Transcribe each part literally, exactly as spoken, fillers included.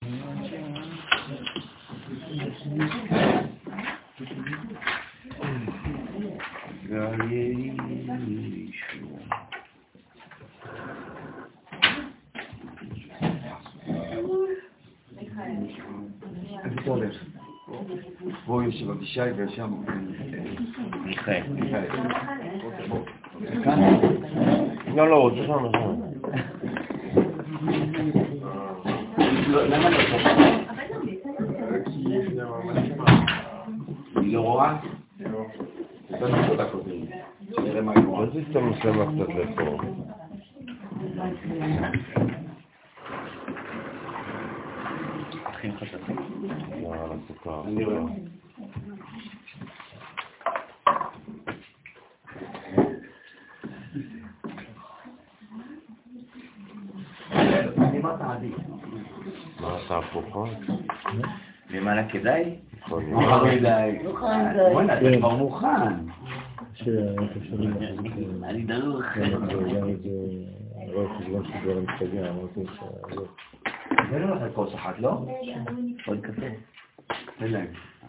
איפה אתה הולך? פה יושב אבישי ושם מיכאל. מיכאל. כאן? לא, לא, זה שם, זה שם. למה לא פה? היא לא רואה? לא. אתה נקוד הקודם. נראה מה היא רואה. אז אתה מסמך קצת לפה. הכין חשכים? לא, על הסוכר. אני רואה. מה אתה הפוכה? למעלה כדאי? נכון. לא כדאי. בוא'נה, אתה כבר מוכן. אני דרוך. רוב חשבון שדבר המשתגע, אמרתי שזה... זה לא לך כוס אחת, לא? עוד קפה. תן להם.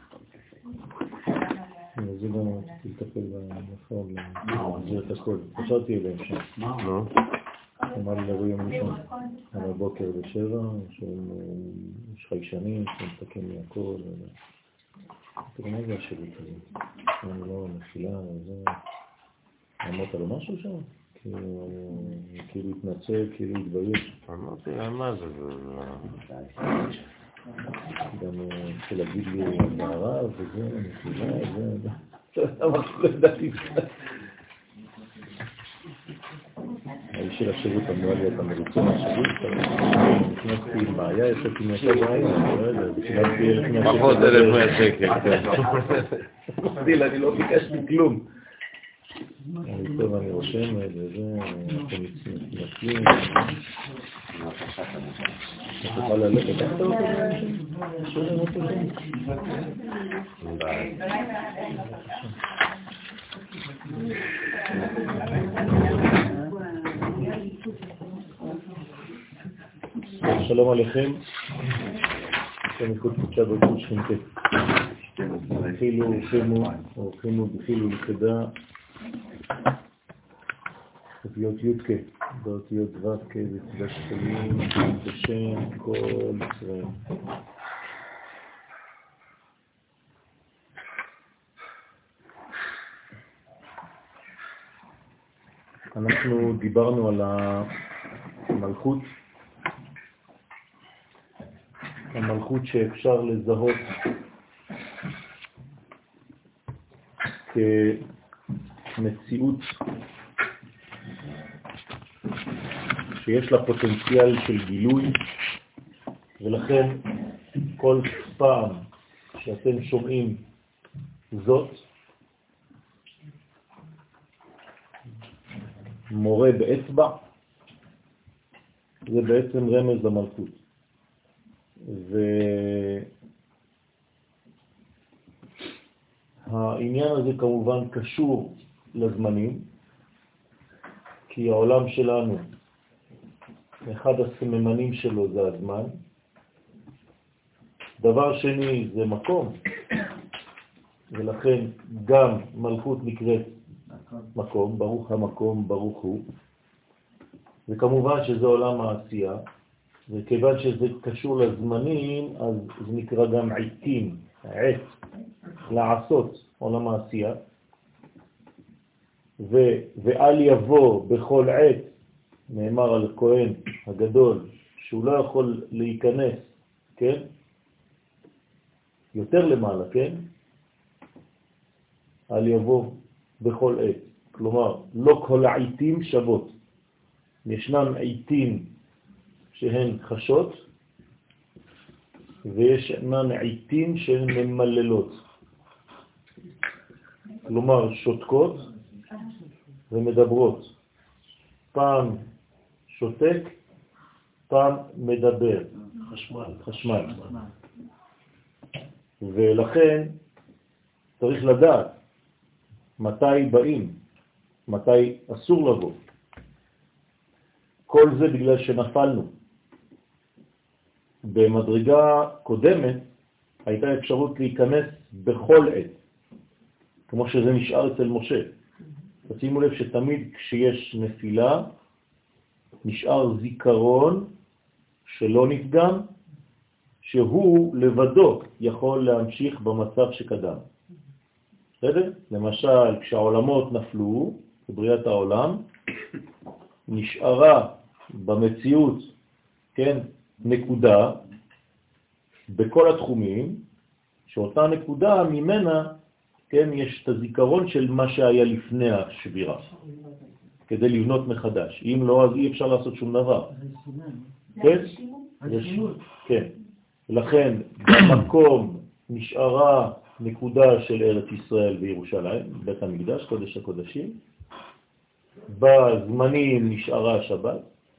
זה גם רציתי לטפל במפעול, להחזיר את הכל. חשבתי אליהם שם. מה? אמר לי לבוא יום ראשון, על הבוקר בשבע, שיש חיישנים, שמתקן לי הכל. תראה, מה זה השירות הזה? אני לא נפילה, זה... אמרת לו משהו שם? כאילו התנצל, כאילו התבייש. אמרתי לה, מה זה? גם התחיל להגיד לי בערב, וזה, נפילה, זה... אמרתי, לא ידעתי קצת. האיש של השירות אמרה לי, אתה מרוצה מהשירות? נכנסתי עם בעיה, יצאתי מהשירות, אני לא יודע, שילמתי אלף מאה שקל. פחות אלף מאה שקל, כן. אמרתי לה, אני לא ביקשתי כלום. אני טוב, אני רושם, וזה, אתם מצטרפים. אתה תוכל ללכת, איך אתה רוצה? שואלים אותו שם. ביי. שלום עליכם, שם איכות קודשה בגבול שכינתת. חילו וחמו, או חמו בחילו לכדה, אותיות יודקה, באותיות דווקה, בצדה שקלים, בשם כל ישראל. אנחנו דיברנו על המלכות, המלכות שאפשר לזהות כמציאות שיש לה פוטנציאל של גילוי, ולכן כל פעם שאתם שומעים זאת, מורה באצבע, זה בעצם רמז למלכות. והעניין הזה כמובן קשור לזמנים, כי העולם שלנו, אחד הסממנים שלו זה הזמן. דבר שני זה מקום, ולכן גם מלכות נקראת מקום, ברוך המקום, ברוך הוא. וכמובן שזה עולם העשייה, וכיוון שזה קשור לזמנים, אז זה נקרא גם עיתים, עת, לעשות, עולם העשייה. ו, ואל יבוא בכל עת, נאמר על כהן הגדול, שהוא לא יכול להיכנס, כן? יותר למעלה, כן? אל יבוא בכל עת. כלומר, לא כל העיתים שוות. ישנם עיתים שהן חשות, וישנן עיתים שהן ממללות. כלומר, שותקות ומדברות. פעם שותק, פעם מדבר. חשמל. חשמל. ולכן צריך לדעת מתי באים, מתי אסור לבוא. כל זה בגלל שנפלנו. במדרגה קודמת הייתה אפשרות להיכנס בכל עת, כמו שזה נשאר אצל משה. תשימו לב שתמיד כשיש נפילה, נשאר זיכרון שלא נפגם, שהוא לבדו יכול להמשיך במצב שקדם. בסדר? למשל, כשהעולמות נפלו, בבריאת העולם, נשארה במציאות, כן, נקודה, בכל התחומים, שאותה נקודה ממנה, כן, יש את הזיכרון של מה שהיה לפני השבירה, כדי לבנות מחדש. אם לא, אז אי אפשר לעשות שום דבר. כן? כן. לכן, במקום נשארה נקודה של ארץ ישראל וירושלים, בית המקדש, קודש הקודשים, בזמנים נשארה שבת,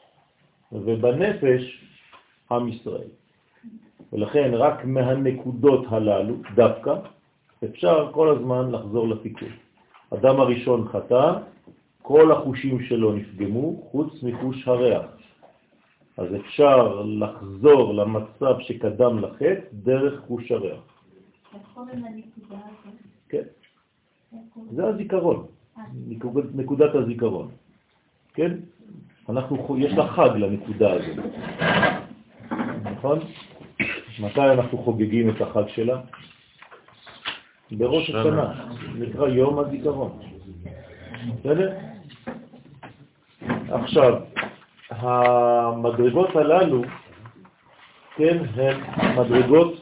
ובנפש עם ישראל. ולכן רק מהנקודות הללו, דווקא, אפשר כל הזמן לחזור לתיקון. אדם הראשון חטא, כל החושים שלו נפגמו, חוץ מחוש הריח. אז אפשר לחזור למצב שקדם לחטא דרך חוש הריח. כן. זה הזיכרון, נקודת הזיכרון. כן? אנחנו, יש לה חג לנקודה הזאת. נכון? מתי אנחנו חוגגים את החג שלה? בראש השנה, נקרא יום הזיכרון. בסדר? עכשיו, המדרגות הללו, כן, הן מדרגות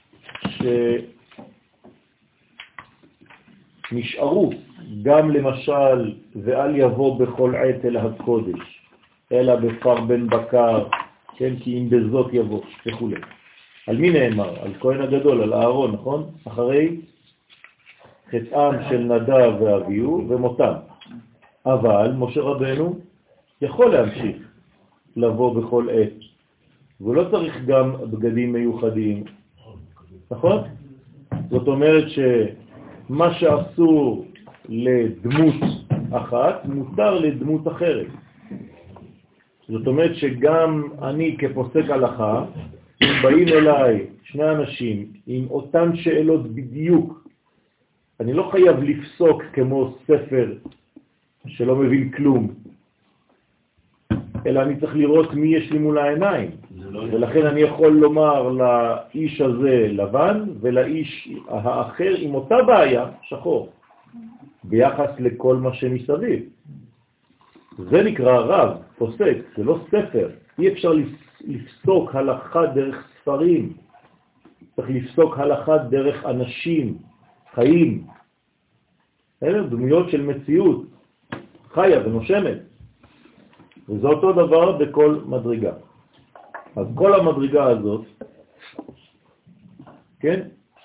שנשארו, גם למשל, ואל יבוא בכל עת אל הקודש, אלא בפר בן בקר, כן, כי אם בזאת יבוא, וכו'. על מי נאמר? על כהן הגדול, על אהרון, נכון? אחרי חטאם של נדב ואביהו ומותם. אבל משה רבנו יכול להמשיך לבוא בכל עת, ולא צריך גם בגדים מיוחדים, נכון? זאת אומרת שמה שאסור לדמות אחת, מותר לדמות אחרת. זאת אומרת שגם אני כפוסק הלכה, אם באים אליי שני אנשים עם אותן שאלות בדיוק, אני לא חייב לפסוק כמו ספר שלא מבין כלום, אלא אני צריך לראות מי יש לי מול העיניים. ולכן אני יכול לומר לאיש הזה לבן, ולאיש האחר עם אותה בעיה שחור, ביחס לכל מה שמסביב. זה נקרא רב, פוסק, זה לא ספר. אי אפשר לפסוק הלכה דרך ספרים, צריך לפסוק הלכה דרך אנשים, חיים. אלה דמויות של מציאות, חיה ונושמת. וזה אותו דבר בכל מדרגה. אז כל המדרגה הזאת, כן,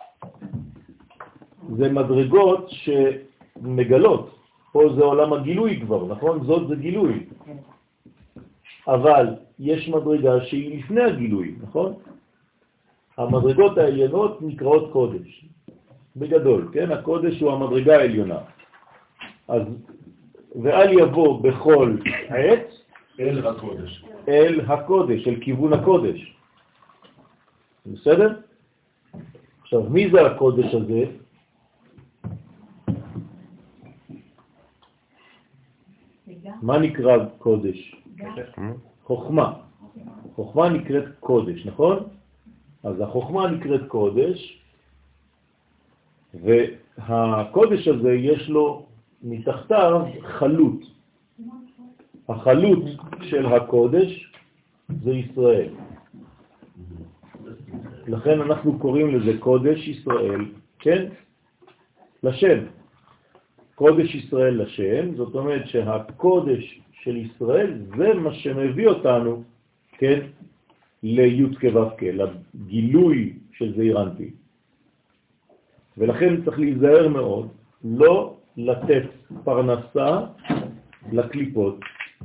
זה מדרגות שמגלות. פה זה עולם הגילוי כבר, נכון? זאת זה גילוי. אבל יש מדרגה שהיא לפני הגילוי, נכון? המדרגות העליונות נקראות קודש. בגדול, כן? הקודש הוא המדרגה העליונה. אז, ואל יבוא בכל עת אל הקודש. אל הקודש, אל כיוון הקודש. בסדר? עכשיו, מי זה הקודש הזה? מה נקרא קודש? חוכמה. חוכמה נקראת קודש, נכון? אז החוכמה נקראת קודש, והקודש הזה יש לו מתחתיו חלות. החלות של הקודש זה ישראל. לכן אנחנו קוראים לזה קודש ישראל, כן? לשם. קודש ישראל לשם, זאת אומרת שהקודש של ישראל זה מה שמביא אותנו, כן? לי' כו' לגילוי של זעיר אנפין. ולכן צריך להיזהר מאוד, לא לתת פרנסה לקליפות.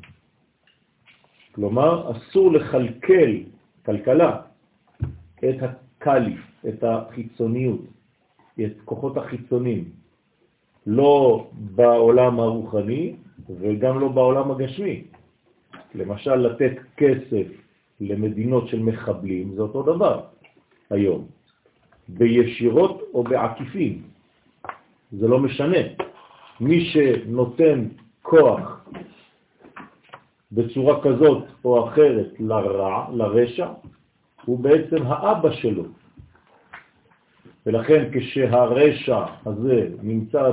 כלומר, אסור לחלקל, כלכלה, את הקליף, את החיצוניות, את כוחות החיצונים. לא בעולם הרוחני וגם לא בעולם הגשמי. למשל, לתת כסף למדינות של מחבלים, זה אותו דבר היום. בישירות או בעקיפים. זה לא משנה. מי שנותן כוח בצורה כזאת או אחרת לרע, לרשע, הוא בעצם האבא שלו. ולכן כשהרשע הזה נמצא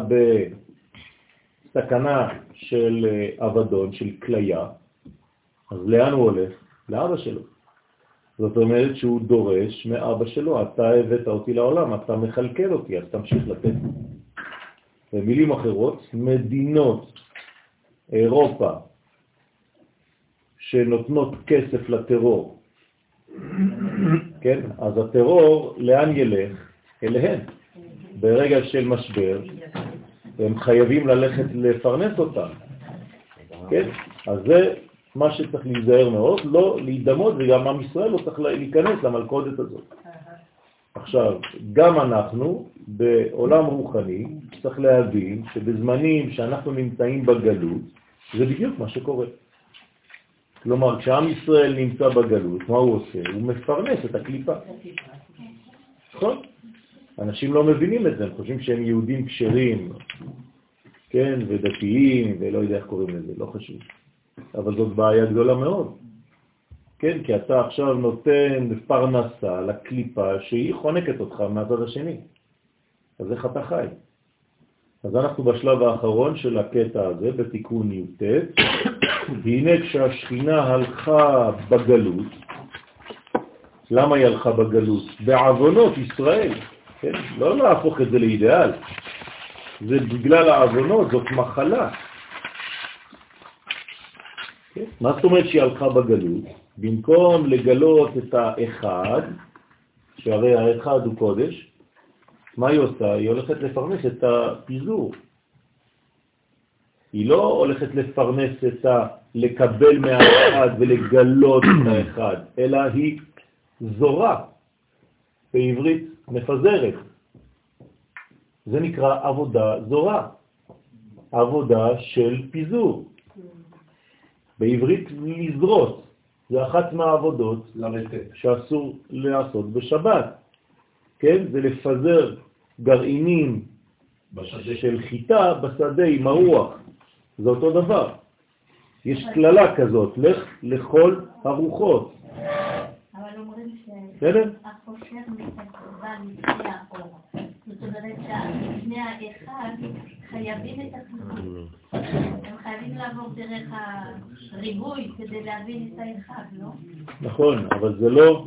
בסכנה של אבדון, של כליה, אז לאן הוא הולך? לאבא שלו. זאת אומרת שהוא דורש מאבא שלו, אתה הבאת אותי לעולם, אתה מחלקל אותי, אז תמשיך לתת. במילים אחרות, מדינות אירופה שנותנות כסף לטרור, כן? אז הטרור לאן ילך? אליהם. ברגע של משבר, הם חייבים ללכת לפרנס אותם. כן? אז זה מה שצריך להיזהר מאוד, לא להידמות, וגם עם ישראל לא צריך להיכנס למלכודת הזאת. עכשיו, גם אנחנו בעולם רוחני צריך להבין שבזמנים שאנחנו נמצאים בגלות, זה בדיוק מה שקורה. כלומר, כשעם ישראל נמצא בגלות, מה הוא עושה? הוא מפרנס את הקליפה. נכון? אנשים לא מבינים את זה, הם חושבים שהם יהודים כשרים, כן, ודתיים, ולא יודע איך קוראים לזה, לא חשוב. אבל זאת בעיה גדולה מאוד. כן, כי אתה עכשיו נותן פרנסה לקליפה שהיא חונקת אותך מהצד השני. אז איך אתה חי? אז אנחנו בשלב האחרון של הקטע הזה, בתיקון י"ט. והנה כשהשכינה הלכה בגלות, למה היא הלכה בגלות? בעוונות ישראל. כן? לא להפוך את זה לאידאל. זה בגלל העוונות, זאת מחלה. כן? מה זאת אומרת שהיא הלכה בגלות? במקום לגלות את האחד, שהרי האחד הוא קודש, מה היא עושה? היא הולכת לפרנס את הפיזור. היא לא הולכת לפרנס את ה... לקבל מהאחד ולגלות את האחד, אלא היא זורה, בעברית מפזרת. זה נקרא עבודה זורה, עבודה של פיזור. בעברית לזרות, זה אחת מהעבודות שאסור לעשות בשבת. כן? זה לפזר גרעינים בשדה. של חיטה בשדה עם הרוח. זה אותו דבר. יש כללה כזאת, לך לכל הרוחות. אבל אומרים בסדר? שהחושר מתקרבה לפני האור. זאת אומרת שהפני האחד חייבים את החיבור. הם חייבים לעבור דרך הריבוי כדי להבין את האחד, לא? נכון, אבל זה לא...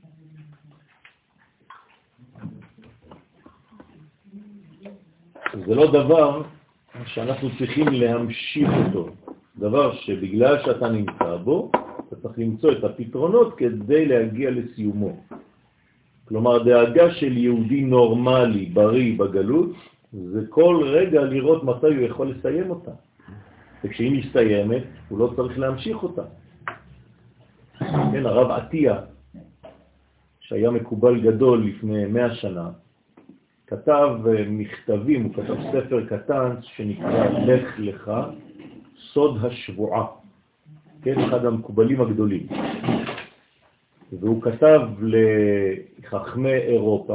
זה לא דבר שאנחנו צריכים להמשיך אותו. דבר שבגלל שאתה נמצא בו, אתה צריך למצוא את הפתרונות כדי להגיע לסיומו. כלומר, דאגה של יהודי נורמלי, בריא בגלות, זה כל רגע לראות מתי הוא יכול לסיים אותה. וכשהיא מסתיימת, הוא לא צריך להמשיך אותה. כן, הרב עטיה, שהיה מקובל גדול לפני מאה שנה, כתב מכתבים, הוא כתב ספר קטן שנקרא לך לך, סוד השבועה. כן, אחד המקובלים הגדולים. והוא כתב לחכמי אירופה,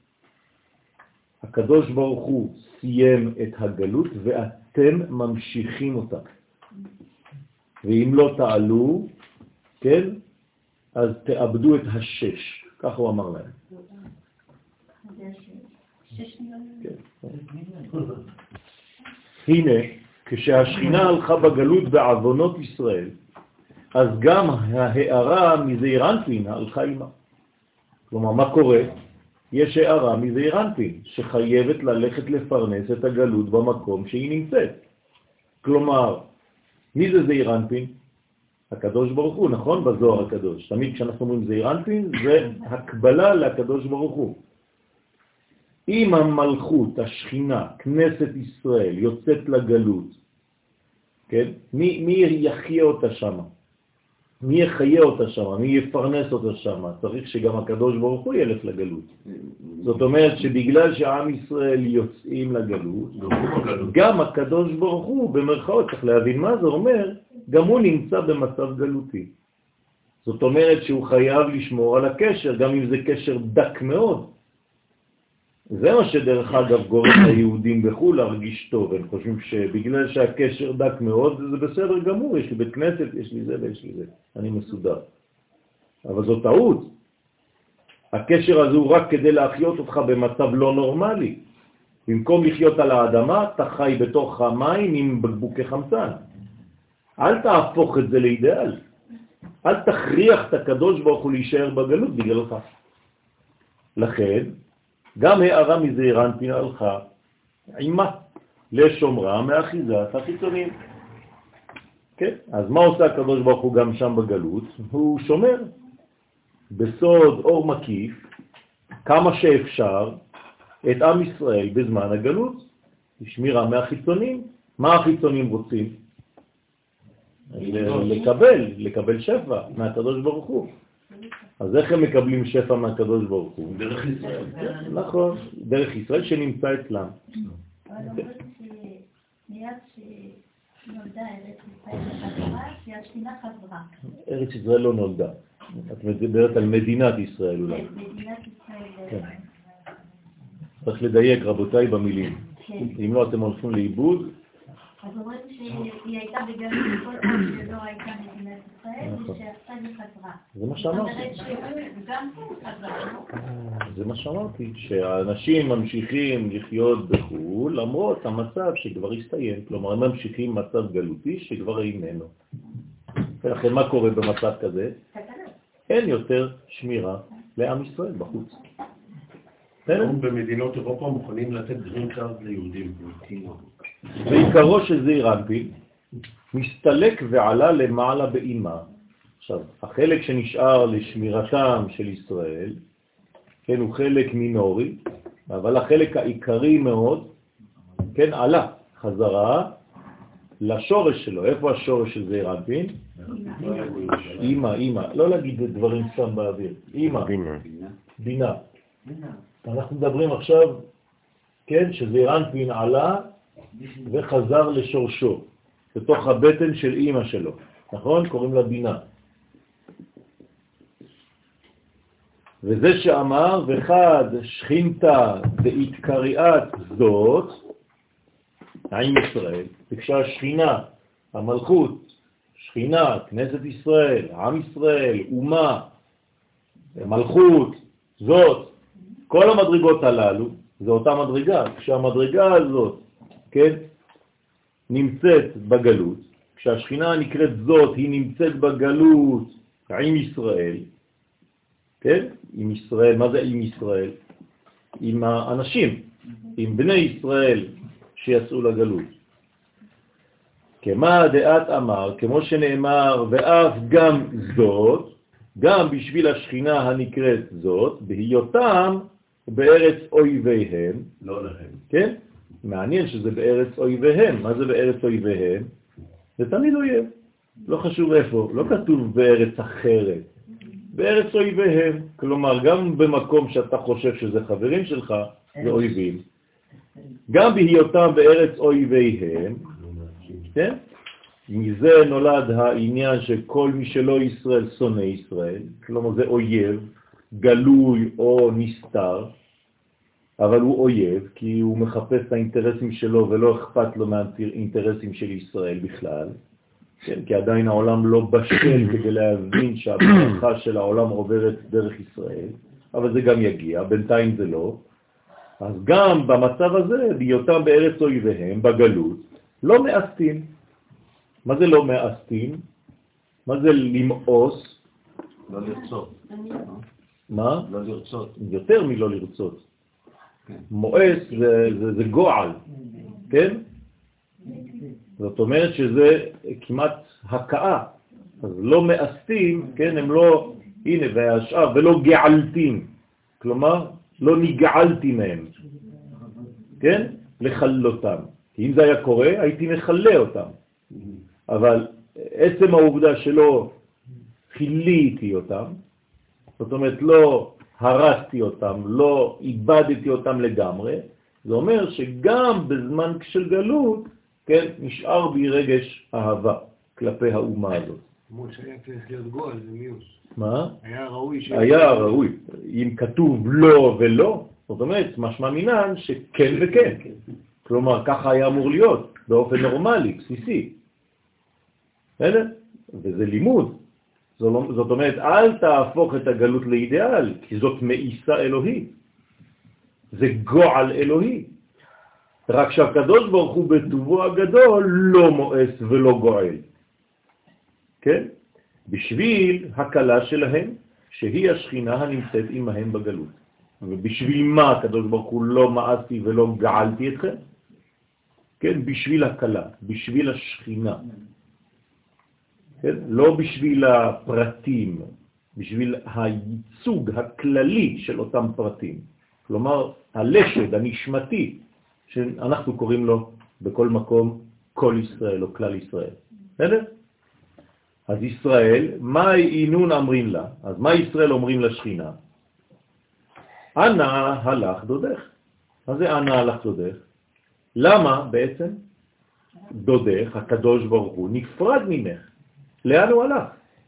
הקדוש ברוך הוא סיים את הגלות ואתם ממשיכים אותה. ואם לא תעלו, כן, אז תאבדו את השש. כך הוא אמר להם. הנה, כשהשכינה הלכה בגלות בעוונות ישראל, אז גם ההערה מזעיר אנפין הלכה עימה. כלומר, מה קורה? יש הערה מזעיר אנפין שחייבת ללכת לפרנס את הגלות במקום שהיא נמצאת. כלומר, מי זה זעיר אנפין? הקדוש ברוך הוא, נכון? בזוהר הקדוש. תמיד כשאנחנו אומרים זעיר אנפין, זה הקבלה לקדוש ברוך הוא. אם המלכות, השכינה, כנסת ישראל, יוצאת לגלות, כן? מי, מי יחיה אותה שם? מי יחיה אותה שם? מי יפרנס אותה שם? צריך שגם הקדוש ברוך הוא ילך לגלות. זאת אומרת שבגלל שהעם ישראל יוצאים לגלות, גם הקדוש ברוך הוא, במרכאות, צריך להבין מה זה אומר, גם הוא נמצא במצב גלותי. זאת אומרת שהוא חייב לשמור על הקשר, גם אם זה קשר דק מאוד. זה מה שדרך אגב גורם ליהודים בחו"ל להרגיש טוב. הם חושבים שבגלל שהקשר דק מאוד, זה בסדר גמור, יש לי בית כנסת, יש לי זה ויש לי זה. אני מסודר. אבל זו טעות. הקשר הזה הוא רק כדי להחיות אותך במצב לא נורמלי. במקום לחיות על האדמה, אתה חי בתוך המים עם בקבוקי חמצן. אל תהפוך את זה לאידאל. אל תכריח את הקדוש ברוך הוא להישאר בגלות בגללך. לכן, גם הערה מזעיר אנפין הלכה עימה לשומרה מאחיזת החיצונים. כן? אז מה עושה הקדוש ברוך הוא גם שם בגלות? הוא שומר בסוד אור מקיף כמה שאפשר את עם ישראל בזמן הגלות. שמירה מהחיצונים. מה החיצונים רוצים? לקבל, לקבל שפע מהקדוש ברוך הוא. אז איך הם מקבלים שפע מהקדוש ברוך הוא? דרך ישראל. נכון, דרך ישראל שנמצא אצלם. אבל אומרים שמיד שנולדה ארץ ישראל בחזרה, שהשכינה חזרה. ארץ ישראל לא נולדה. את מדברת על מדינת ישראל אולי. כן, מדינת ישראל. צריך לדייק רבותיי במילים. כן. אם לא אתם הולכים לאיבוד. אז אומרים שהיא הייתה בגלות כל פעם שלא הייתה מדינת ישראל, ושעכשיו היא חזרה. זה מה שאמרתי. זאת אומרת שגם הוא חזר. זה מה שאמרתי, שהאנשים ממשיכים לחיות בחו"ל למרות המצב שכבר הסתיים. כלומר, הם ממשיכים מצב גלותי שכבר איננו. ולכן מה קורה במצב כזה? אין יותר שמירה לעם ישראל בחוץ. היום במדינות אירופה מוכנים לתת גרין קארד ליהודים. בעיקרו של זעיר אנפין מסתלק ועלה למעלה באימה. עכשיו, החלק שנשאר לשמירתם של ישראל, כן, הוא חלק מינורי, אבל החלק העיקרי מאוד, כן, עלה חזרה לשורש שלו. איפה השורש של זעיר אנפין? אימא, אימא. לא להגיד דברים סתם באוויר. אימא. בינה. בינה. אנחנו מדברים עכשיו, כן, שזעיר אנפין עלה וחזר לשורשו, בתוך הבטן של אימא שלו. נכון? קוראים לה בינה. וזה שאמר, וחד שכינתה דאית זאת, עם ישראל, וכשהשכינה, המלכות, שכינה, כנסת ישראל, עם ישראל, אומה, מלכות, זאת, כל המדרגות הללו, זה אותה מדרגה. כשהמדרגה הזאת, כן, נמצאת בגלות, כשהשכינה נקראת זאת, היא נמצאת בגלות עם ישראל, כן? עם ישראל, מה זה עם ישראל? עם האנשים, עם בני ישראל שיצאו לגלות. כמה דעת אמר, כמו שנאמר, ואף גם זאת, גם בשביל השכינה הנקראת זאת, בהיותם בארץ אויביהם. לא להם. כן? מעניין שזה בארץ אויביהם. מה זה בארץ אויביהם? זה תמיד אויב. לא חשוב איפה. לא כתוב בארץ אחרת. בארץ אויביהם. כלומר, גם במקום שאתה חושב שזה חברים שלך, זה אויבים. גם בהיותם בארץ אויביהם, כן? מזה נולד העניין שכל מי שלא ישראל שונא ישראל, כלומר זה אויב, גלוי או נסתר, אבל הוא אויב כי הוא מחפש את האינטרסים שלו ולא אכפת לו מהאינטרסים של ישראל בכלל, כן? כי עדיין העולם לא בשל כדי להבין שהברכה של העולם עוברת דרך ישראל, אבל זה גם יגיע, בינתיים זה לא. אז גם במצב הזה, בהיותם בארץ אויביהם, בגלות, לא מאסתים. מה זה לא מאסתים? מה זה למאוס? לא לרצות. מה? לא לרצות. יותר מלא לרצות. מואס זה, זה, זה גועל, כן? זאת אומרת שזה כמעט הקאה. אז לא מאסתים, כן? הם לא, הנה, והשאר, ולא געלתים. כלומר, לא נגעלתי מהם. כן? לחלותם. כי אם זה היה קורה, הייתי מחלה אותם. אבל עצם העובדה שלא חיליתי אותם, זאת אומרת לא הרסתי אותם, לא איבדתי אותם לגמרי, זה אומר שגם בזמן של גלות, כן, נשאר בי רגש אהבה כלפי האומה הזאת. למרות שהיה צריך להיות גואל, זה מיוס. מה? היה ראוי ש... היה ראוי. אם כתוב לא ולא, זאת אומרת, משמע מינן שכן וכן. כלומר, ככה היה אמור להיות, באופן נורמלי, בסיסי. בסדר? וזה לימוד. זאת אומרת, אל תהפוך את הגלות לאידיאל, כי זאת מאיסה אלוהית. זה גועל אלוהי. רק שהקדוש ברוך הוא בטובו הגדול לא מואס ולא גועל. כן? בשביל הקלה שלהם, שהיא השכינה הנמצאת עמהם בגלות. ובשביל מה הקדוש ברוך הוא לא מאסתי ולא געלתי אתכם? כן? בשביל הקלה, בשביל השכינה. כן? לא בשביל הפרטים, בשביל הייצוג הכללי של אותם פרטים. כלומר, הלשד, הנשמתי, שאנחנו קוראים לו בכל מקום כל ישראל או כלל ישראל. בסדר? אז ישראל, מה אינון אמרים לה? אז מה ישראל אומרים לשכינה? אנה הלך דודך. מה זה אנה הלך דודך? למה בעצם דודך, הקדוש ברוך הוא, נפרד ממך? לאן הוא הלך?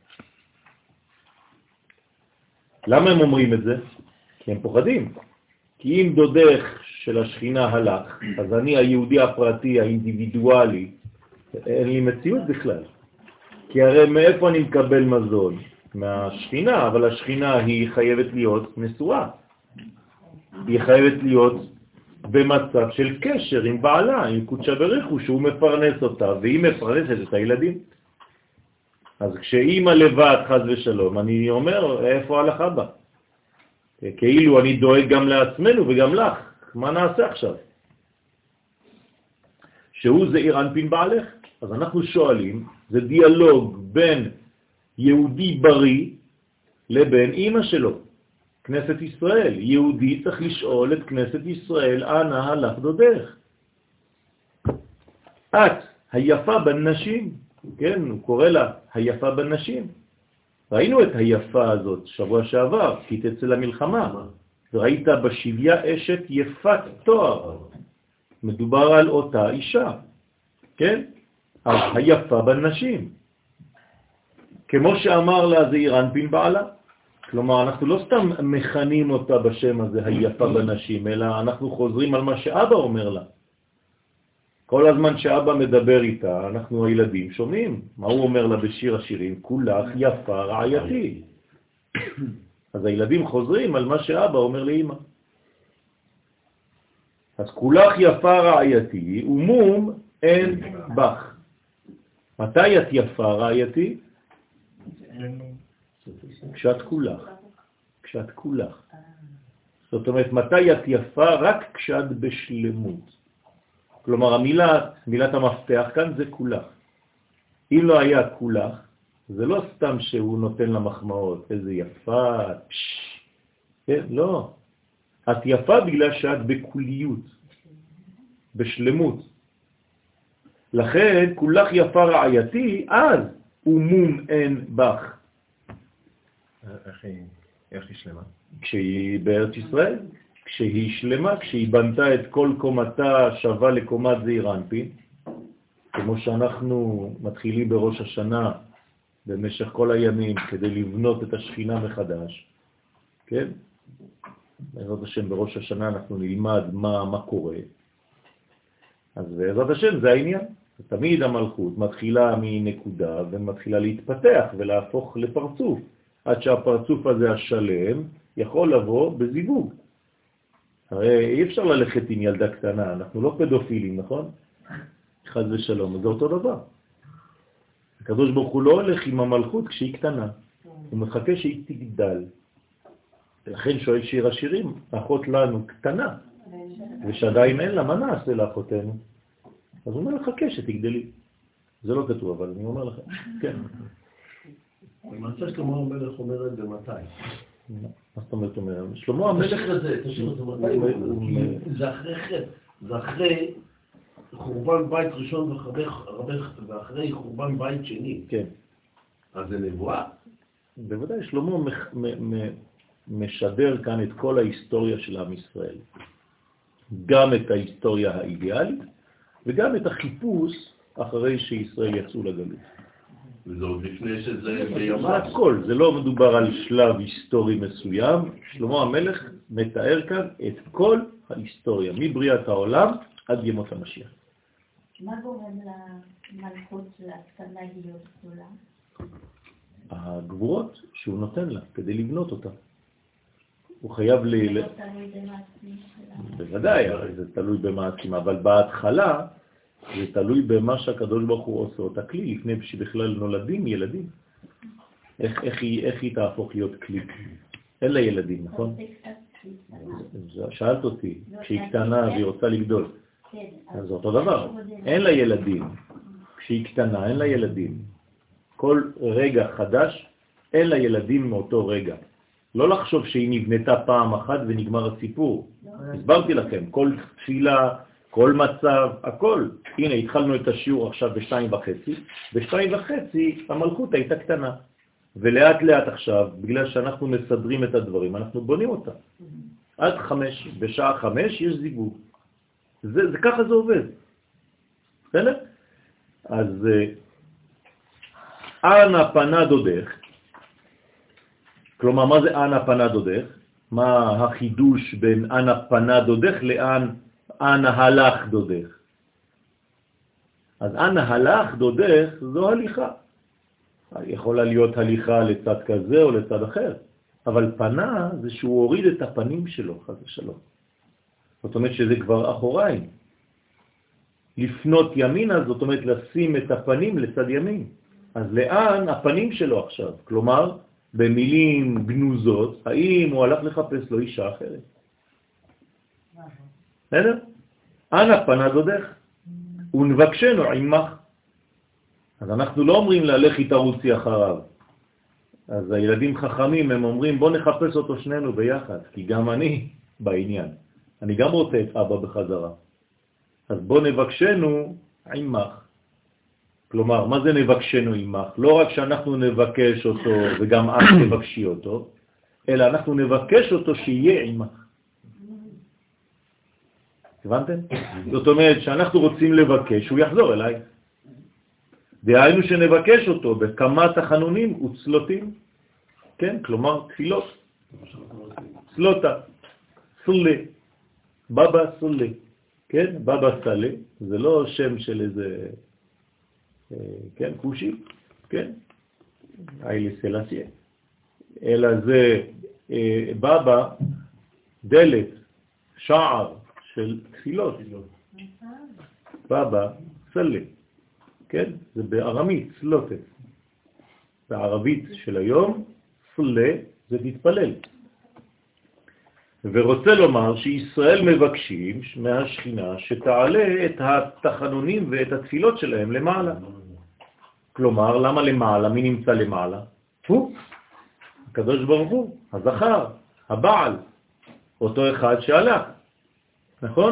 למה הם אומרים את זה? כי הם פוחדים. כי אם דודך של השכינה הלך, אז אני היהודי הפרטי, האינדיבידואלי, אין לי מציאות בכלל. כי הרי מאיפה אני מקבל מזון? מהשכינה, אבל השכינה היא חייבת להיות נשואה. היא חייבת להיות במצב של קשר עם בעלה, עם קודשה בריחו, שהוא מפרנס אותה, והיא מפרנסת את הילדים. אז כשאימא לבד, חס ושלום, אני אומר, איפה הלך אבא? כאילו אני דואג גם לעצמנו וגם לך. מה נעשה עכשיו? שהוא זעיר אנפין בעלך. אז אנחנו שואלים, זה דיאלוג בין יהודי בריא לבין אמא שלו, כנסת ישראל. יהודי צריך לשאול את כנסת ישראל, אנה הלך דודך? את היפה בנשים, כן, הוא קורא לה היפה בנשים. ראינו את היפה הזאת שבוע שעבר, כי תצא למלחמה, וראית בשביה אשת יפת תואר. מדובר על אותה אישה, כן? אז היפה בנשים. כמו שאמר לה זעיר אנפין בעלה. כלומר, אנחנו לא סתם מכנים אותה בשם הזה, היפה בנשים, אלא אנחנו חוזרים על מה שאבא אומר לה. כל הזמן שאבא מדבר איתה, אנחנו הילדים שומעים. מה הוא אומר לה בשיר השירים? כולך יפה רעייתי. אז הילדים חוזרים על מה שאבא אומר לאמא. אז כולך יפה רעייתי, ומום אין בך. מתי את יפה רעייתי? כשאת כולך. כשאת כולך. זאת אומרת, מתי את יפה? רק כשאת בשלמות. כלומר, המילה, מילת המפתח כאן זה כולך. אם לא היה כולך, זה לא סתם שהוא נותן לה מחמאות, איזה יפה, פש, כן? לא. את יפה בגלל שאת בכוליות, בשלמות. לכן, כולך יפה רעייתי, אז ומום אין בך. איך היא, איך היא שלמה? כשהיא בארץ ישראל. כשהיא שלמה, כשהיא בנתה את כל קומתה שווה לקומת זעיר אנפין, כמו שאנחנו מתחילים בראש השנה במשך כל הימים כדי לבנות את השכינה מחדש, כן? בעזרת השם בראש השנה אנחנו נלמד מה, מה קורה. אז בעזרת השם זה העניין. תמיד המלכות מתחילה מנקודה ומתחילה להתפתח ולהפוך לפרצוף, עד שהפרצוף הזה השלם יכול לבוא בזיווג. הרי אי אפשר ללכת עם ילדה קטנה, אנחנו לא פדופילים, נכון? חס ושלום, זה אותו דבר. הקדוש ברוך הוא לא הולך עם המלכות כשהיא קטנה, הוא מחכה שהיא תגדל. ולכן שואל שיר השירים, אחות לנו קטנה, ושעדיין אין לה, מה נעשה לאחותנו? אז הוא אומר, חכה שתגדלי. זה לא כתוב, אבל אני אומר לכם, כן. למעשה שלמה המלך אומר את זה מתי? מה זאת אומרת אומר? שלמה המלך... תשאיר את זה, תשאיר את זה מתי? זה אחרי חטא, זה אחרי חורבן בית ראשון ואחרי חורבן בית שני. כן. אז זה נבואה? בוודאי, שלמה משדר כאן את כל ההיסטוריה של עם ישראל. גם את ההיסטוריה האידיאלית וגם את החיפוש אחרי שישראל יצאו לגלות. וזה עוד לפני שזה זה בימיו. הכל, זה לא מדובר על שלב היסטורי מסוים. שלמה המלך מתאר כאן את כל ההיסטוריה, מבריאת העולם עד ימות המשיח. מה גורם למלכות להקטנה להיות גדולה? הגבורות שהוא נותן לה כדי לבנות אותה. הוא חייב ל... זה לא תלוי במעשים שלה. בוודאי, זה תלוי במעשים, אבל בהתחלה זה תלוי במה שהקדוש ברוך הוא עושה אותה כלי, לפני שבכלל נולדים ילדים. איך, איך, היא, איך היא תהפוך להיות כלי? אין לה ילדים, נכון? שאלת אותי, כשהיא קטנה והיא רוצה לגדול. אז זה אותו דבר. אין לה ילדים. כשהיא קטנה, אין לה ילדים. כל רגע חדש, אין לה ילדים מאותו רגע. לא לחשוב שהיא נבנתה פעם אחת ונגמר הסיפור. הסברתי לכם, כל תפילה, כל מצב, הכל. הנה, התחלנו את השיעור עכשיו בשתיים וחצי. בשתיים וחצי המלכות הייתה קטנה. ולאט לאט עכשיו, בגלל שאנחנו מסדרים את הדברים, אנחנו בונים אותה. עד חמש, בשעה חמש יש זיווג. זה, זה ככה זה עובד. בסדר? אז אנה פנה דודך, כלומר, מה זה אנה פנה דודך? מה החידוש בין אנה פנה דודך לאן אנה הלך דודך? אז אנה הלך דודך זו הליכה. יכולה להיות הליכה לצד כזה או לצד אחר, אבל פנה זה שהוא הוריד את הפנים שלו, חס ושלום. זאת אומרת שזה כבר אחוריים. לפנות ימינה, זאת אומרת לשים את הפנים לצד ימין. אז לאן הפנים שלו עכשיו? כלומר, במילים גנוזות, האם הוא הלך לחפש לו אישה אחרת? בסדר? אנה פנה דודך, ונבקשנו עמך. אז אנחנו לא אומרים לה, לכי תרוצי אחריו. אז הילדים חכמים, הם אומרים, בוא נחפש אותו שנינו ביחד, כי גם אני בעניין. אני גם רוצה את אבא בחזרה. אז בוא נבקשנו עמך. כלומר, מה זה נבקשנו עמך? לא רק שאנחנו נבקש אותו וגם את נבקשי אותו, אלא אנחנו נבקש אותו שיהיה עמך. הבנתם? זאת אומרת שאנחנו רוצים לבקש, הוא יחזור אליי. דהיינו שנבקש אותו בכמה תחנונים וצלותים, כן? כלומר, תפילות. צלותה, סולה, בבא סולה, כן? בבא סלה, זה לא שם של איזה, כן, קושי, כן? איילי סלסיה. אלא זה בבא, דלת, שער של תפילות. בבא סלה. כן? זה בארמית, סלוטת. בערבית של היום, סלה זה תתפלל. ורוצה לומר שישראל מבקשים מהשכינה שתעלה את התחנונים ואת התפילות שלהם למעלה. כלומר, למה למעלה? מי נמצא למעלה? הוא, הקדוש ברוך הוא, הזכר, הבעל, אותו אחד שהלך. נכון?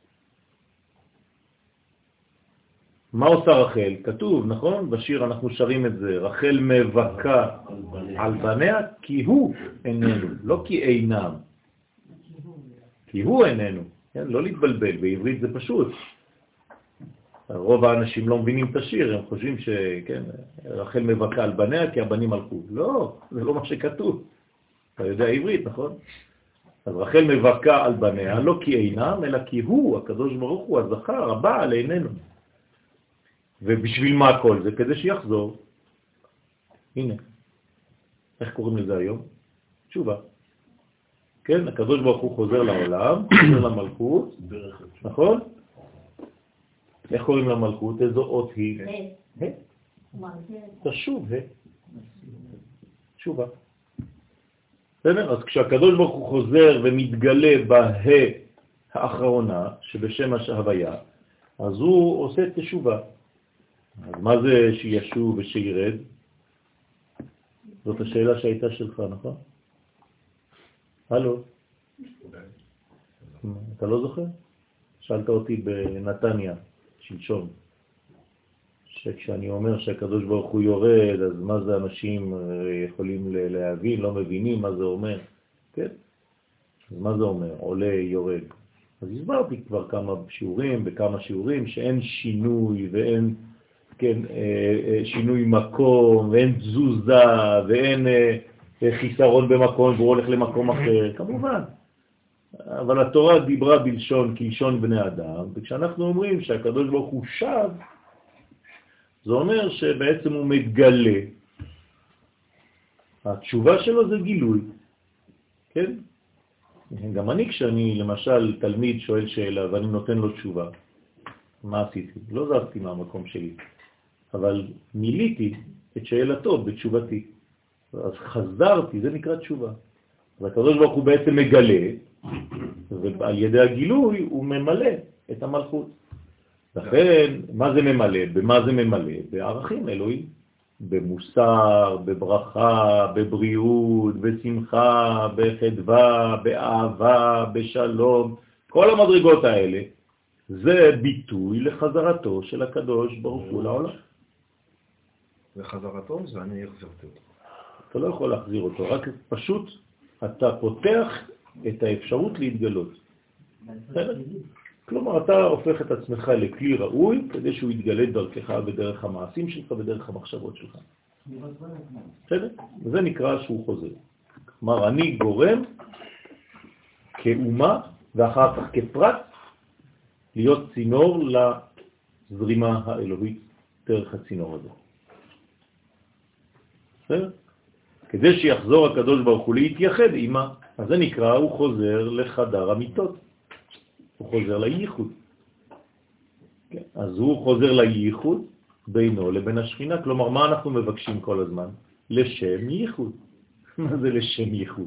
מה עושה רחל? כתוב, נכון? בשיר אנחנו שרים את זה. רחל מבכה על בניה כי הוא איננו, לא כי אינם. כי הוא איננו. כן? לא להתבלבל, בעברית זה פשוט. רוב האנשים לא מבינים את השיר, הם חושבים שכן, רחל מבכה על בניה כי הבנים הלכו. לא, זה לא מה שכתוב. אתה יודע עברית, נכון? אז רחל מבכה על בניה, לא כי אינם, אלא כי הוא, הקדוש ברוך הוא, הזכר, הבעל איננו. ובשביל מה כל זה? כדי שיחזור. הנה. איך קוראים לזה היום? תשובה. כן, הקדוש ברוך הוא חוזר לעולם, חוזר למלכות, נכון? איך קוראים למלכות? איזו אות היא? ה'. תשוב, ה'. תשובה. בסדר? אז כשהקדוש ברוך הוא חוזר ומתגלה בה האחרונה, שבשם ההוויה, אז הוא עושה תשובה. אז מה זה שישוב ושירד? זאת השאלה שהייתה שלך, נכון? הלו? אתה לא זוכר? שאלת אותי בנתניה, שלשום, שכשאני אומר שהקדוש ברוך הוא יורד, אז מה זה אנשים יכולים להבין, לא מבינים מה זה אומר, כן? אז מה זה אומר? עולה, יורד. אז הסברתי כבר כמה שיעורים, בכמה שיעורים, שאין שינוי ואין כן, שינוי מקום, ואין תזוזה, ואין חיסרון במקום, והוא הולך למקום אחר, כמובן. אבל התורה דיברה בלשון כלשון בני אדם, וכשאנחנו אומרים שהקדוש ברוך הוא שב, זה אומר שבעצם הוא מתגלה. התשובה שלו זה גילוי, כן? גם אני כשאני למשל תלמיד שואל שאלה ואני נותן לו תשובה, מה עשיתי? לא זזתי מהמקום שלי, אבל מיליתי את שאלתו בתשובתי. אז חזרתי, זה נקרא תשובה. אז הקדוש ברוך הוא בעצם מגלה, ועל ידי הגילוי הוא ממלא את המלכות. לכן, מה זה ממלא? במה זה ממלא? בערכים אלוהים. במוסר, בברכה, בבריאות, בשמחה, בחדווה, באהבה, בשלום. כל המדרגות האלה זה ביטוי לחזרתו של הקדוש ברוך הוא לעולם. וחזרתו זה אני החזרתי אותו. אתה לא יכול להחזיר אותו, רק פשוט אתה פותח את האפשרות להתגלות. כלומר, אתה הופך את עצמך לכלי ראוי כדי שהוא יתגלה דרכך בדרך המעשים שלך ודרך המחשבות שלך. בסדר? זה נקרא שהוא חוזר. כלומר, אני גורם כאומה ואחר כך כפרט להיות צינור לזרימה האלוהית דרך הצינור הזה. בסדר? כדי שיחזור הקדוש ברוך הוא להתייחד עמה, אז זה נקרא, הוא חוזר לחדר המיטות. הוא חוזר לייחוד. כן. אז הוא חוזר לייחוד בינו לבין השכינה. כלומר, מה אנחנו מבקשים כל הזמן? לשם ייחוד. מה זה לשם ייחוד?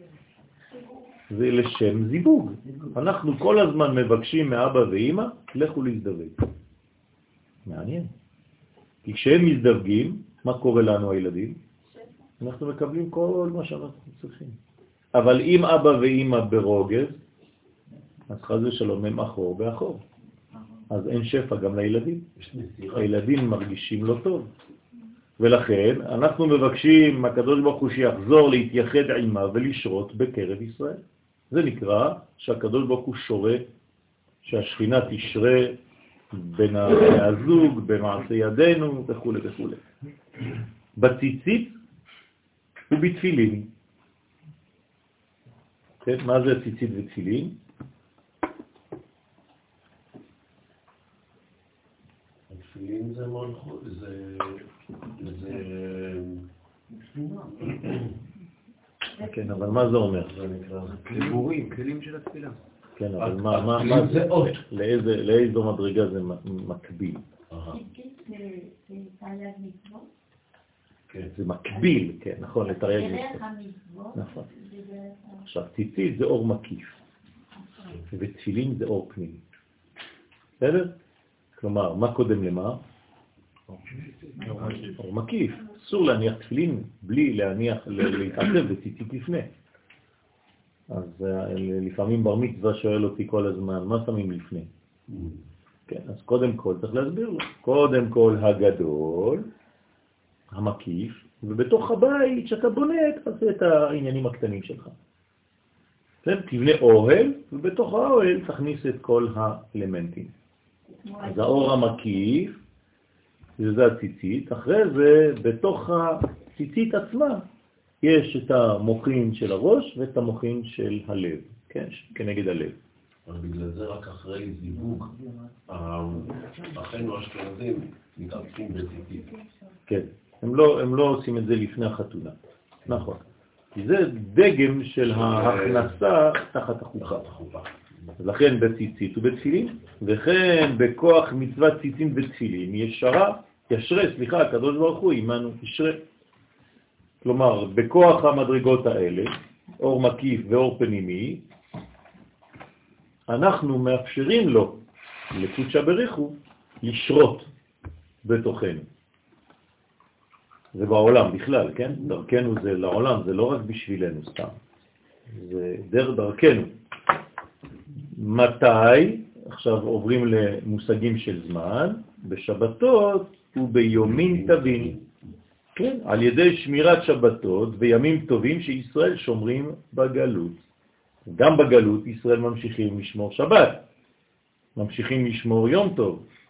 זה לשם זיווג. אנחנו כל הזמן מבקשים מאבא ואמא, לכו להזדווג. מעניין. כי כשהם מזדווגים, מה קורה לנו הילדים? אנחנו מקבלים כל מה שאנחנו צריכים. אבל אם אבא ואמא ברוגז, אז חז ושלום הם אחור באחור. אז אין שפע גם לילדים. הילדים מרגישים לא טוב. ולכן אנחנו מבקשים מהקדוש ברוך הוא שיחזור להתייחד עימה ולשרות בקרב ישראל. זה נקרא שהקדוש ברוך הוא שורה, שהשכינה תשרה בין הזוג, במעשה ידינו וכו' וכו'. בציצית ובתפילין. כן, מה זה ציצית ותפילין? התפילין זה מלכות, זה... זה... כן, אבל מה זה אומר? זה נקרא... דיבורים, כלים של התפילה. כן, אבל מה, מה, מה זה? לאיזה, לאיזו מדרגה זה מקביל? זה מקביל, כן, נכון, לתרי"ג מצוות. נכון. עכשיו, ציצית זה אור מקיף, ותפילין זה אור פנימי. בסדר? כלומר, מה קודם למה? אור מקיף. אסור להניח תפילין בלי להניח, להתעצב בציצית לפני. אז לפעמים בר מצווה שואל אותי כל הזמן, מה שמים לפני? כן, אז קודם כל צריך להסביר לו. קודם כל הגדול, המקיף, ובתוך הבית שאתה בונה, תעשה את העניינים הקטנים שלך. כן, תבנה אוהל, ובתוך האוהל תכניס את כל האלמנטים. אז האור המקיף, זה הציצית, אחרי זה בתוך הציצית עצמה יש את המוחין של הראש ואת המוחין של הלב, כן, כנגד הלב. אבל בגלל זה רק אחרי זיווג, אחינו האשכנזים מתעסקים בציצית. כן, הם לא, הם לא עושים את זה לפני החתונה, נכון. כי זה דגם של ההכנסה תחת החופה. אז לכן בציצית ובתפילין, וכן בכוח מצוות ציצים ותפילין ישרה, ישרה, סליחה, הקדוש ברוך הוא עמנו ישרה. כלומר, בכוח המדרגות האלה, אור מקיף ואור פנימי, אנחנו מאפשרים לו, לקודשא בריחו, לשרות בתוכנו. זה בעולם בכלל, כן? דרכנו זה לעולם, זה לא רק בשבילנו סתם. זה דרך דרכנו. מתי? עכשיו עוברים למושגים של זמן, בשבתות וביומים טובים. כן? על ידי שמירת שבתות וימים טובים שישראל שומרים בגלות. גם בגלות ישראל ממשיכים לשמור שבת, ממשיכים לשמור יום טוב,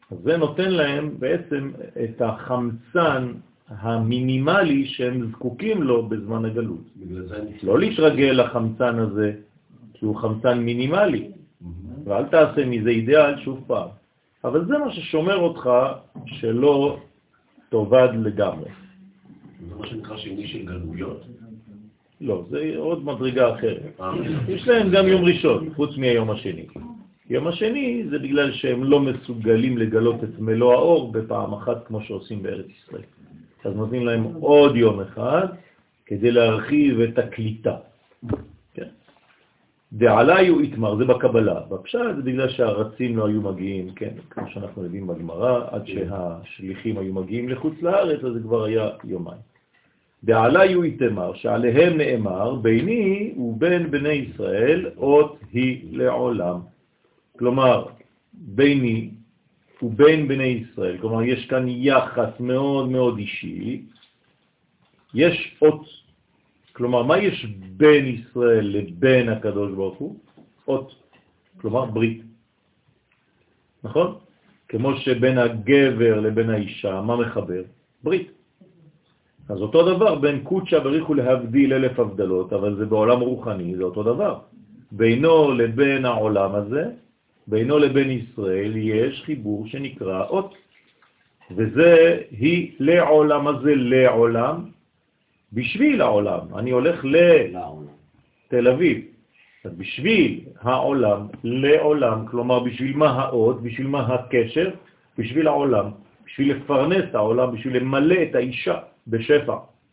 אז זה נותן להם בעצם את החמצן המינימלי שהם זקוקים לו בזמן הגלות. לא להתרגל לחמצן הזה, כי הוא חמצן מינימלי, ואל תעשה מזה אידאל שוב פעם. אבל זה מה ששומר אותך שלא תאבד לגמרי. זה מה שנקרא שני של גלויות? לא, זה עוד מדרגה אחרת. יש להם גם יום ראשון, חוץ מהיום השני. יום השני זה בגלל שהם לא מסוגלים לגלות את מלוא האור בפעם אחת כמו שעושים בארץ ישראל. אז נותנים להם עוד יום אחד כדי להרחיב את הקליטה. כן? דעליו יתמר, זה בקבלה. בפשט זה בגלל שהרצים לא היו מגיעים, כן, כמו שאנחנו יודעים בגמרא, עד שהשליחים היו מגיעים לחוץ לארץ, אז זה כבר היה יומיים. דעליו יתמר, שעליהם נאמר, ביני ובין בני ישראל אות היא לעולם. כלומר, ביני ובין בני ישראל, כלומר יש כאן יחס מאוד מאוד אישי, יש אות, כלומר מה יש בין ישראל לבין הקדוש ברוך הוא? אות, כלומר ברית, נכון? כמו שבין הגבר לבין האישה, מה מחבר? ברית. אז אותו דבר בין קודשה בריחו להבדיל אלף הבדלות, אבל זה בעולם רוחני, זה אותו דבר. בינו לבין העולם הזה, בינו לבין ישראל יש חיבור שנקרא אות, וזה היא לעולם הזה, לעולם, בשביל העולם. אני הולך לתל אביב, אז בשביל העולם, לעולם, כלומר בשביל מה האות, בשביל מה הקשר, בשביל העולם, בשביל לפרנס את העולם, בשביל למלא את האישה בשפע,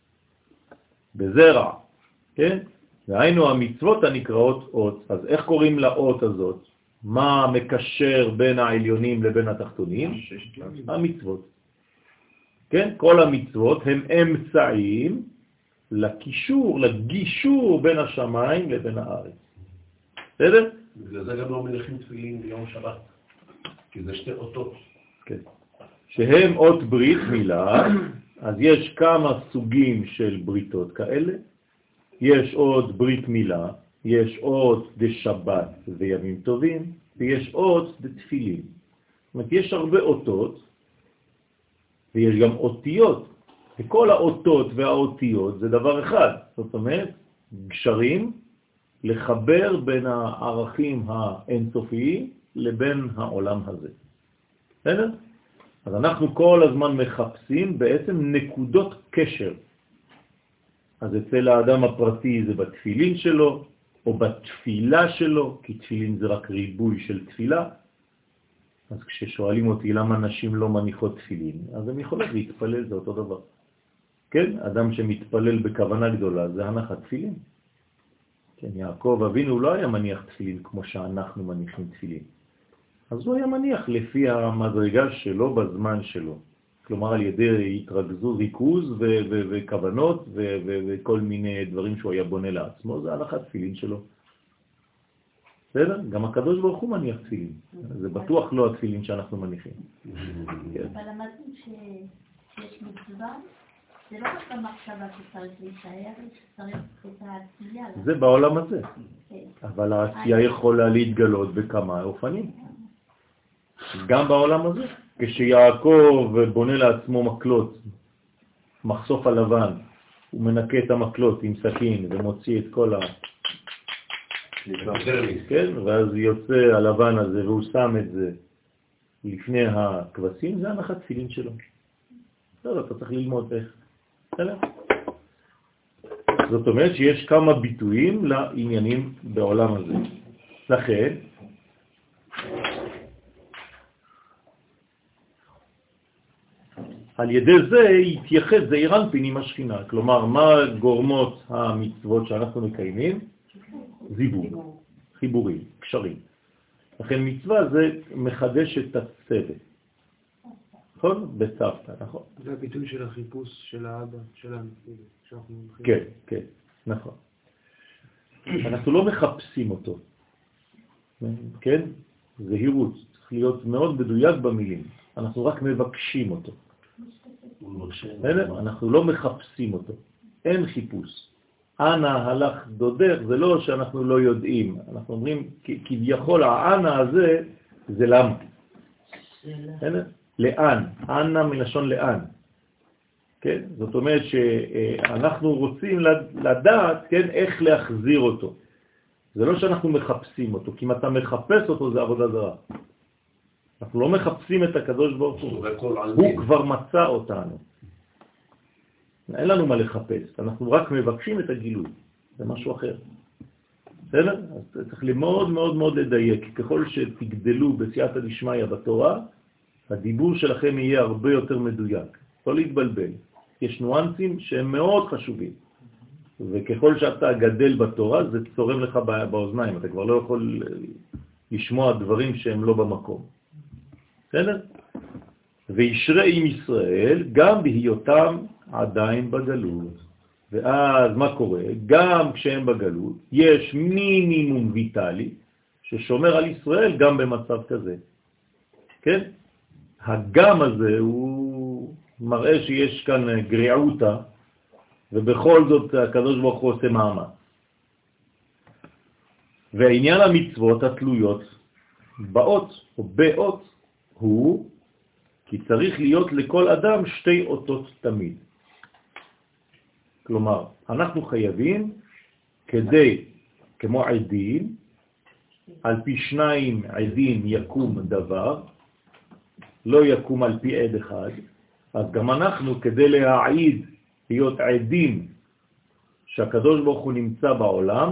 בזרע, כן? והיינו המצוות הנקראות אות. אז איך קוראים לאות הזאת? מה מקשר בין העליונים לבין התחתונים? המצוות. כן? כל המצוות הם אמצעים לקישור, לגישור בין השמיים לבין הארץ. בסדר? בגלל זה גם לא מניחים תפילין ביום שבת, כי זה שתי אותות. כן. שהם אות ברית מילה, אז יש כמה סוגים של בריתות כאלה. יש עוד ברית מילה, יש עוד דשבת וימים טובים, ויש עוד דתפילין. זאת אומרת, יש הרבה אותות, ויש גם אותיות. וכל האותות והאותיות זה דבר אחד. זאת אומרת, גשרים לחבר בין הערכים האינסופיים לבין העולם הזה. בסדר? אז אנחנו כל הזמן מחפשים בעצם נקודות קשר. אז אצל האדם הפרטי זה בתפילין שלו, או בתפילה שלו, כי תפילין זה רק ריבוי של תפילה. אז כששואלים אותי למה נשים לא מניחות תפילין, אז הם יכולות להתפלל, זה אותו דבר. כן, אדם שמתפלל בכוונה גדולה, זה הנחת תפילין. כן, יעקב אבינו לא היה מניח תפילין כמו שאנחנו מניחים תפילין. אז הוא היה מניח לפי המדרגה שלו בזמן שלו. כלומר על ידי התרכזות, ריכוז ו- ו- וכוונות ו- ו- וכל מיני דברים שהוא היה בונה לעצמו, זה הנחת תפילין שלו. בסדר? גם הקדוש ברוך הוא מניח תפילין. זה בטוח לא התפילין שאנחנו מניחים. אבל למדנו שיש מצווה, זה לא רק במחשבה שצריך להישאר, שצריך את העשייה. זה בעולם הזה. אבל העשייה יכולה להתגלות בכמה אופנים. גם בעולם הזה. כשיעקב בונה לעצמו מקלות, מחשוף הלבן, הוא מנקה את המקלות עם סכין ומוציא את כל ה... כן, ואז יוצא הלבן הזה והוא שם את זה לפני הכבשים, זה הנחת תפילין שלו. לא, אתה צריך ללמוד איך. זאת אומרת שיש כמה ביטויים לעניינים בעולם הזה. לכן, על ידי זה יתייחד זעיר אנפין עם השכינה. כלומר, מה גורמות המצוות שאנחנו מקיימים? זיווג, חיבורים, קשרים. לכן מצווה זה מחדש את הצוות. נכון? בצוותא, נכון. זה הביטוי של החיפוש של האבא, שלנו. כן, כן, נכון. אנחנו לא מחפשים אותו. כן? זהירות. צריך להיות מאוד מדויק במילים. אנחנו רק מבקשים אותו. אנחנו לא מחפשים אותו. אין חיפוש. אנה הלך דודך, זה לא שאנחנו לא יודעים. אנחנו אומרים, כביכול הענה הזה, זה למה. לאן, אנה מלשון לאן. כן? זאת אומרת שאנחנו רוצים לדעת, כן, איך להחזיר אותו. זה לא שאנחנו מחפשים אותו, כי אם אתה מחפש אותו זה עבודה זרה. אנחנו לא מחפשים את הקדוש ברוך הוא, הוא כבר מצא אותנו. אין לנו מה לחפש, אנחנו רק מבקשים את הגילוי, זה משהו אחר. בסדר? אז צריך מאוד מאוד מאוד לדייק, ככל שתגדלו בסייעתא דשמיא בתורה, הדיבור שלכם יהיה הרבה יותר מדויק, לא להתבלבל. יש ניואנסים שהם מאוד חשובים, וככל שאתה גדל בתורה זה צורם לך באוזניים, אתה כבר לא יכול לשמוע דברים שהם לא במקום. בסדר? וישרה עם ישראל גם בהיותם עדיין בגלות. ואז מה קורה? גם כשהם בגלות יש מינימום ויטלי ששומר על ישראל גם במצב כזה. כן? הגם הזה הוא מראה שיש כאן גריעותה, ובכל זאת הקדוש ברוך הוא עושה מאמץ. והעניין המצוות התלויות באות או באות הוא כי צריך להיות לכל אדם שתי אותות תמיד. כלומר, אנחנו חייבים כדי, כמו עדים, על פי שניים עדים יקום דבר, לא יקום על פי עד אחד, אז גם אנחנו כדי להעיד, להיות עדים שהקדוש ברוך הוא נמצא בעולם,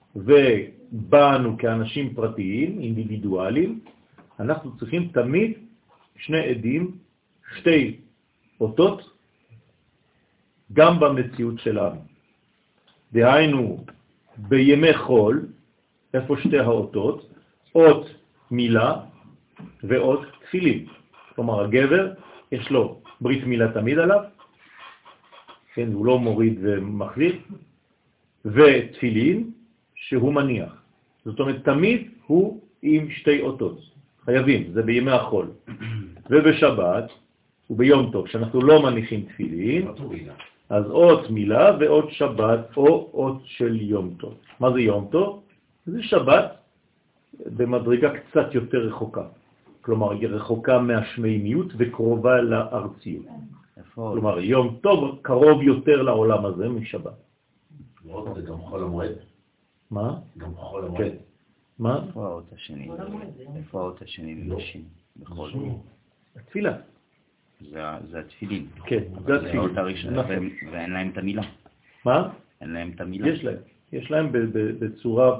ובאנו כאנשים פרטיים, אינדיבידואלים, אנחנו צריכים תמיד שני עדים, שתי אותות, גם במציאות שלנו. דהיינו, בימי חול, איפה שתי האותות, אות מילה ואות תפילין. כלומר, הגבר יש לו ברית מילה תמיד עליו, כן, הוא לא מוריד ומחזיר, ותפילין שהוא מניח. זאת אומרת, תמיד הוא עם שתי אותות. חייבים, זה בימי החול. ובשבת, וביום טוב, כשאנחנו לא מניחים תפילין, אז אות מילה ואות שבת, או אות של יום טוב. מה זה יום טוב? זה שבת במדרגה קצת יותר רחוקה. כלומר, היא רחוקה מהשמימיות וקרובה לארציות. כלומר, יום טוב קרוב יותר לעולם הזה משבת. זה גם חול המועד. מה? גם חול המועד. מה? איפה האות השני? איפה האות השני לנשים? בכל התפילה. זה התפילין. כן, זה התפילין. זה האות הראשונה, ואין להם את המילה. מה? אין להם את המילה. יש להם. יש להם בצורה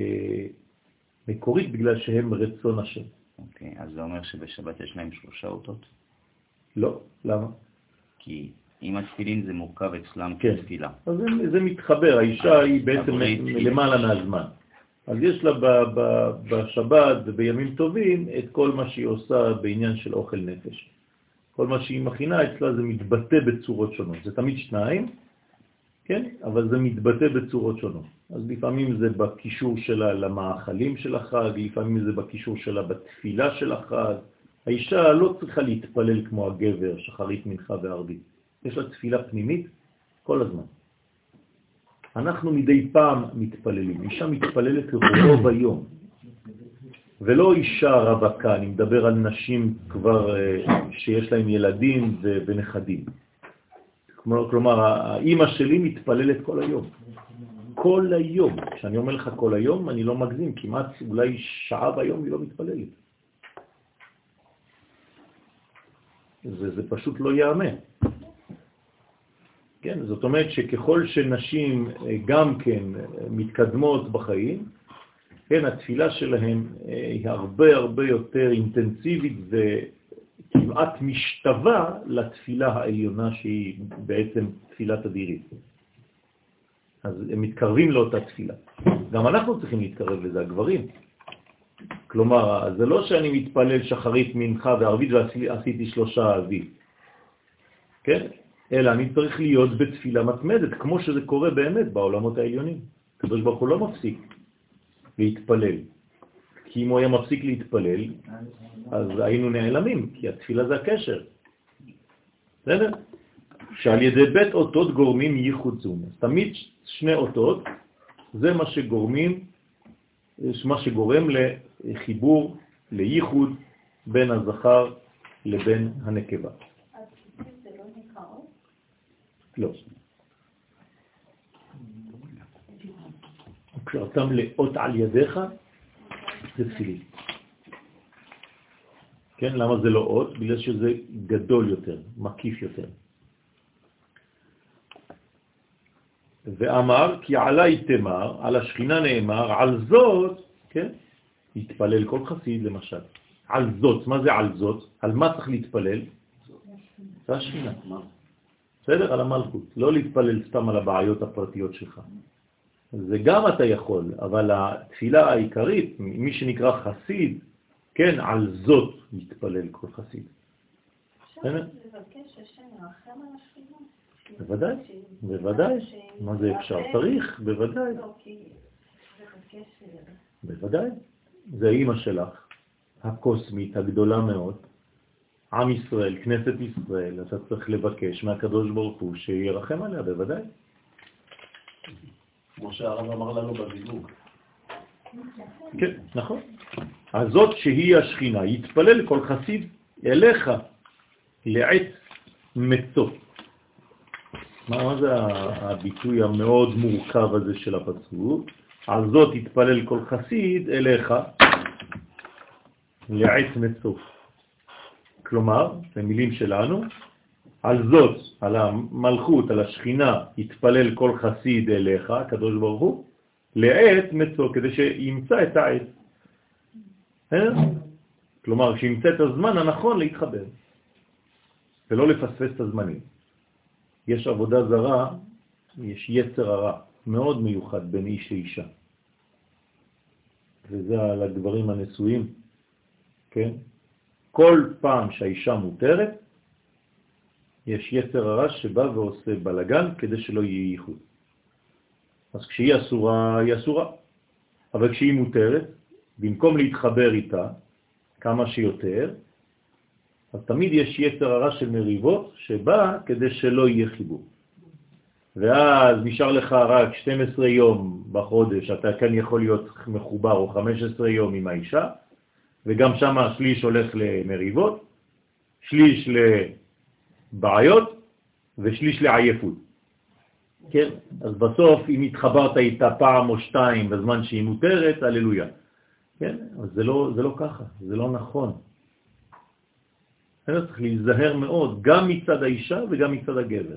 מקורית בגלל שהם רצון השם. אוקיי, אז זה אומר שבשבת יש להם שלושה אותות? לא, למה? כי אם התפילין זה מורכב אצלם כן. כתפילה. אז זה, זה מתחבר, האישה היא בעצם למעלה מהזמן. אז יש לה ב, ב, בשבת ובימים טובים את כל מה שהיא עושה בעניין של אוכל נפש. כל מה שהיא מכינה אצלה זה מתבטא בצורות שונות. זה תמיד שניים, כן? אבל זה מתבטא בצורות שונות. אז לפעמים זה בקישור שלה למאכלים של החג, לפעמים זה בקישור שלה בתפילה של החג. האישה לא צריכה להתפלל כמו הגבר, שחרית מנחה וערבית. יש לה תפילה פנימית כל הזמן. אנחנו מדי פעם מתפללים. אישה מתפללת רוב היום. ולא אישה רווקה, אני מדבר על נשים כבר שיש להם ילדים ונכדים. כלומר, האמא שלי מתפללת כל היום. כל היום. כשאני אומר לך כל היום, אני לא מגזים. כמעט אולי שעה ביום היא לא מתפללת. זה, זה פשוט לא יאמן. כן, זאת אומרת שככל שנשים גם כן מתקדמות בחיים, כן, התפילה שלהם היא הרבה הרבה יותר אינטנסיבית וכמעט משתווה לתפילה העליונה שהיא בעצם תפילת אדירית. אז הם מתקרבים לאותה תפילה. גם אנחנו צריכים להתקרב לזה, הגברים. כלומר, זה לא שאני מתפלל שחרית מנחה וערבית ועשיתי שלושה אביב. כן? אלא אני צריך להיות בתפילה מתמדת, כמו שזה קורה באמת בעולמות העליונים. הקדוש ברוך הוא לא מפסיק להתפלל. כי אם הוא היה מפסיק להתפלל, אז היינו נעלמים, כי התפילה זה הקשר. בסדר? שעל ידי בית אותות גורמים ייחוד זום. אז תמיד שני אותות, זה מה שגורמים, מה שגורם לחיבור, לייחוד בין הזכר לבין הנקבה. אז זה לא נקרא עוד? לא. כשאתה מלאות על ידיך, זה תפילין. כן, למה זה לא עוד? בגלל שזה גדול יותר, מקיף יותר. ואמר, כי עלי תמר, על השכינה נאמר, על זאת, כן, יתפלל כל חסיד למשל. על זאת, מה זה על זאת? על מה צריך להתפלל? זה השכינה. בסדר? על המלכות. לא להתפלל סתם על הבעיות הפרטיות שלך. זה גם אתה יכול, אבל התפילה העיקרית, מי שנקרא חסיד, כן, על זאת יתפלל כל חסיד. אפשר לבקש השם ירחם על השכינה? בוודאי, בוודאי. מה זה אפשר? צריך, בוודאי. בוודאי. זה האמא שלך, הקוסמית, הגדולה מאוד, עם ישראל, כנסת ישראל, אתה צריך לבקש מהקדוש ברוך הוא שירחם עליה, בוודאי. כמו שהרב אמר לנו בזיווג. כן, נכון. אז זאת שהיא השכינה, יתפלל כל חסיד אליך לעת מצוא. מה, מה זה הביטוי המאוד מורכב הזה של הפסוק? על זאת יתפלל כל חסיד אליך לעת מצוא. כלומר, במילים שלנו, על זאת, על המלכות, על השכינה, יתפלל כל חסיד אליך, הקדוש ברוך הוא, לעת מצוא, כדי שימצא את העת. כלומר, שימצא את הזמן הנכון להתחבר, ולא לפספס את הזמנים. יש עבודה זרה, יש יצר הרע, מאוד מיוחד בין איש לאישה. וזה על הגברים הנשואים, כן? כל פעם שהאישה מותרת, יש יצר הרע שבא ועושה בלגן כדי שלא יהיה ייחוד. אז כשהיא אסורה, היא אסורה. אבל כשהיא מותרת, במקום להתחבר איתה כמה שיותר, אז תמיד יש יצר הרע של מריבות שבא כדי שלא יהיה חיבור. ואז נשאר לך רק שנים עשר יום בחודש, אתה כאן יכול להיות מחובר, או חמישה עשר יום עם האישה, וגם שם שליש הולך למריבות, שליש לבעיות, ושליש לעייפות. כן? אז בסוף, אם התחברת איתה פעם או שתיים בזמן שהיא מותרת, הללויה. כן? אז זה לא, זה לא ככה, זה לא נכון. צריך להיזהר מאוד, גם מצד האישה וגם מצד הגבר.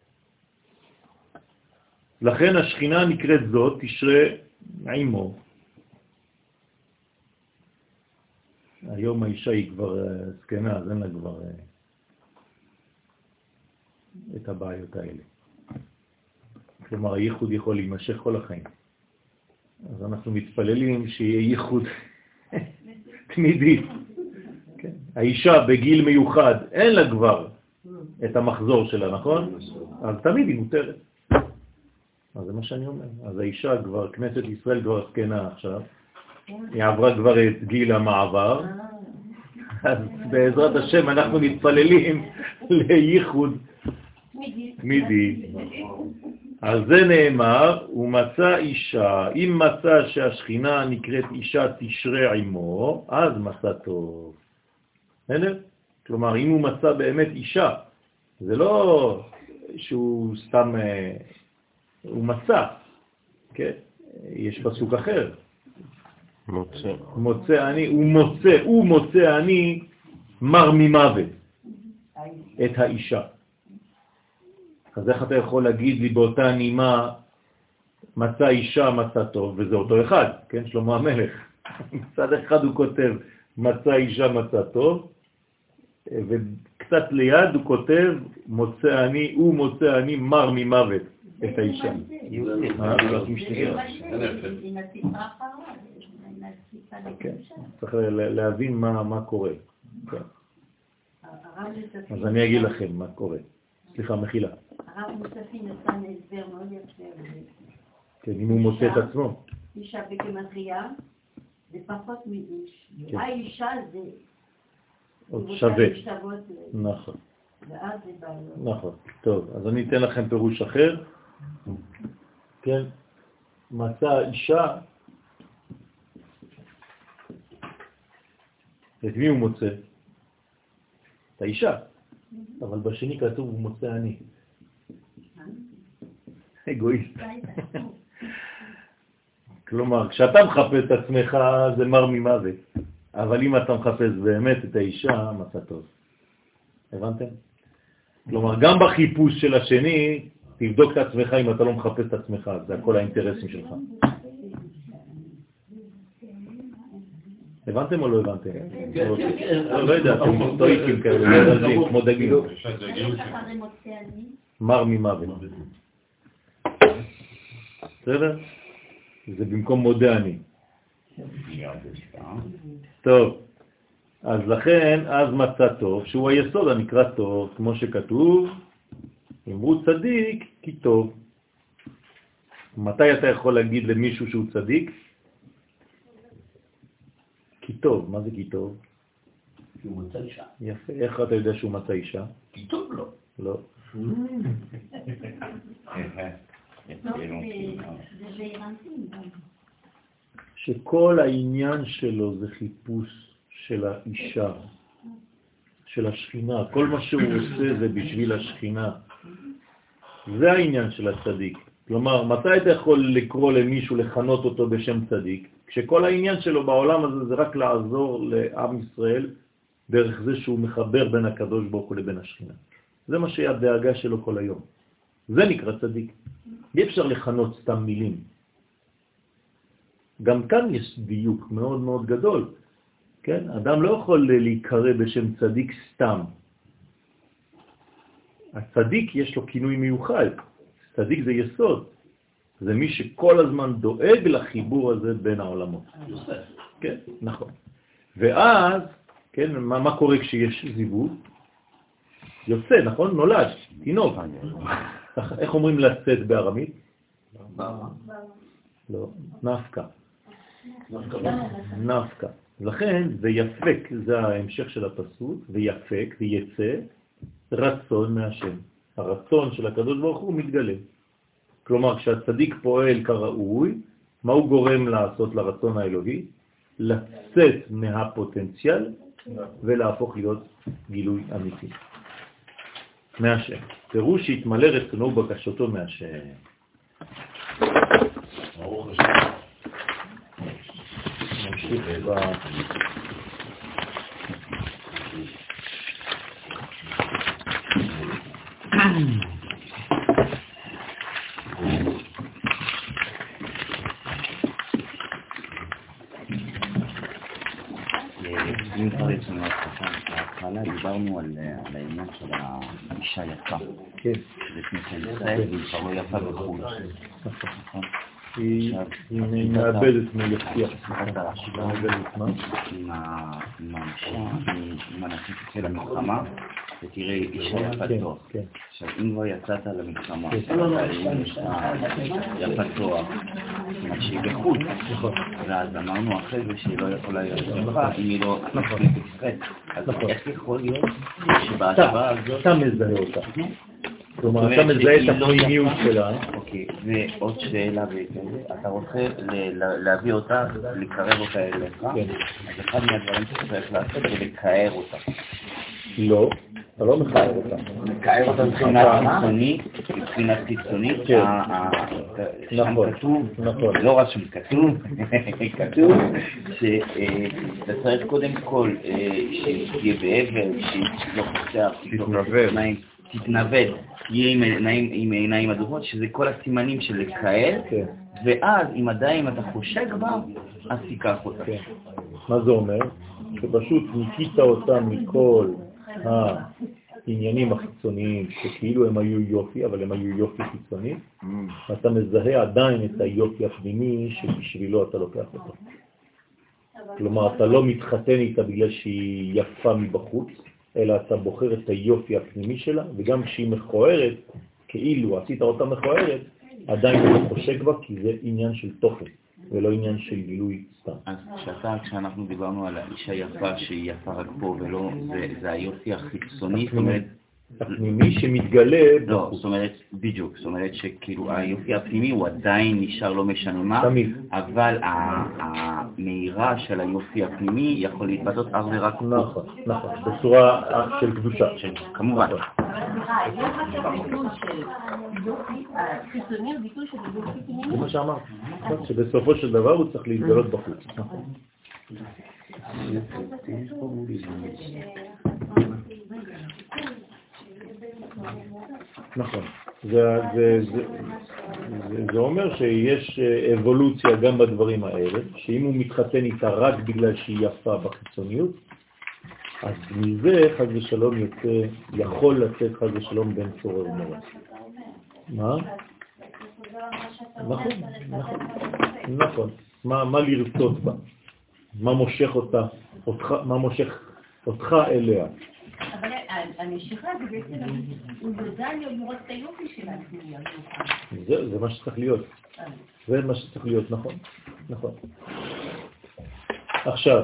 לכן השכינה נקראת זאת, תשרה עמו. היום האישה היא כבר סקנה, אז אין לה כבר את הבעיות האלה. כלומר, הייחוד יכול להימשך כל החיים. אז אנחנו מתפללים שיהיה ייחוד תמידי. כן. האישה בגיל מיוחד, אין לה כבר את המחזור שלה, נכון? אז תמיד היא מותרת. אז זה מה שאני אומר. אז האישה כבר, כנסת ישראל כבר סקנה עכשיו, היא עברה כבר את גיל המעבר, אז בעזרת השם אנחנו מתפללים לייחוד תמידי. על זה נאמר, הוא מצא אישה, אם מצא שהשכינה נקראת אישה תשרה עמו, אז מצא טוב. בסדר? כלומר, אם הוא מצא באמת אישה, זה לא שהוא סתם, הוא מצא, כן? יש פסוק אחר. מוצא. מוצא אני, הוא מוצא, הוא מוצא אני מר ממוות את האישה. אז איך אתה יכול להגיד לי באותה נימה מצא אישה מצא טוב, וזה אותו אחד, כן? שלמה המלך. מצד אחד הוא כותב מצא אישה מצא טוב, וקצת ליד הוא כותב מוצא אני, הוא מוצא אני מר ממוות את האישה. צריך להבין מה קורה. אז אני אגיד לכם מה קורה. סליחה, מחילה. הרב מוספי נתן הסבר מאוד יפה. כן, אם הוא מוצא את עצמו. אישה בגמטריה זה פחות מאיש. האישה זה עוד שווה. נכון. ואז זה בא לו. נכון. טוב, אז אני אתן לכם פירוש אחר. כן, מצא אישה את מי הוא מוצא? את האישה. אבל בשני כתוב הוא מוצא אני. אגואיסט. כלומר, כשאתה מחפש את עצמך זה מר ממוות. אבל אם אתה מחפש באמת את האישה, מצא טוב. הבנתם? כלומר, גם בחיפוש של השני, תבדוק את עצמך אם אתה לא מחפש את עצמך, זה הכל האינטרסים שלך. הבנתם או לא הבנתם? לא יודע, אתם סטואיקים כאלה, כמו דגים. מר ממוות. בסדר? זה במקום מודה אני. טוב, אז לכן, אז מצא טוב, שהוא היסוד הנקרא טוב, כמו שכתוב, אמרו צדיק כי טוב. מתי אתה יכול להגיד למישהו שהוא צדיק? כי טוב. מה זה כי טוב? כי הוא מצא אישה. יפה. איך אתה יודע שהוא מצא אישה? כי טוב לו. לא. שכל העניין שלו זה חיפוש של האישה, של השכינה. כל מה שהוא עושה זה בשביל השכינה. זה העניין של הצדיק. כלומר, מתי אתה יכול לקרוא למישהו, לכנות אותו בשם צדיק? כשכל העניין שלו בעולם הזה זה רק לעזור לעם ישראל דרך זה שהוא מחבר בין הקדוש ברוך הוא לבין השכינה. זה מה שהדאגה שלו כל היום. זה נקרא צדיק. אי אפשר לכנות סתם מילים. גם כאן יש דיוק מאוד מאוד גדול. כן? אדם לא יכול להיקרא בשם צדיק סתם. הצדיק יש לו כינוי מיוחד. צדיק זה יסוד. זה מי שכל הזמן דואג לחיבור הזה בין העולמות. יוסף. כן, נכון. ואז, כן, מה, מה קורה כשיש זיווג? יוצא, נכון? נולד, תינוק. איך אומרים לצאת בארמית? לא, נפקה. נפקה. לכן זה יפק, זה ההמשך של הפסוק, ויפק ויצא רצון מהשם. הרצון של הקדוש ברוך הוא מתגלה. כלומר, כשהצדיק פועל כראוי, מה הוא גורם לעשות לרצון האלוהי? לצאת מהפוטנציאל ולהפוך להיות גילוי אמיתי. מהשם. פירוש שהתמלא רצונו ובקשתו מהשם. ברוך השם. נמשיך ב... אם כבר יצאנו להתחלה, דיברנו על העניין של האישה יפה. כן. שזה כנסת ישראל, והיא כבר לא יפה בחוץ. נכון. היא מאבדת מיפתיע. עם האישה, עם האנשים תצא למלחמה, ותראה אישה יפה תואר. עכשיו, אם לא יצאת למלחמה, יפה תואר, זאת שהיא בחוץ. ואז אמרנו אחרי זה שהיא לא יכולה להיות יפה, אם היא לא נכנסת ישראל. אז איך יכול להיות שבהשוואה הזאת... אתה מזהה אותה. כלומר, אתה מזהה את הפנימיות שלה. אוקיי, ועוד שאלה וכזה, אתה רוצה להביא אותה, לקרב אותה אליך, אז אחד מהדברים שצריך לעשות זה לקער אותה. לא, אתה לא מקער אותה. מקער אותה מבחינת חיצונית, מבחינת חיצונית, שם כתוב, לא רק שם כתוב, כתוב שאתה צריך קודם כל שתהיה באבל, שלא חוסר, תתנבד, תהיה עם עיניים אדומות, שזה כל הסימנים של לקהל, ואז אם עדיין אתה חושק בה, אז תיקח אותה. מה זה אומר? שפשוט ניקית אותה מכל העניינים החיצוניים, שכאילו הם היו יופי, אבל הם היו יופי חיצוני, ואתה מזהה עדיין את היופי הפנימי שבשבילו אתה לוקח אותה. כלומר, אתה לא מתחתן איתה בגלל שהיא יפה מבחוץ, אלא אתה בוחר את היופי הפנימי שלה, וגם כשהיא מכוערת, כאילו עשית אותה מכוערת, עדיין אתה חושק בה, כי זה עניין של תוכן, ולא עניין של גילוי סתם. אז כשאתה, כשאנחנו דיברנו על האישה יפה שהיא יפה רק פה, ולא, זה, זה היופי החיצוני, זאת אומרת... הפנימי שמתגלה... לא, זאת אומרת, בדיוק, זאת אומרת שכאילו היופי הפנימי הוא עדיין נשאר לא משנה מה, תמיד. אבל המהירה של היופי הפנימי יכול להתבטאות אך ורק. נכון, נכון, בצורה של קדושה. כמובן. אבל סליחה, יש עכשיו ביטוי של חיצוני, ביטוי של יופי פנימי? זה מה שאמרת, שבסופו של דבר הוא צריך להתגלות בחוץ. נכון. זה, זה, זה, זה, זה אומר שיש אבולוציה גם בדברים האלה, שאם הוא מתחתן איתה רק בגלל שהיא יפה בחיצוניות, אז מזה חד ושלום יוצא, יכול לצאת חד ושלום בין צורר ומורה. מה? נכון, נכון, נכון. מה, מה לרצות בה? מה מושך אותה? אותך, מה מושך אותך אליה? אבל המשיכה זה בעצם, הוא יודע לראות את היופי שלה. זה, זה מה שצריך להיות. זה מה שצריך להיות, נכון. נכון. עכשיו,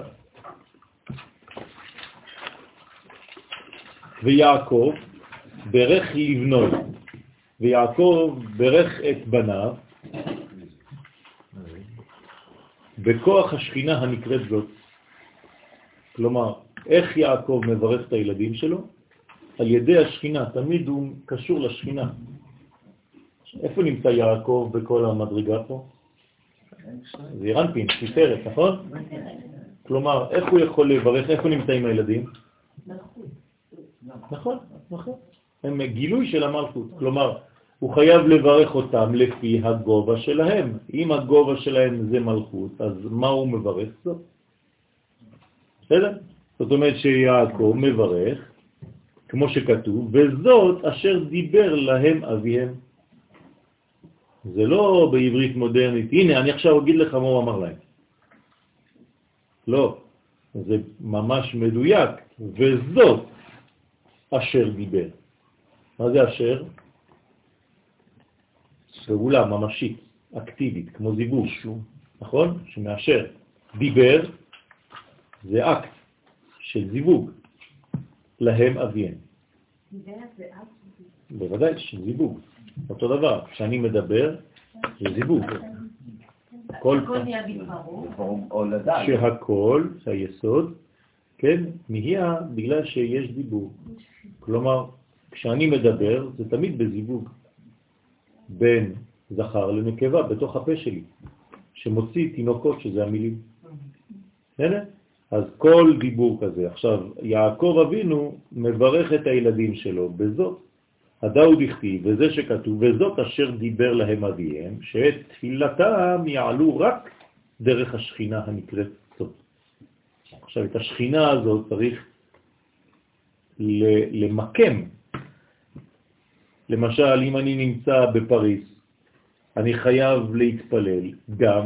ויעקב ברך לבנו, ויעקב ברך את בניו, בכוח השכינה הנקראת זאת. כלומר, איך יעקב מברך את הילדים שלו? על ידי השכינה, תמיד הוא קשור לשכינה. איפה נמצא יעקב בכל המדרגה פה? זה ירנפין, תפארת, נכון? כלומר, איך הוא יכול לברך, איפה נמצאים הילדים? נכון, נכון. הם גילוי של המלכות. כלומר, הוא חייב לברך אותם לפי הגובה שלהם. אם הגובה שלהם זה מלכות, אז מה הוא מברך? זאת. בסדר? זאת אומרת שיעקב מברך, כמו שכתוב, וזאת אשר דיבר להם אביהם. זה לא בעברית מודרנית. הנה, אני עכשיו אגיד לך מה הוא אמר להם. לא. זה ממש מדויק. וזאת אשר דיבר. מה זה אשר? פעולה ממשית, אקטיבית, כמו זיווג, נכון? שמאשר. דיבר זה אקט של זיווג. להם אביהם. דיבר זה אקט? בוודאי, של זיווג. אותו דבר, כשאני מדבר, זה זיווג. הכל נהיה בדברו. שהכל, היסוד, כן, נהיה בגלל שיש דיבור. כלומר, כשאני מדבר, זה תמיד בזיווג. בין זכר לנקבה בתוך הפה שלי, שמוציא תינוקות, שזה המילים. הנה? אז כל דיבור כזה. עכשיו, יעקב אבינו מברך את הילדים שלו בזאת. הדאו דכתיב, וזה שכתוב, וזאת אשר דיבר להם אביהם, שאת תפילתם יעלו רק דרך השכינה הנקראת סוד. עכשיו, את השכינה הזאת צריך למקם. למשל, אם אני נמצא בפריס, אני חייב להתפלל גם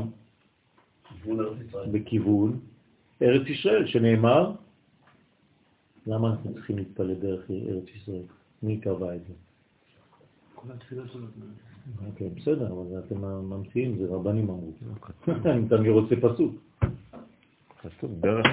בכיוון ארץ ישראל, שנאמר, למה אנחנו צריכים להתפלל דרך ארץ ישראל? מי קבע את זה? כל התפילה שלנו. אוקיי, בסדר, אבל אתם ממציאים, זה רבנים אמרו. אני תמיד רוצה פסוק. פסוק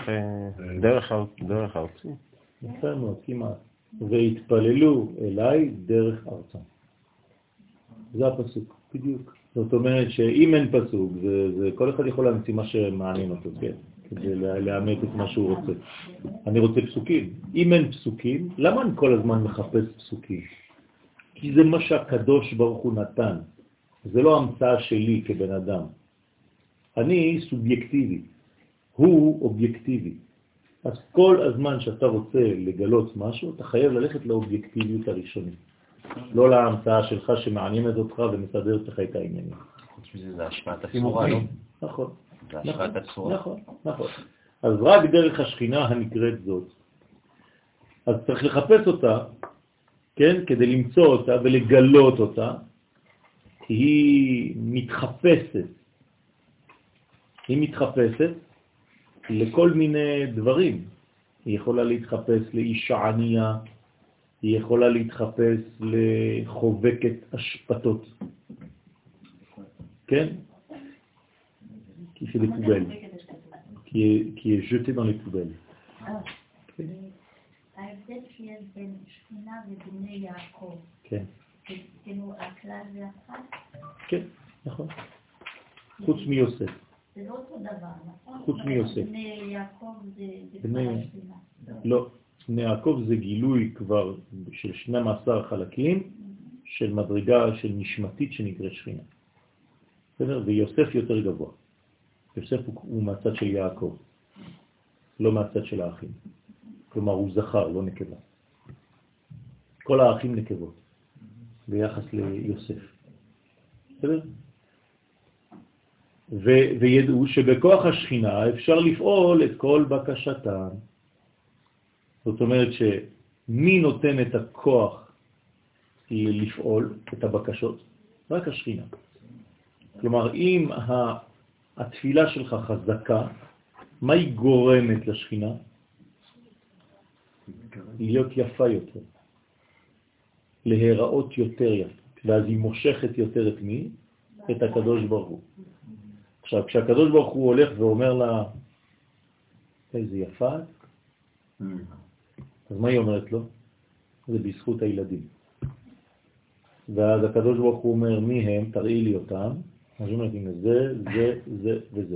דרך ארצי. יפה מאוד, כמעט. והתפללו אליי דרך ארצם. זה הפסוק, בדיוק. זאת אומרת שאם אין פסוק, זה, זה כל אחד יכול להמציא מה שמעניין אותו, כן? כדי לאמת את מה שהוא רוצה. אני רוצה פסוקים. אם אין פסוקים, למה אני כל הזמן מחפש פסוקים? כי זה מה שהקדוש ברוך הוא נתן. זה לא המצאה שלי כבן אדם. אני סובייקטיבי. הוא אובייקטיבי. אז כל הזמן שאתה רוצה לגלות משהו, אתה חייב ללכת לאובייקטיביות הראשונית. לא להמצאה שלך שמעניינת אותך ומסדרת לך את העניינים. חוץ מזה זה השפעת הצורה, לא? נכון. זה השפעת הצורה. נכון, נכון. אז רק דרך השכינה הנקראת זאת. אז צריך לחפש אותה, כן, כדי למצוא אותה ולגלות אותה, כי היא מתחפשת. היא מתחפשת לכל מיני דברים. היא יכולה להתחפש לאישה ענייה, היא יכולה להתחפש לחובקת השפטות. כן? כי c'est des poubelles. qui est, qui est jeté dans les poubelles. ההבדל שיש בין שכינה ובני יעקב. כן. כאילו הכלל זה אחד? כן, נכון. חוץ מיוסף. זה לא אותו דבר, נכון? חוץ מיוסף. בני יעקב זה כבר בני... השכינה. לא, בני יעקב זה גילוי כבר של שנים עשר חלקים של מדרגה של נשמתית שנקראת שכינה. בסדר? ויוסף יותר גבוה. יוסף הוא, הוא מהצד של יעקב, לא מהצד של האחים. כלומר הוא זכר, לא נקבה. כל האחים נקבות ביחס ליוסף. בסדר? ו- וידעו שבכוח השכינה אפשר לפעול את כל בקשתם. זאת אומרת שמי נותן את הכוח לפעול את הבקשות? רק השכינה. כלומר, אם התפילה שלך חזקה, מה היא גורמת לשכינה? להיות יפה יותר, להיראות יותר יפה, ואז היא מושכת יותר את מי? את הקדוש ברוך הוא. עכשיו, כשהקדוש ברוך הוא הולך ואומר לה, איזה יפה, אז מה היא אומרת לו? זה בזכות הילדים. ואז הקדוש ברוך הוא אומר, מי הם? תראי לי אותם. אז היא אומרת, הנה זה, זה, זה וזה.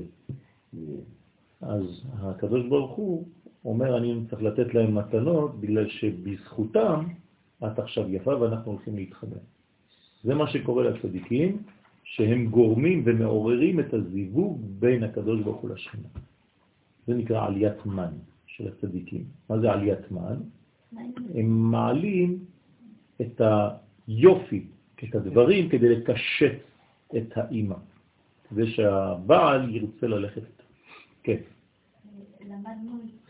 אז הקדוש ברוך הוא אומר, אני צריך לתת להם מתנות, בגלל שבזכותם את עכשיו יפה ואנחנו הולכים להתחבר. זה מה שקורה לצדיקים, שהם גורמים ומעוררים את הזיווג בין הקדוש ברוך הוא לשכינה. זה נקרא עליית מן של הצדיקים. מה זה עליית מן? הם מעלים את היופי, את הדברים, כדי לקשט את האימא. כדי שהבעל ירצה ללכת איתה. כן. למדנו איתך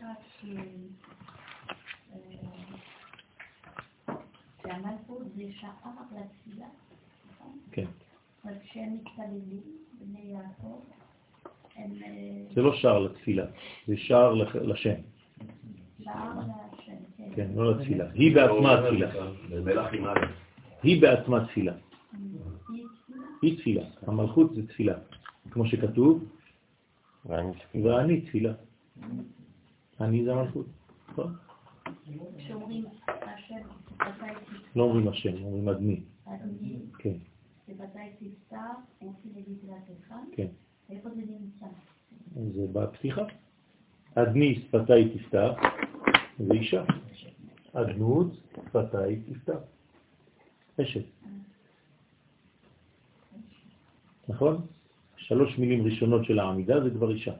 שהמלכות זה שעה לתפילה, נכון? כן. אז כשהם מתפללים, בני יעקב, הם... זה לא שער לתפילה, זה שער לשם. שער לשם, כן. כן, לא לתפילה. היא בעצמה תפילה. היא בעצמה תפילה. היא תפילה. המלכות זה תפילה. כמו שכתוב, ואני תפילה. אני זה המלכות. כשאומרים השם, לא אומרים השם, אומרים אדמי. אדמי. כן. שבתי תפתח, רוצים להגיד לעצמך? כן. איפה זה נמצא? זה בפתיחה. אדני שפתי תפתח, זה אישה. אדנות שפתי תפתח. אשת. נכון? שלוש מילים ראשונות של העמידה זה כבר אישה.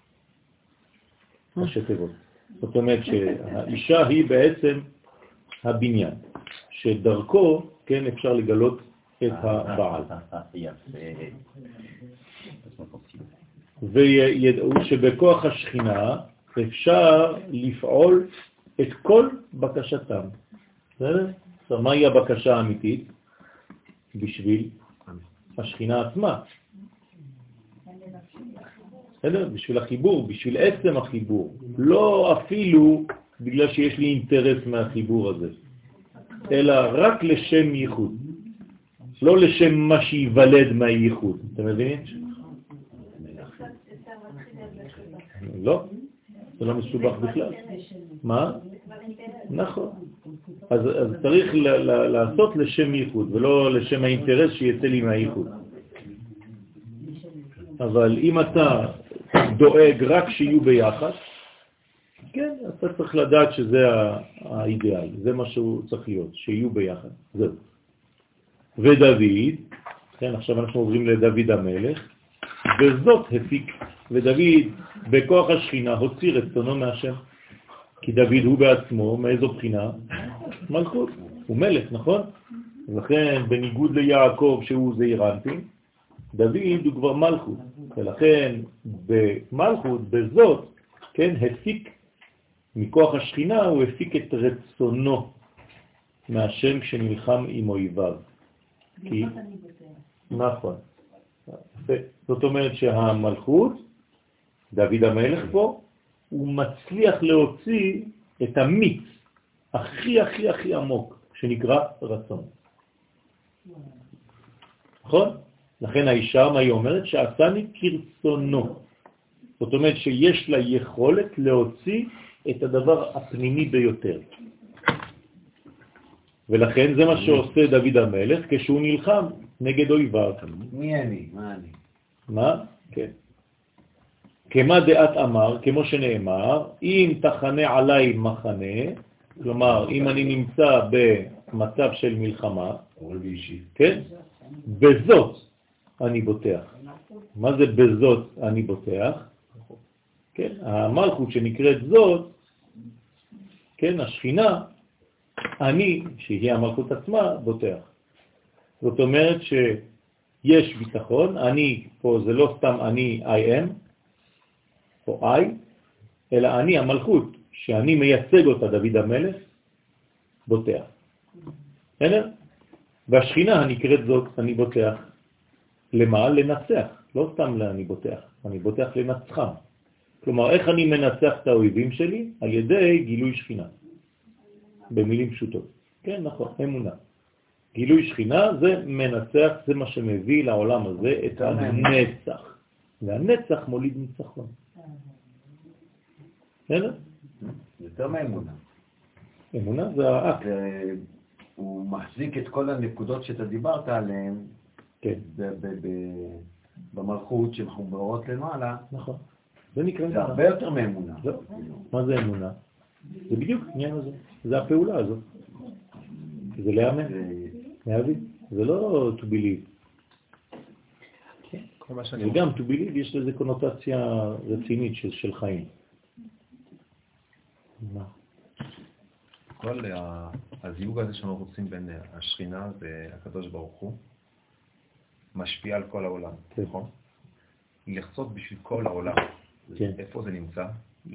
ראשי תיבות. זאת אומרת שהאישה היא בעצם הבניין, שדרכו, כן, אפשר לגלות את הבעל. וידעו שבכוח השכינה אפשר לפעול את כל בקשתם. בסדר? אז מהי הבקשה האמיתית? בשביל השכינה עצמה. בסדר? בשביל החיבור, בשביל עצם החיבור. לא אפילו בגלל שיש לי אינטרס מהחיבור הזה, אלא רק לשם ייחוד. לא לשם מה שיוולד מהייחוד. אתם מבינים? לא, זה לא מסובך בכלל. מה? נכון. אז, אז צריך ל- ל- לעשות לשם ייחוד, ולא לשם האינטרס שיצא לי מהייחוד. אבל אם אתה דואג רק שיהיו ביחד, כן, אתה צריך לדעת שזה האידיאל, זה מה שהוא צריך להיות, שיהיו ביחד. זהו. ודוד, כן, עכשיו אנחנו עוברים לדוד המלך, וזאת הפיק, ודוד בכוח השכינה הוציא רצונו מהשם, כי דוד הוא בעצמו, מאיזו בחינה? מלכות, הוא מלך, נכון? לכן בניגוד ליעקב שהוא זעיר אנפין, דוד הוא כבר מלכות, ולכן במלכות, בזאת, כן, הפיק, מכוח השכינה הוא הפיק את רצונו מהשם כשנלחם עם אויביו. כי... נכון. זאת אומרת שהמלכות, דוד המלך פה, הוא מצליח להוציא את המיץ הכי הכי הכי עמוק, שנקרא רצון. נכון? לכן האישה, מה היא אומרת? שעשני כרצונו. זאת אומרת שיש לה יכולת להוציא את הדבר הפנימי ביותר. ולכן זה מה שעושה דוד המלך כשהוא נלחם נגד אויביו. מי אני? מה אני? מה? כן. כמה דעת אמר, כמו שנאמר, אם תחנה עליי מחנה, כלומר, אם אני נמצא במצב של מלחמה, כן? בזאת אני בוטח. מה זה בזאת אני בוטח? כן, המלכות שנקראת זאת, כן, השכינה, אני, שהיא המלכות עצמה, בוטח. זאת אומרת שיש ביטחון, אני, פה זה לא סתם אני I am, או I, אלא אני המלכות, שאני מייצג אותה, דוד המלך, בוטח. בסדר? והשכינה הנקראת זאת, אני בוטח. למה? לנצח. לא סתם אני בוטח, אני בוטח לנצחם. כלומר, איך אני מנצח את האויבים שלי? על ידי גילוי שכינה. במילים פשוטות. כן, נכון, אמונה. גילוי שכינה זה מנצח, זה מה שמביא לעולם הזה את הנצח. והנצח מוליד ניצחון. בסדר? יותר מאמונה. אמונה זה האקט. הוא מחזיק את כל הנקודות שאתה דיברת עליהן, כן. במלכות שמחוברות למעלה. נכון. זה נקרא זה הרבה יותר מאמונה. מה זה אמונה? זה בדיוק עניין הזה. זה הפעולה הזאת. זה להאמין. להבין. זה לא to believe. וגם to believe יש לזה קונוטציה רצינית של, של חיים. מה? כל הזיווג הזה שאנחנו רוצים בין השכינה והקדוש ברוך הוא משפיע על כל העולם, נכון? לחצות בשביל כל העולם. איפה זה נמצא?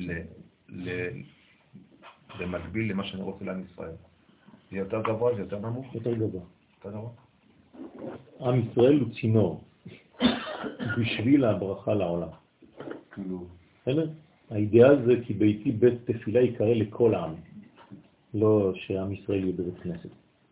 במקביל למה שאני רוצה לעם ישראל. זה יותר גבוה, זה יותר נמוך? יותר גבוה. יותר גבוה? עם ישראל הוא צינור בשביל הברכה לעולם. כאילו... האידאל זה כי ביתי בית תפילה יקרא לכל העם. לא שעם ישראל יהיה בבית כנסת.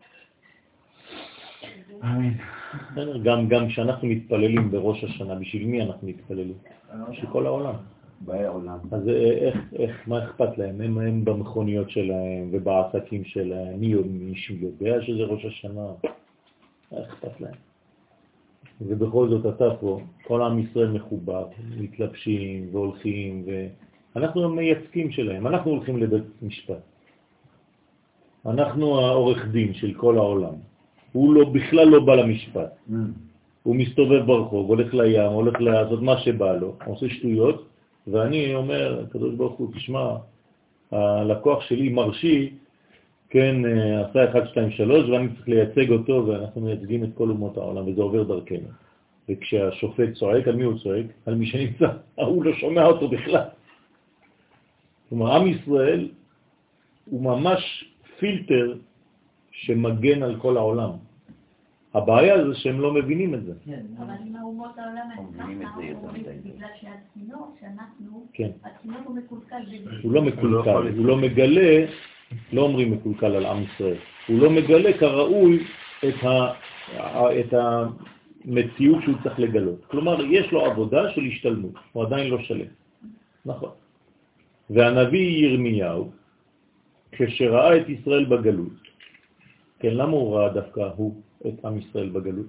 אמן. גם, גם כשאנחנו מתפללים בראש השנה, בשביל מי אנחנו מתפללים? בשביל כל העולם. בעולם. אז איך, איך, מה אכפת להם? הם, הם במכוניות שלהם ובעסקים שלהם. מי מישהו יודע שזה ראש השנה? איך אכפת להם? ובכל זאת אתה פה, כל עם ישראל מחובר, מתלבשים והולכים, ואנחנו מייצגים שלהם. אנחנו הולכים לבית משפט. אנחנו העורך דין של כל העולם. הוא לא, בכלל לא בא למשפט. Mm. הוא מסתובב ברחוב, הולך לים, הולך לעשות מה שבא לו, עושה שטויות, ואני אומר, הקדוש ברוך הוא, תשמע, הלקוח שלי מרשי, כן, עשה אחד, שתיים, שלוש, ואני צריך לייצג אותו, ואנחנו מייצגים את כל אומות העולם, וזה עובר דרכנו. וכשהשופט צועק, על מי הוא צועק? על מי שנמצא, הוא לא שומע אותו בכלל. כלומר, עם ישראל הוא ממש פילטר שמגן על כל העולם. הבעיה זה שהם לא מבינים את זה. אבל אם האומות העולם בגלל שהצינור שאנחנו, הצינור הוא מקולקל. הוא לא מקולקל, הוא לא מגלה, לא אומרים מקולקל על עם ישראל, הוא לא מגלה כראוי את המציאות שהוא צריך לגלות. כלומר, יש לו עבודה של השתלמות, הוא עדיין לא שלם. נכון. והנביא ירמיהו, כשראה את ישראל בגלות, כן, למה הוא ראה דווקא הוא את עם ישראל בגלות?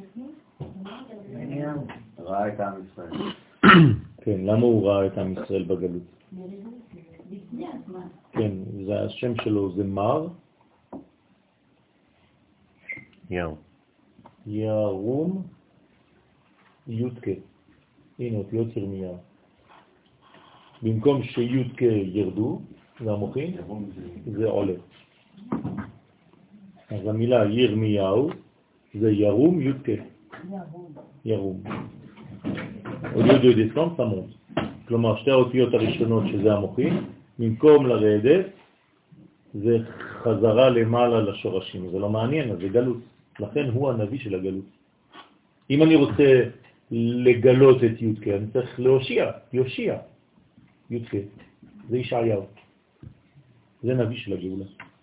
ראה את עם ישראל. כן, למה הוא ראה את עם ישראל בגלות? כן, זה השם שלו זה מר. יר. ירום יודקה. הנה אותיות ירמיהו. במקום שיודקה ירדו, זה המוחין, זה עולה. אז המילה ירמיהו זה ירום יודקה. ירום. au lieu de descendre, ça monte. כלומר, שתי האותיות הראשונות שזה המוחין, במקום לרדת, זה חזרה למעלה לשורשים. זה לא מעניין, אז זה גלות. לכן הוא הנביא של הגלות. אם אני רוצה לגלות את יודקה, אני צריך להושיע, יושיע. יודקה, זה ישעיהו. זה נביא של הגאולה.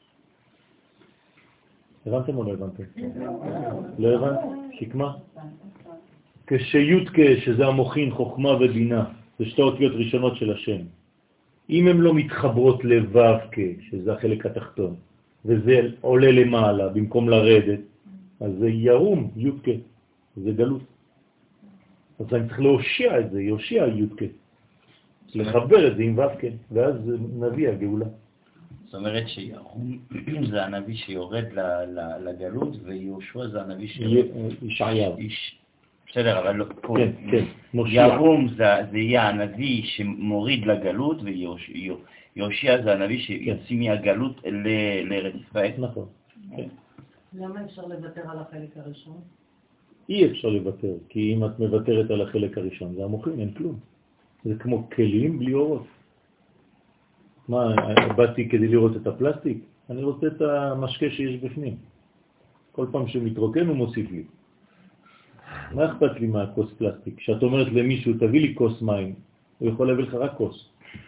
הבנתם או לא הבנתם? לא הבנת? שקמה? כשיודקה, שזה המוחין, חוכמה ובינה, זה שתי אותיות ראשונות של השם. אם הן לא מתחברות לו"ק, שזה החלק התחתון, וזה עולה למעלה במקום לרדת, אז זה ירום יודקה, זה גלות. אז אני צריך להושיע את זה, יושיע יודקה. לחבר את זה עם ו"ק, ואז נביא הגאולה. זאת אומרת שירום זה הנביא שיורד לגלות, ויהושע זה הנביא שיורד... ישעיהו. בסדר, אבל לא... כן, כן. ירום זה יהיה הנביא שמוריד לגלות, ויהושע זה הנביא שיוצא מהגלות לארץ ישראל. נכון. למה אפשר לוותר על החלק הראשון? אי אפשר לוותר, כי אם את מוותרת על החלק הראשון, זה המוחים, אין כלום. זה כמו כלים בלי אורות. מה, באתי כדי לראות את הפלסטיק? אני רוצה את המשקה שיש בפנים. כל פעם שמתרוקן הוא מוסיף לי. מה אכפת לי מהכוס פלסטיק? כשאת אומרת למישהו, תביא לי כוס מים, הוא יכול להביא לך רק כוס.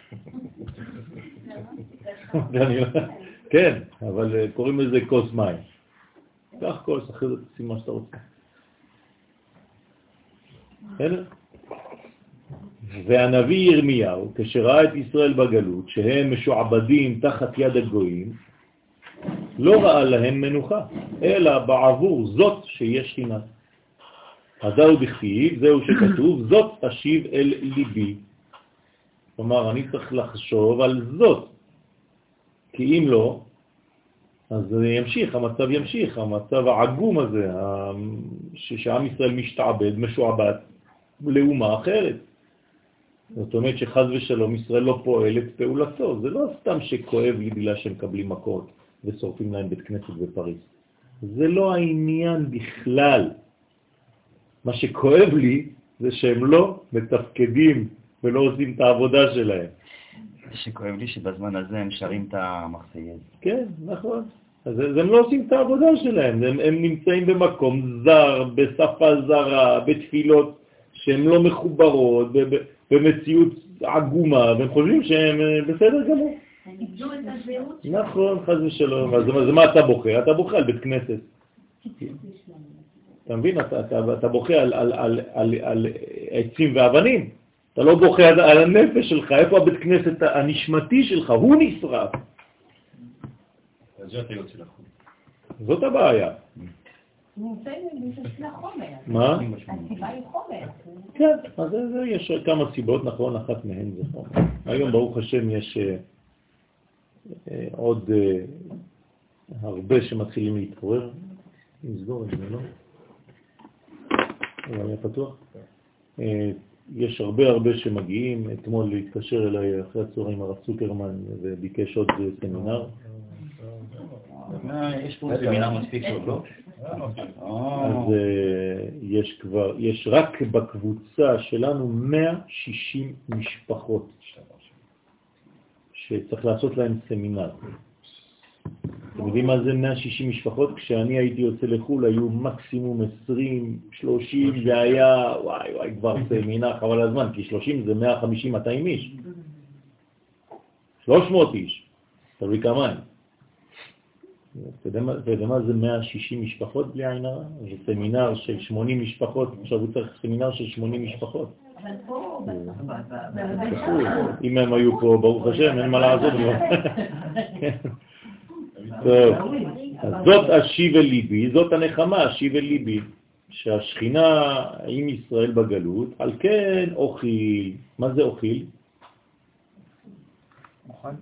כן, אבל קוראים לזה כוס מים. קח כוס, אחרי זה תשים מה שאתה רוצה. בסדר? והנביא ירמיהו, כשראה את ישראל בגלות, שהם משועבדים תחת יד הגויים, לא ראה להם מנוחה, אלא בעבור זאת שיש שכינה. הזהו בכתיב, זהו שכתוב, זאת תשיב אל ליבי. כלומר, אני צריך לחשוב על זאת, כי אם לא, אז זה ימשיך, המצב ימשיך, המצב העגום הזה, שעם ישראל משתעבד, משועבד, לאומה אחרת. זאת אומרת שחז ושלום ישראל לא פועל את פעולתו, זה לא סתם שכואב לי בגלל שהם מקבלים מכות ושורפים להם בית כנסת בפריז. זה לא העניין בכלל. מה שכואב לי זה שהם לא מתפקדים ולא עושים את העבודה שלהם. זה שכואב לי שבזמן הזה הם שרים את המחסייז. כן, נכון. אז הם לא עושים את העבודה שלהם, הם, הם נמצאים במקום זר, בשפה זרה, בתפילות שהן לא מחוברות, במציאות עגומה, והם חושבים שהם בסדר גמור. הם איבדו את הזהות. נכון, חס ושלום. אז מה אתה בוכה? אתה בוכה על בית כנסת. אתה מבין? אתה, אתה, אתה בוכה על, על, על, על, על עצים ואבנים. אתה לא בוכה על, על הנפש שלך. איפה הבית כנסת הנשמתי שלך? הוא נשרף. זאת היוצא לחום. זאת הבעיה. נמצאים בשביל החומר. מה? הסיבה היא חומר. כן, אז יש כמה סיבות, נכון, אחת מהן זה חומר. היום ברוך השם יש עוד הרבה שמתחילים להתפורר. נסגור את זה, לא? הוא היה פתוח? יש הרבה הרבה שמגיעים. אתמול להתקשר אליי אחרי הצהריים הרב צוקרמן וביקש עוד סמינר. יש פה סמינר מספיק טוב, לא? אז יש כבר, יש רק בקבוצה שלנו מאה ושישים משפחות שצריך לעשות להם סמינר. אתם יודעים מה זה מאה ושישים משפחות? כשאני הייתי יוצא לחול היו מקסימום עשרים, שלושים, זה היה, וואי וואי, כבר סמינר, חבל הזמן, כי שלושים זה מאה וחמישים מאתיים איש. שלוש מאות איש, תלוי כמה הם. אתה יודע מה זה מאה ושישים משפחות בלי עין הרע? זה סמינר של שמונים משפחות, עכשיו הוא צריך סמינר של שמונים משפחות. אבל פה, אם הם היו פה, ברוך השם, אין מה לעזור. טוב, אז זאת השיב אל ליבי, זאת הנחמה, השיב אל ליבי, שהשכינה עם ישראל בגלות, על כן אוכיל. מה זה אוכיל? נכון.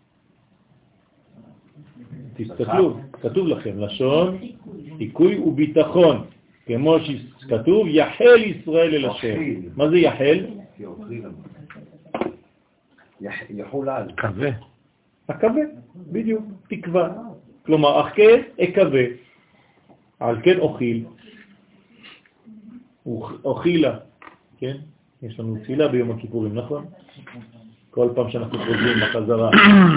תסתכלו, כתוב לכם, לשון, חיקוי וביטחון, כמו שכתוב, יחל ישראל אל השם. מה זה יחל? יחול על. קווה. הקווה, בדיוק, תקווה. כלומר, אך כן אקווה, על כן אוכיל. אוכילה, כן? יש לנו תפילה ביום הכיפורים, נכון? כל פעם שאנחנו חוזרים בחזרה,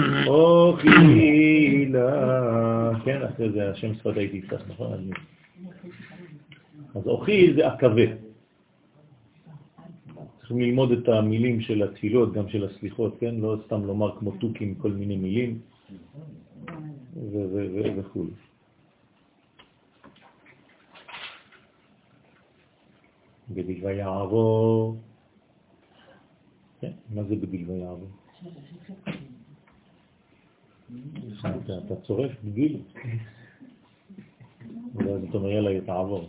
אוכילה, כן, אחרי זה השם שפת הייתי קצת, נכון? אז אוכיל זה הקווה. צריכים ללמוד את המילים של התפילות, גם של הסליחות, כן? לא סתם לומר כמו תוקים כל מיני מילים וכו'. בדיוק ויעבור. מה זה בגיל ויעבור? אתה צורף בגיל. ואז אתה אומר יאללה תעבור.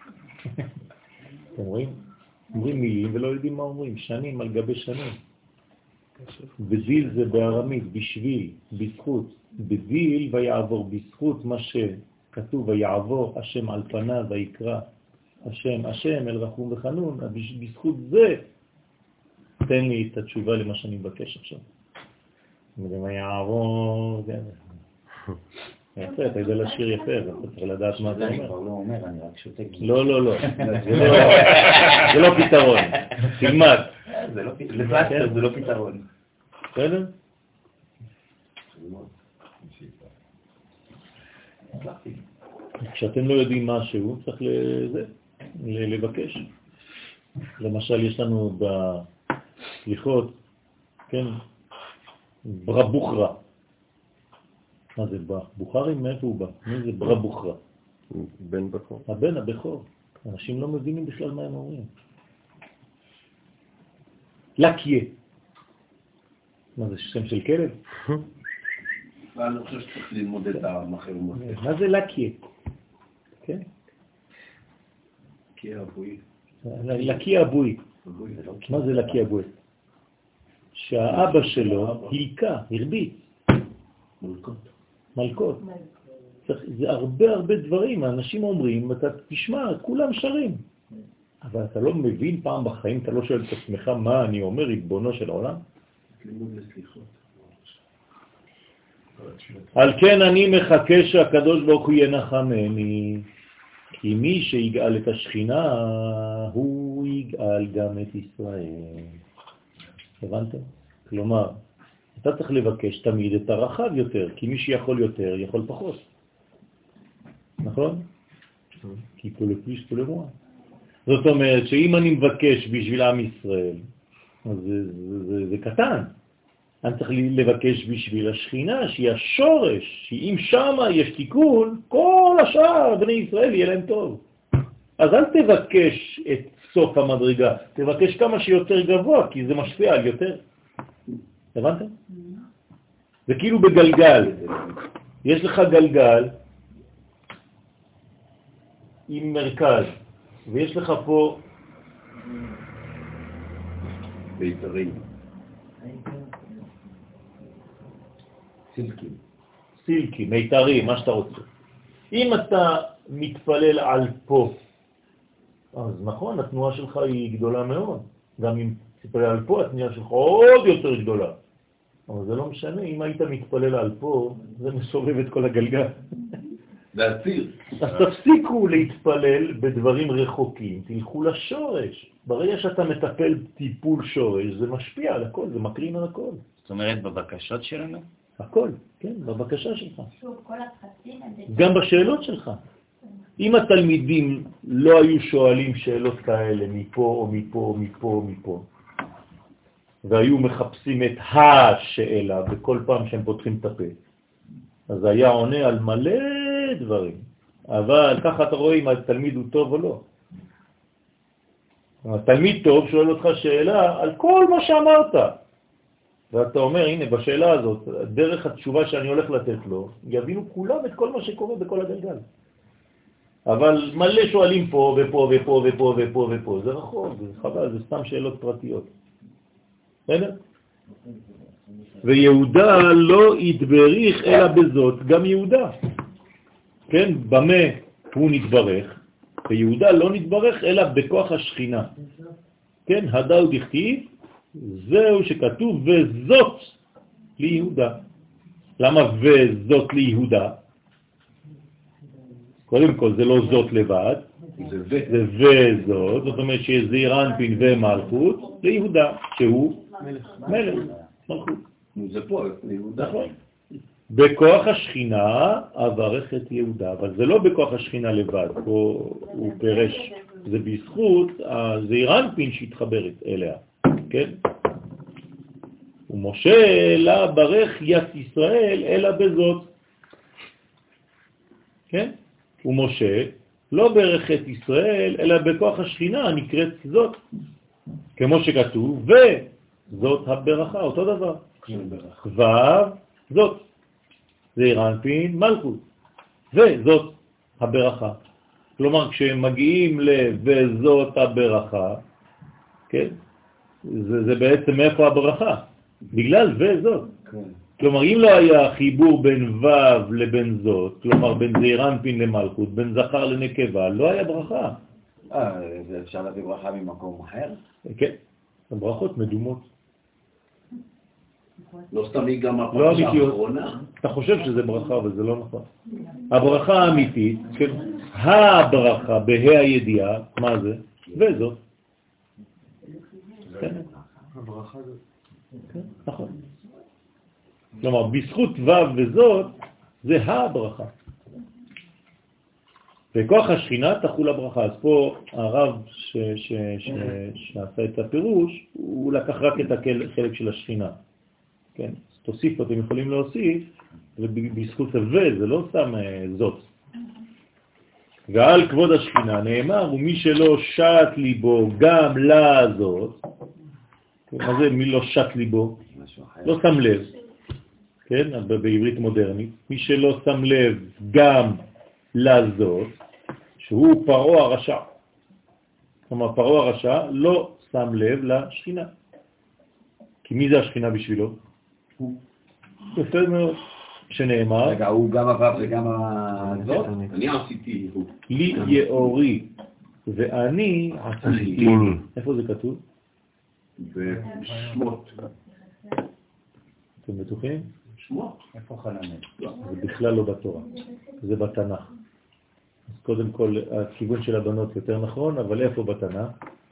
אתם רואים? אומרים מילים ולא יודעים מה אומרים, שנים על גבי שנים. בזיל זה בארמית, בשביל, בזכות. בזיל ויעבור בזכות מה שכתוב, ויעבור השם על פניו ויקרא השם, השם אל רחום וחנון, בזכות זה תן לי את התשובה למה שאני מבקש עכשיו. ומה יעבור, יפה, אתה יודע לשיר יפה, אתה צריך לדעת מה אתה אומר. אני כבר לא אומר, אני רק שותק. לא, לא, לא, זה לא פתרון, תלמד. לפלסטר זה לא פתרון. בסדר? כשאתם לא יודעים משהו, צריך לבקש. למשל, יש לנו בסליחות, כן, ברא בוכרה. מה זה בא? בוכרים, מאיפה הוא בא? מי זה ברא בוכרה? בן בכור. הבן הבכור. אנשים לא מבינים בכלל מה הם אומרים. לקיה. מה זה, שם של כלב? אני חושב שצריך ללמוד את המחרמות. מה זה לקיה? כן? לקיה אבוי. לקיה אבוי. מה זה לקיה אבוי? שהאבא שלו הלקה, הרביץ. מלכות. מלכות. זה הרבה הרבה דברים, האנשים אומרים, אתה תשמע, כולם שרים. אבל אתה לא מבין פעם בחיים, אתה לא שואל את עצמך מה אני אומר, ריבונו של העולם? לימוד לסליחות. על כן אני מחכה שהקדוש ברוך הוא ינחמני, כי מי שיגאל את השכינה, הוא יגאל גם את ישראל. הבנתם? כלומר, אתה צריך לבקש תמיד את הרחב יותר, כי מי שיכול יותר, יכול פחות. נכון? כי פה לפליש פה למוע. זאת אומרת שאם אני מבקש בשביל עם ישראל, אז זה, זה, זה, זה קטן. אני צריך לבקש בשביל השכינה, שהיא השורש, שאם שמה יש תיקון, כל השאר בני ישראל יהיה להם טוב. אז אל תבקש את סוף המדרגה, תבקש כמה שיותר גבוה, כי זה משפיע על יותר. הבנתם? זה כאילו בגלגל. יש לך גלגל עם מרכז, ויש לך פה ביתרים. סילקים. סילקים, מיתרים, מה שאתה רוצה. אם אתה מתפלל על פה, אז נכון, התנועה שלך היא גדולה מאוד. גם אם תתפלל על פה, התנועה שלך עוד יותר גדולה. אבל זה לא משנה, אם היית מתפלל על פה, זה מסובב את כל הגלגל. זה הציר. אז תפסיקו להתפלל בדברים רחוקים, תלכו לשורש. ברגע שאתה מטפל טיפול שורש, זה משפיע על הכל, זה מקרין על הכל. זאת אומרת, בבקשות שלנו? הכל, כן, בבקשה שלך. שוב, כל הפחדים... גם בשאלות שלך. אם התלמידים לא היו שואלים שאלות כאלה מפה או מפה או מפה או מפה, והיו מחפשים את השאלה בכל פעם שהם פותחים את הפה, אז היה עונה על מלא דברים. אבל ככה אתה רואה אם התלמיד הוא טוב או לא. התלמיד טוב שואל אותך שאלה על כל מה שאמרת. ואתה אומר, הנה, בשאלה הזאת, דרך התשובה שאני הולך לתת לו, יבינו כולם את כל מה שקורה בכל הגלגל. אבל מלא שואלים פה ופה ופה ופה ופה ופה. זה רחוק, זה חבל, זה סתם שאלות פרטיות. בסדר? ויהודה לא יתבריך אלא בזאת, גם יהודה. כן, במה הוא נתברך, ויהודה לא נתברך אלא בכוח השכינה. כן, הדאו דכתיב, זהו שכתוב וזאת ליהודה. למה וזאת ליהודה? קודם כל זה לא זאת לבד, זה וזאת, זאת אומרת שיש זעיר אנפין ומלכות ליהודה, שהוא מלך, מלכות. זה פה, ליהודה. נכון. בכוח השכינה אברך את יהודה, אבל זה לא בכוח השכינה לבד, פה הוא פרש, זה בזכות הזעיר אנפין שהתחברת אליה, כן? ומשה לה ברך ית ישראל אלא בזאת, כן? ומשה לא ברך את ישראל אלא בכוח השכינה נקראת זאת, כמו שכתוב, וזאת הברכה, אותו דבר. כבר זאת, זעיר אנפין מלכות, וזאת הברכה. כלומר, כשהם מגיעים ל"וזאת הברכה", כן? זה, זה בעצם מאיפה הברכה? בגלל וזאת. כלומר, אם לא היה חיבור בין ו' לבין זאת, כלומר בין זעיר אנפין למלכות, בין זכר לנקבה, לא היה ברכה. אה, זה אפשר להביא ברכה ממקום אחר? כן, הברכות מדומות. לא סתם היא גם לא הפרשה אמיתיות. האחרונה. אתה חושב שזה ברכה, אבל זה לא נכון. הברכה האמיתית, כן, הברכה בה"א הידיעה, מה זה? וזאת. כן. הברכה הזאת. כן, נכון. כלומר, בזכות ו' וזאת, זה הברכה. וכוח השכינה תחול הברכה. אז פה הרב ש, ש, ש, שעשה את הפירוש, הוא לקח רק את החלק של השכינה. כן? אז תוסיף, אתם יכולים להוסיף, ובזכות הווה, זה לא סתם זאת. ועל כבוד השכינה נאמר, ומי שלא שט ליבו גם לזאת, מה זה מי לא שט ליבו? לא שם לב. כן, בעברית מודרנית, מי שלא שם לב גם לזאת, שהוא פרעה הרשע. כלומר, פרעה הרשע לא שם לב לשכינה. כי מי זה השכינה בשבילו? הוא. יפה מאוד. שנאמר... רגע, הוא גם הוו וגם הזאת? אני עשיתי. לי יאורי ואני עשיתי. איפה זה כתוב? בשמות. אתם בטוחים? שמות. איפה חננאל? זה בכלל לא בתורה, זה בתנ"ך. אז קודם כל, הכיוון של הבנות יותר נכון, אבל איפה בתנ"ך?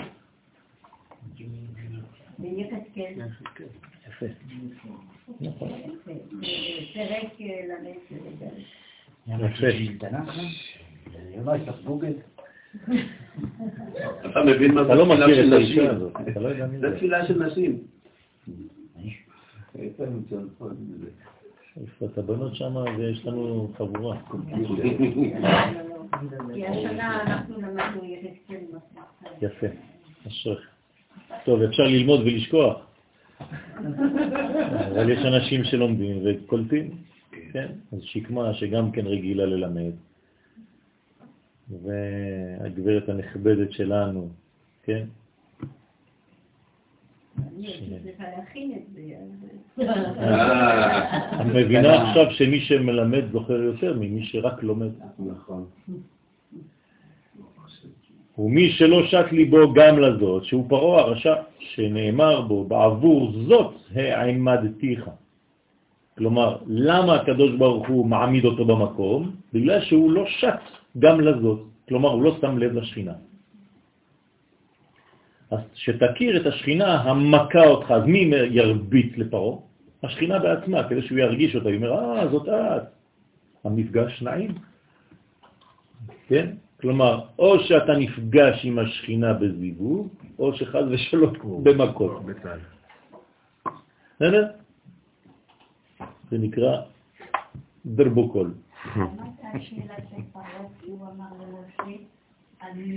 ביחזקאל. יפה. נכון. פרק למד. יפה. אתה מבין מה זה אתה לא תפילה מכיר של את נשים? האישה הזאת, אתה לא יודע מי זה זה. תפילה של נשים. איפה את הבנות שם, ויש לנו חבורה. כי השנה אנחנו למדנו יחזקאל מסמך. יפה, אשריך. טוב, אפשר ללמוד ולשכוח. אבל יש אנשים שלומדים וקולטים, כן? אז שקמה שגם כן רגילה ללמד. והגברת הנכבדת שלנו, כן? אני צריכה להכין את זה. את מבינה עכשיו שמי שמלמד זוכר יותר ממי שרק לומד. נכון. ומי שלא שט ליבו גם לזאת, שהוא פרעה הרשע, שנאמר בו, בעבור זאת העמדתיך. כלומר, למה הקדוש ברוך הוא מעמיד אותו במקום? בגלל שהוא לא שט גם לזאת. כלומר, הוא לא שם לב לשכינה. אז שתכיר את השכינה המכה אותך, אז מי ירביץ לפרעה? השכינה בעצמה, כדי שהוא ירגיש אותה. היא אומר, אה, זאת את. המפגש נעים. כן? כלומר, או שאתה נפגש עם השכינה בזיווג, או שחז ושלום במכות. בסדר? זה נקרא דרבוקול. מה הייתה השאלה של פרעה, הוא אמר למשה, אני,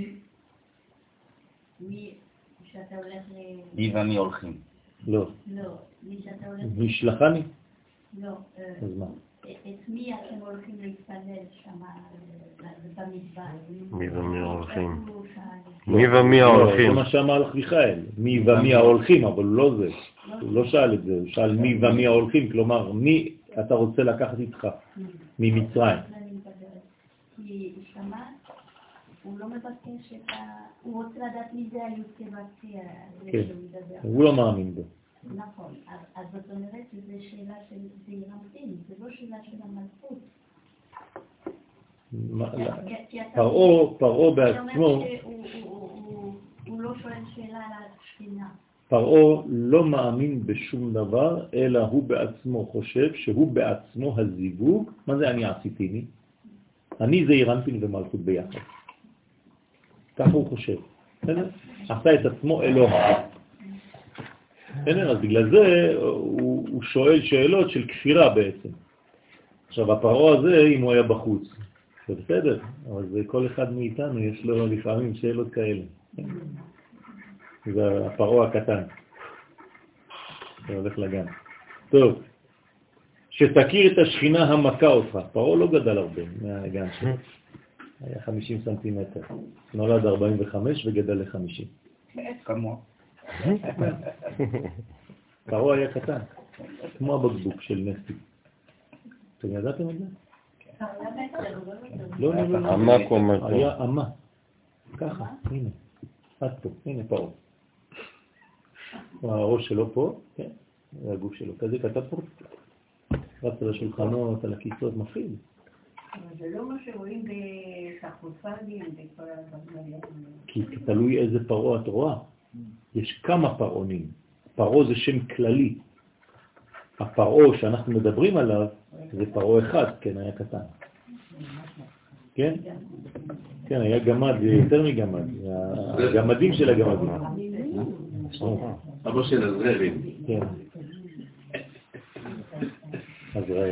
מי שאתה הולך ל... מי ומי הולכים? לא. לא, מי שאתה הולך... נשלחני? לא. אז מה? את מי אתם הולכים להתפלל שם במדבר? מי ומי ההולכים? מי ומי ההולכים? זה מה שאמר לך מיכאל, מי ומי ההולכים, אבל לא זה. הוא לא שאל את זה, הוא שאל מי ומי ההולכים, כלומר מי אתה רוצה לקחת איתך ממצרים. כי שמע, הוא לא מבקש את ה... הוא רוצה לדעת מי זה היוצא והצי, כן, הוא לא מאמין בו. נכון, אז זאת אומרת שזו שאלה של זעיר אנפין, זה לא שאלה של המלכות. פרעה, פרעה בעצמו, הוא לא שואל שאלה על השכינה. פרעה לא מאמין בשום דבר, אלא הוא בעצמו חושב שהוא בעצמו הזיווג. מה זה אני עשיתי לי? אני זעיר אנפין ומלכות ביחד. ככה הוא חושב. עשה את עצמו אלוה. אז בגלל זה הוא, הוא שואל שאלות של כפירה בעצם. עכשיו, הפרעה הזה, אם הוא היה בחוץ, זה בסדר, אבל זה כל אחד מאיתנו יש לו לפעמים שאלות כאלה. זה הפרעה הקטן. זה הולך לגן. טוב, שתכיר את השכינה המכה אותך. פרעה לא גדל הרבה מהגן שלו. היה חמישים סנטימטר. נולד ארבעים וחמש וגדל ל-חמישים. כמוה. פרעה היה קטן, כמו הבקבוק של נסי. אתם ידעתם את זה? לא, לא, לא. עמק אומר פה. היה עמה. ככה, הנה. עד פה, הנה פרעה. הראש שלו פה, כן, והגוף שלו. כזה כתב פה. רץ על השולחנות, על הכיסות, מפחיד. אבל זה לא מה שרואים בסרקופגים, בכל הדברים. כי תלוי איזה פרעה את רואה. יש כמה פרעונים. פרעה זה שם כללי. הפרעה שאנחנו מדברים עליו זה פרעה אחד, כן, היה קטן. כן? כן, היה גמד, יותר מגמד. הגמדים של הגמדים. אבא של הזרעים. כן. עזראל.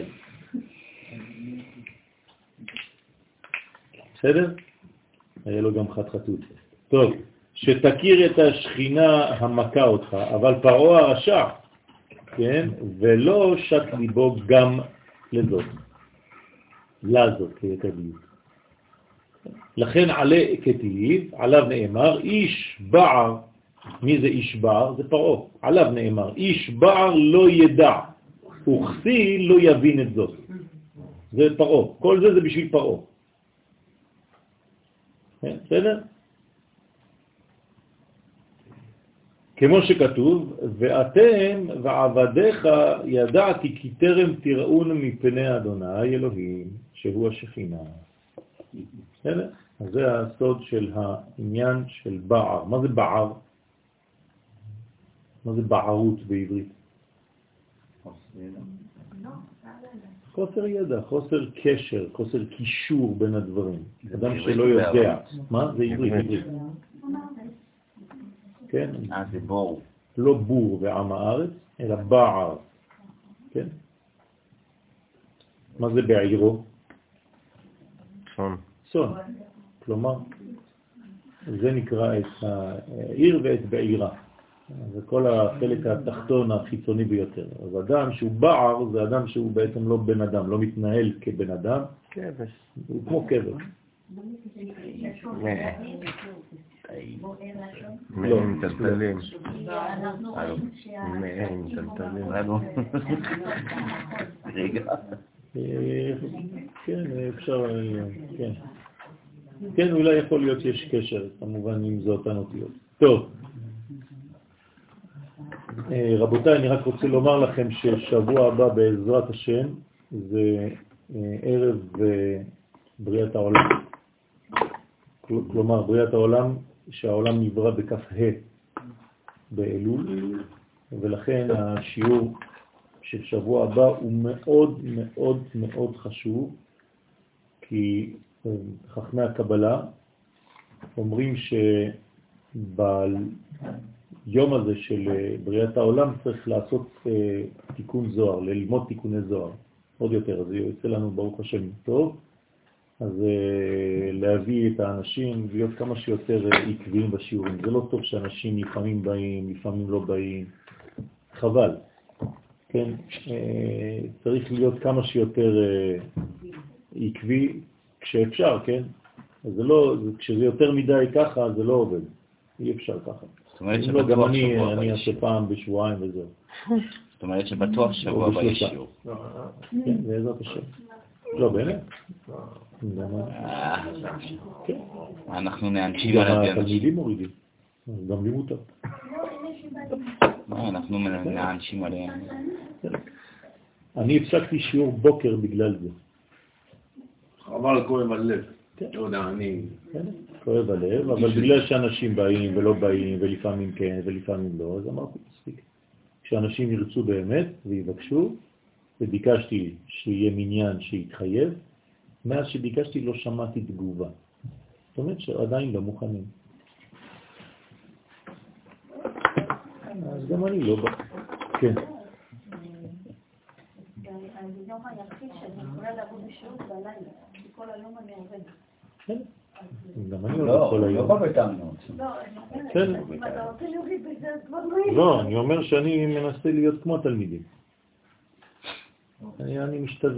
בסדר? היה לו גם חת חתות. טוב, שתכיר את השכינה המכה אותך, אבל פרעה הרשע, כן? ולא שת ליבו גם לזאת. לזאת, כתביב. לכן עלה כתיב, עליו נאמר, איש בער, מי זה איש בער? זה פרעה. עליו נאמר, איש בער לא ידע, וכסי לא יבין את זאת. זה פרעה. כל זה זה בשביל פרעה. בסדר? כמו שכתוב, ואתם ועבדיך ידעתי כי תרם תראון מפני אדוני אלוהים, שהוא השכינה. בסדר? אז זה הסוד של העניין של בער. מה זה בער? מה זה בערות בעברית? חוסר ידע, חוסר קשר, חוסר קישור בין הדברים. אדם שלא יודע. מה? זה עברית, עברית. כן? אה, זה בור. לא בור ועם הארץ, אלא בער. כן? מה זה בעירו? צאן. צאן. כלומר, זה נקרא את העיר ואת בעירה. זה כל החלק התחתון החיצוני ביותר. אז אדם שהוא בער זה אדם שהוא בעצם לא בן אדם, לא מתנהל כבן אדם. כבש. הוא כמו כבש. מהם טלטלים. מהם טלטלים. רגע. כן, אפשר, כן. כן, אולי יכול להיות שיש קשר, כמובן אם זה אותן אותיות. טוב. רבותיי, אני רק רוצה לומר לכם ששבוע הבא בעזרת השם זה ערב בריאת העולם. כלומר, בריאת העולם, שהעולם נברא בכף ה' באלול, ולכן השיעור של שבוע הבא הוא מאוד מאוד מאוד חשוב, כי חכמי הקבלה אומרים שביום הזה של בריאת העולם צריך לעשות תיקון זוהר, ללמוד תיקוני זוהר, עוד יותר, אז יוצא לנו ברוך השם טוב, אז להביא את האנשים, להיות כמה שיותר עקביים בשיעורים. זה לא טוב שאנשים לפעמים באים, לפעמים לא באים, חבל. כן, צריך להיות כמה שיותר עקבי כשאפשר, כן? אז זה לא, כשזה יותר מדי ככה, זה לא עובד. אי אפשר ככה. זאת אומרת שבטוח שבוע הבא ישיעור. אני אעשה פעם בשבועיים וזהו. זאת אומרת שבטוח שבוע הבא ישיעור. כן, בעזרת השם. לא, באמת? אנחנו נאנשים על הדיון. התלמידים מורידים. גם לי מותר. אנחנו נאנשים עליהם. אני הפסקתי שיעור בוקר בגלל זה. חבל כואב הלב. לא יודע, אני... כואב הלב, אבל בגלל שאנשים באים ולא באים, ולפעמים כן ולפעמים לא, אז אמרתי, מספיק. כשאנשים ירצו באמת ויבקשו, וביקשתי שיהיה מניין שיתחייב, מאז שביקשתי לא שמעתי תגובה. זאת אומרת שעדיין לא מוכנים. אז גם אני לא בא. כן. אני יום היחיד שאני יכולה לעבוד בשירות בלילה, כל היום אני עובדת. כן. גם אני עובד כל היום. לא בביתנו. כן. לא, אני אומר שאני מנסה להיות כמו התלמידים. אני משתווה.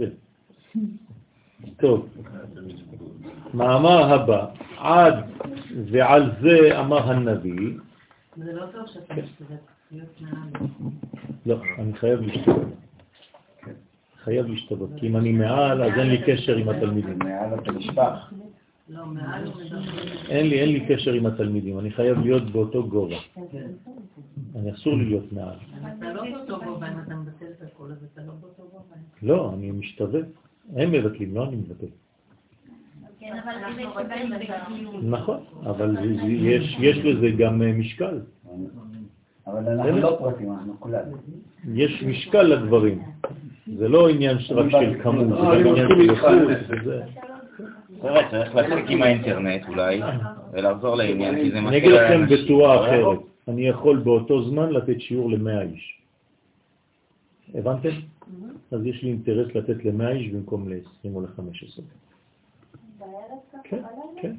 טוב. מאמר הבא, עד ועל זה אמר הנביא. זה לא טוב שאתה משתווה. לא, אני חייב להשתוות. חייב להשתוות, כי אם אני מעל, אז אין לי קשר עם התלמידים. מעל אתה נשפך. לא, מעל אין לי, אין לי קשר עם התלמידים, אני חייב להיות באותו גובה. אני אסור לי להיות מעל. אתה לא באותו גובה, אם אתה מבטל את הכל, אז אתה לא באותו גובה. לא, אני משתווה. הם מבטלים, לא אני מבטל. כן, אבל אם יש בהם נכון, אבל יש לזה גם משקל. אבל אנחנו לא פרטים, אנחנו כולנו. יש משקל לדברים. זה לא עניין רק של כמות, זה גם עניין של איכות. תראה, צריך להפסיק עם האינטרנט אולי, ולחזור לעניין, כי זה אני אגיד לכם בצורה אחרת, אני יכול באותו זמן לתת שיעור למאה איש. הבנתם? אז יש לי אינטרס לתת למאה איש במקום ל-עשרים או ל-חמש עשרה. כן, כן.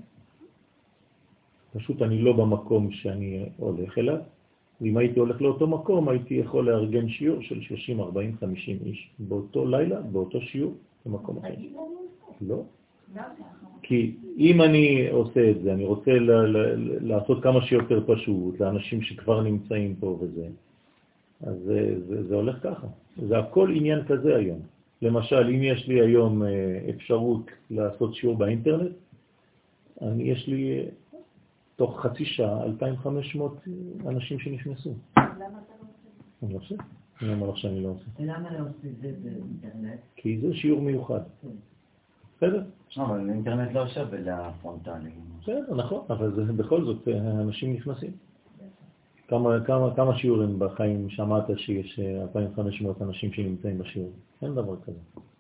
פשוט אני לא במקום שאני הולך אליו, ואם הייתי הולך לאותו מקום, הייתי יכול לארגן שיעור של שלושים, ארבעים, חמישים איש באותו לילה, באותו שיעור, במקום אחר. לא. כי אם אני עושה את זה, אני רוצה לעשות כמה שיותר פשוט, לאנשים שכבר נמצאים פה וזה, אז זה, זה, זה הולך ככה. זה הכל עניין כזה היום. למשל, אם יש לי היום אפשרות לעשות שיעור באינטרנט, אני, יש לי תוך חצי שעה אלפיים וחמש מאות אנשים שנכנסו. למה אתה לא עושה? אני לא עושה. אני אומר לך שאני לא עושה. למה לא עושה את זה באינטרנט? כי זה שיעור מיוחד. בסדר? אבל האינטרנט לא שווה לפרונטלי. בסדר, נכון, אבל זה, בכל זאת אנשים נכנסים. כמה, כמה, כמה שיעורים בחיים שמעת שיש אלפיים וחמש מאות אנשים שנמצאים בשיעור? אין דבר כזה.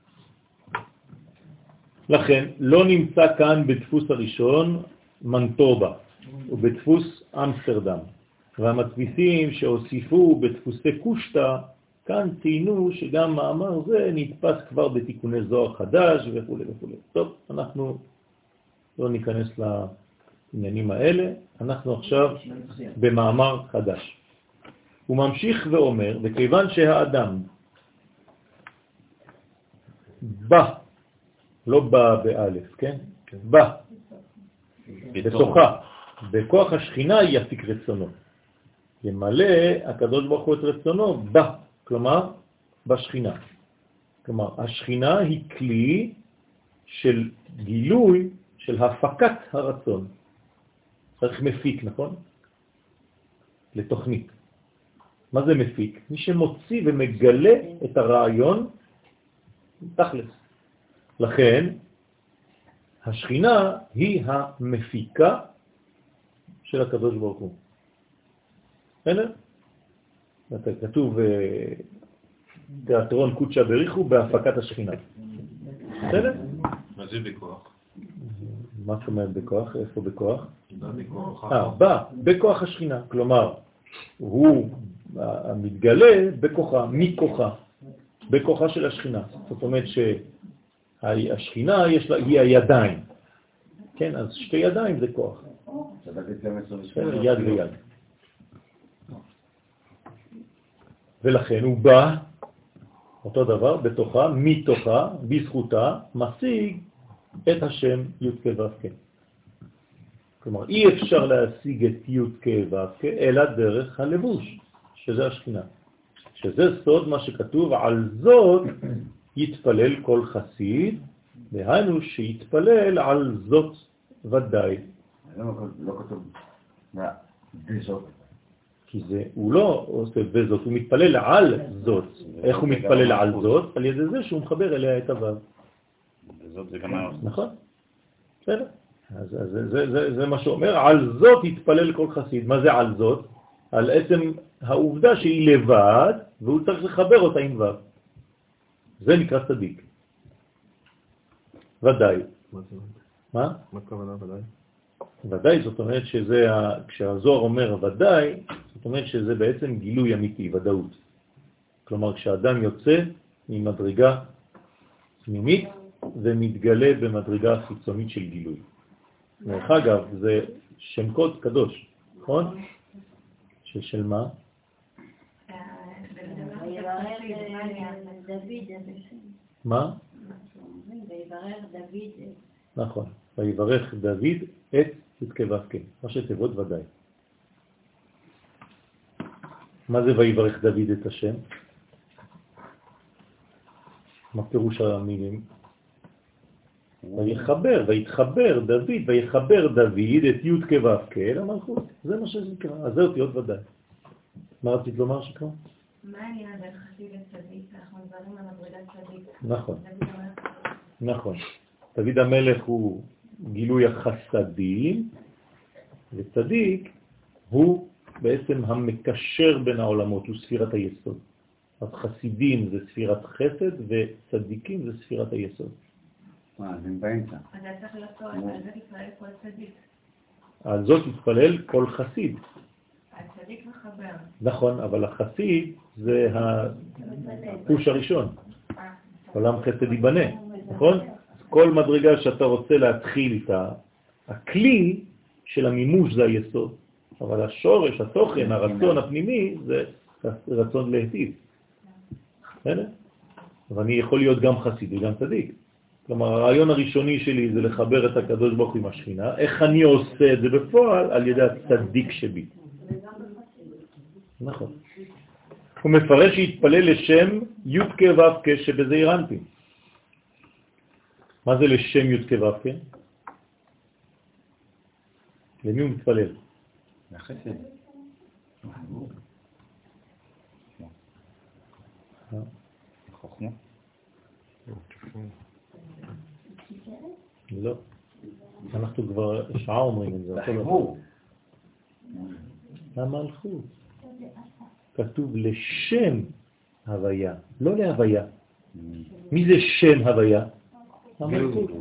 לכן, לא נמצא כאן בדפוס הראשון מנטובה, ובדפוס אמסטרדם. והמדפיסים שהוסיפו בדפוסי קושטה, כאן ציינו שגם מאמר זה נתפס כבר בתיקוני זוהר חדש וכו' וכו'. טוב, אנחנו לא ניכנס לעניינים האלה, אנחנו עכשיו במאמר חדש. הוא ממשיך ואומר, וכיוון שהאדם בא, לא בא באלף, כן? בא, בתוכה, בכוח השכינה יפיק רצונו. ימלא הקדוש ברוך הוא את רצונו בא, כלומר בשכינה. כלומר, השכינה היא כלי של גילוי, של הפקת הרצון. צריך מפיק, נכון? לתוכנית. מה זה מפיק? מי שמוציא ומגלה את הרעיון תכלס. לכן, השכינה היא המפיקה של הקדוש ברוך הוא. בסדר? כתוב תיאטרון קודשא בריחו בהפקת השכינה. בסדר? מה זה בכוח? מה זאת אומרת בכוח? איפה בכוח? בכוח. אה, בא, בכוח השכינה. כלומר, הוא מתגלה בכוחה, מכוחה, בכוחה של השכינה. זאת אומרת שהשכינה יש לה, היא הידיים. כן, אז שתי ידיים זה כוח. יד ויד. ולכן הוא בא, אותו דבר, בתוכה, מתוכה, בזכותה, משיג את השם י' כ' ו' כ'. כלומר, אי אפשר להשיג את י' כ' ו' כ' אלא דרך הלבוש, שזה השכינה. שזה סוד מה שכתוב, על זאת יתפלל כל חסיד, והיינו שיתפלל על זאת ודאי. לא כתוב, בזאת. כי זה, הוא לא עושה בזאת, הוא מתפלל על זאת. איך הוא מתפלל על זאת? על ידי זה שהוא מחבר אליה את הוו. בזאת זה גם היה. נכון. בסדר. אז זה, זה, זה, זה מה שאומר, על זאת יתפלל כל חסיד. מה זה על זאת? על עצם העובדה שהיא לבד, והוא צריך לחבר אותה עם וו. זה נקרא צדיק. ודאי. מה? מה הכוונה ודאי? ודאי, זאת אומרת שזה, כשהזוהר אומר ודאי, זאת אומרת שזה בעצם גילוי אמיתי, ודאות. כלומר, כשאדם יוצא ממדרגה פנימית ומתגלה במדרגה חיצונית של גילוי. דרך אגב, זה שם קוד קדוש, נכון? של מה? מה? ויברר דוד. נכון. ויברך דוד את י' כ' ו' כ', ראשי תיבות ודאי. מה זה ויברך דוד את השם? מה פירוש המילים? ויחבר, ויתחבר דוד, ויחבר דוד את י' כו' למלכות. זה מה שזה נקרא. אז זה אותיות ודאי. מה רצית לומר שקרא? מה העניין בין חסיד לצדיק? אנחנו מדברים על מדרגת צדיק. נכון. נכון. דוד המלך הוא גילוי החסדים, וצדיק הוא בעצם המקשר בין העולמות, הוא ספירת היסוד. אז חסידים זה ספירת חסד, וצדיקים זה ספירת היסוד. מה, זה באמצע. אז זה צריך להיות טוב, על זה תתפלל כל צדיק. על זאת תתפלל כל חסיד. הצדיק מחבר. נכון, אבל החסיד זה הפוש הראשון. עולם חסד ייבנה, נכון? כל מדרגה שאתה רוצה להתחיל איתה, הכלי של המימוש זה היסוד. אבל השורש, התוכן, הרצון הפנימי זה רצון להיטיב. בסדר? אבל אני יכול להיות גם חסיד וגם צדיק. כלומר, הרעיון הראשוני שלי זה לחבר את הקדוש ברוך הוא עם השכינה. איך אני עושה את זה בפועל? על ידי הצדיק שבי. נכון. הוא מפרש שהתפלל לשם י' כו' כ' שבזעיר אנפין. מה זה לשם י' כו' כ'? למי הוא מתפלל? לחסד. חוכמה. לא. אנחנו כבר שעה אומרים את זה. לחיבור. המלכות. כתוב לשם הוויה, לא להוויה. מי זה שם הוויה? המלכות.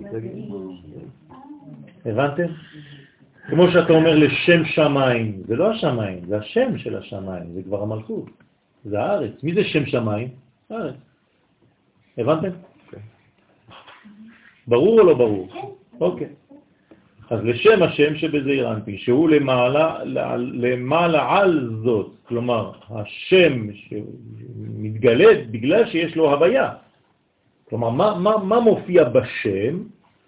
הבנתם? כמו שאתה אומר לשם שמיים, זה לא השמיים, זה השם של השמיים, זה כבר המלכות. זה הארץ. מי זה שם שמיים? הארץ. הבנתם? ברור או לא ברור? אוקיי. אז לשם השם שבזעיר אנפין, שהוא למעלה, למעלה על זאת, כלומר, השם שמתגלה בגלל שיש לו הוויה. כלומר, מה, מה, מה מופיע בשם?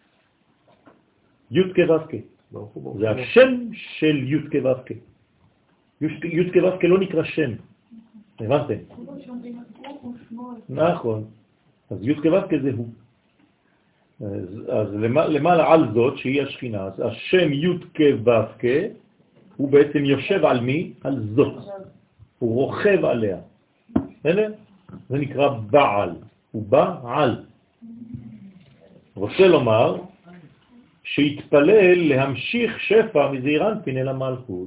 י' כו' כ'. זה השם של י' כו' כ'. י' כו' כ' לא נקרא שם. הבנתם? נכון. אז י' כו' כ' זה הוא. אז, אז למעלה על זאת שהיא השכינה, אז השם י' כו' כ' הוא בעצם יושב על מי? על זאת. הוא רוכב עליה. בסדר? זה נקרא בעל. הוא בעל. רוצה לומר שהתפלל להמשיך שפע מזעיר אנפין אל המלכות.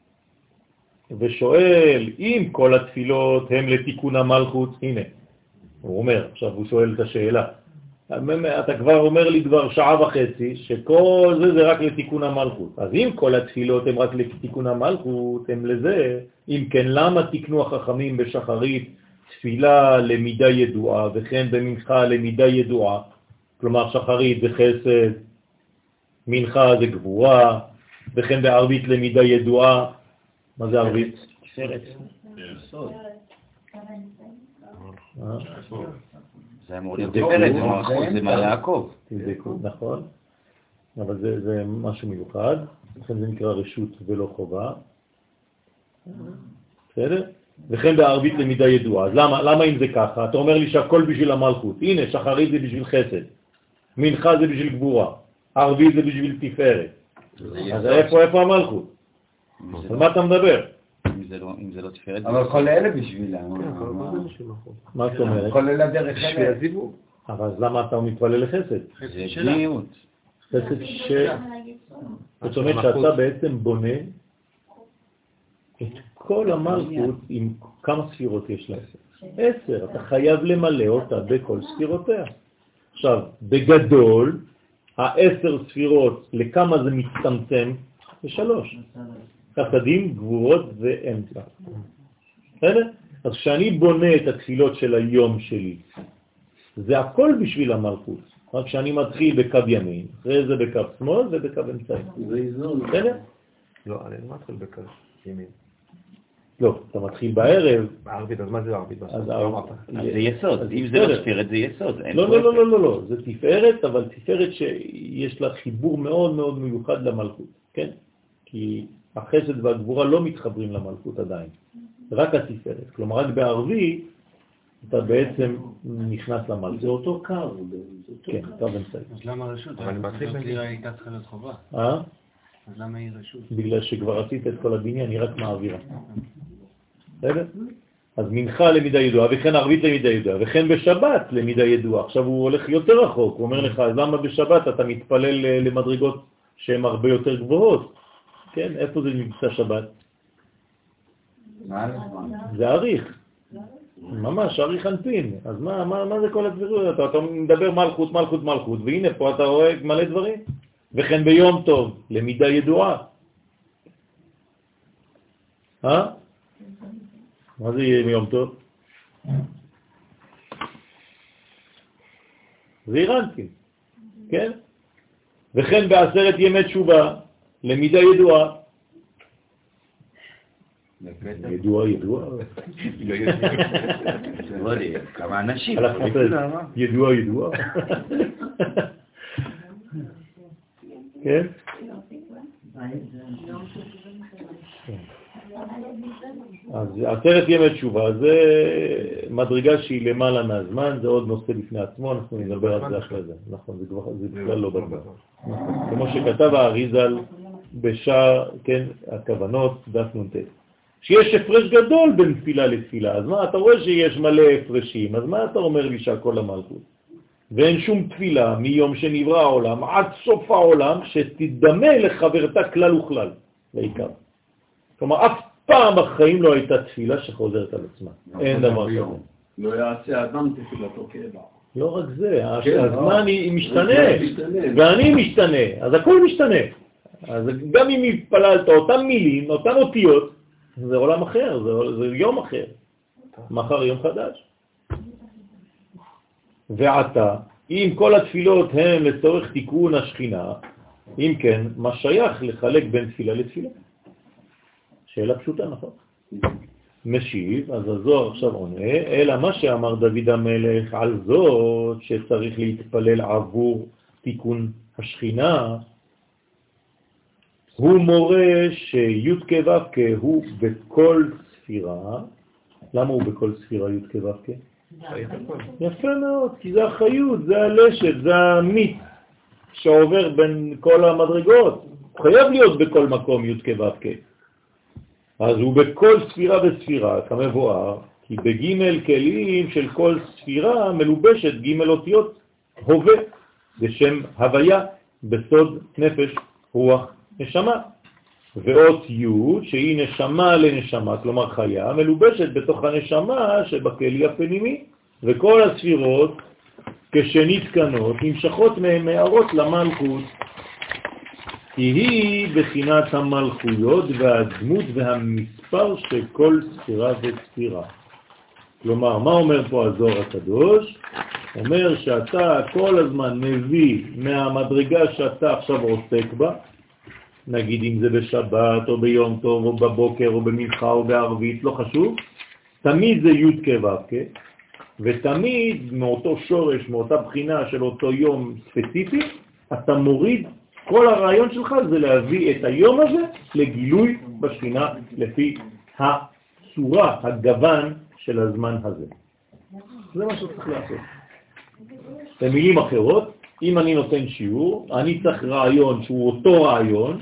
ושואל אם כל התפילות הם לתיקון המלכות, הנה, הוא אומר, עכשיו הוא שואל את השאלה. אתה כבר אומר לי כבר שעה וחצי שכל זה זה רק לתיקון המלכות. אז אם כל התפילות הם רק לתיקון המלכות, הם לזה, אם כן למה תקנו החכמים בשחרית תפילה למידה ידועה וכן במנחה למידה ידועה? כלומר שחרית זה חסד, מנחה זה גבורה, וכן בערבית למידה ידועה. מה זה ערבית? סרט. זה אמור להיות תפארת, זה מעלה יעקב. נכון, אבל זה, זה משהו מיוחד, לכן זה נקרא רשות ולא חובה. בסדר? וכן בערבית למידה ידועה. אז למה, למה אם זה ככה? אתה אומר לי שהכל בשביל המלכות. הנה, שחרית זה בשביל חסד, מנחה זה בשביל גבורה, ערבית זה בשביל תפארת. אז איפה, איפה המלכות? על מה אתה מדבר? אם זה לא תפארת... אבל כל אלה בשבילה. מה זאת אומרת? כל אלה דרך אלה. אבל למה אתה מתפלל לחסד? זה בניות. חסד ש... זאת אומרת שאתה בעצם בונה את כל המלכות עם כמה ספירות יש לה? עשר. אתה חייב למלא אותה בכל ספירותיה. עכשיו, בגדול, העשר ספירות, לכמה זה מצטמצם? לשלוש. חסדים, גבורות ואמצע. בסדר? אז כשאני בונה את התפילות של היום שלי, זה הכל בשביל המלכות. רק כשאני מתחיל בקו ימין, אחרי זה בקו שמאל ובקו אמצעי. זה איזון. בסדר? לא, אני לא מתחיל בקו ימין. לא, אתה מתחיל בערב. בערבית, אז מה זה ערבית? אז זה יסוד, אם זה לא תפארת זה יסוד. לא, לא, לא, לא, לא, זה תפארת, אבל תפארת שיש לה חיבור מאוד מאוד מיוחד למלכות, כן? כי החסד והגבורה לא מתחברים למלכות עדיין. רק התפארת. כלומר, רק בערבי אתה בעצם נכנס למלכות. זה אותו קו. כן, קו אמצעי. אז למה רשות? אבל רשות הייתה צריכה להיות חובה. אה? אז למה היא רשות? בגלל שכבר עשית את כל הבניין, היא רק מעבירה. בסדר? אז מנחה למידה ידועה, וכן ערבית למידה ידועה, וכן בשבת למידה ידועה. עכשיו הוא הולך יותר רחוק, הוא אומר לך, אז למה בשבת אתה מתפלל למדרגות שהן הרבה יותר גבוהות? כן, איפה זה נמצא שבת? זה עריך. ממש, עריך אנפין. אז מה, מה, מה זה כל הדברים? אתה, אתה מדבר מלכות, מלכות, מלכות, והנה פה אתה רואה מלא דברים. וכן ביום טוב, למידה ידועה. אה? מה זה יהיה ביום טוב? זה אירנטים, כן? וכן בעשרת ימי תשובה, למידה ידועה. ידועה, ידועה. כמה אנשים. ידועה, ידועה. כן? אז עשרת ימי תשובה זה מדרגה שהיא למעלה מהזמן, זה עוד נושא בפני עצמו, אנחנו נדבר על זה אחרי זה. נכון, זה כבר, זה בכלל לא בזמן. כמו שכתב האריזל בשער, כן, הכוונות, דף נ"ט. שיש הפרש גדול בין תפילה לתפילה, אז מה, אתה רואה שיש מלא הפרשים, אז מה אתה אומר לי שהכל המלכות? ואין שום תפילה מיום שנברא העולם עד סוף העולם שתדמה לחברתה כלל וכלל, בעיקר. כלומר, אף פעם בחיים לא הייתה תפילה שחוזרת על עצמה. אין דבר כזה. לא יעשה אדם תפילתו כאבה. לא רק זה, הזמן משתנה, ואני משתנה, אז הכל משתנה. אז גם אם התפללת אותם מילים, אותם אותיות, זה עולם אחר, זה, זה יום אחר. מחר יום חדש. ועתה, אם כל התפילות הן לצורך תיקון השכינה, אם כן, מה שייך לחלק בין תפילה לתפילה? שאלה פשוטה, נכון? משיב, אז הזוהר עכשיו עונה, אלא מה שאמר דוד המלך על זאת שצריך להתפלל עבור תיקון השכינה, הוא מורה שי' כ' ו' כ' הוא בכל ספירה. למה הוא בכל ספירה י' כ' ו' כ'? יפה מאוד, כי זה החיות, זה הלשת, זה המיץ שעובר בין כל המדרגות. הוא חייב להיות בכל מקום י' כ' ו' כ'. אז הוא בכל ספירה וספירה, כמבואר, כי בג' כלים של כל ספירה מלובשת ג' אותיות הווה, בשם הוויה, בסוד נפש, רוח, נשמה. ואות י' שהיא נשמה לנשמה, כלומר חיה, מלובשת בתוך הנשמה שבכלי הפנימי, וכל הספירות כשנתקנות נמשכות מהן מערות למלכות, כי היא בחינת המלכויות והדמות והמספר של כל ספירה וספירה. כלומר, מה אומר פה הזוהר הקדוש? אומר שאתה כל הזמן מביא מהמדרגה שאתה עכשיו עוסק בה, נגיד אם זה בשבת או ביום טוב או בבוקר או במנחה או בערבית, לא חשוב, תמיד זה י' כ' ו' כ', ותמיד מאותו שורש, מאותה בחינה של אותו יום ספציפי, אתה מוריד, כל הרעיון שלך זה להביא את היום הזה לגילוי בשכינה לפי הצורה, הגוון של הזמן הזה. זה מה שצריך לעשות. במילים אחרות, אם אני נותן שיעור, אני צריך רעיון שהוא אותו רעיון,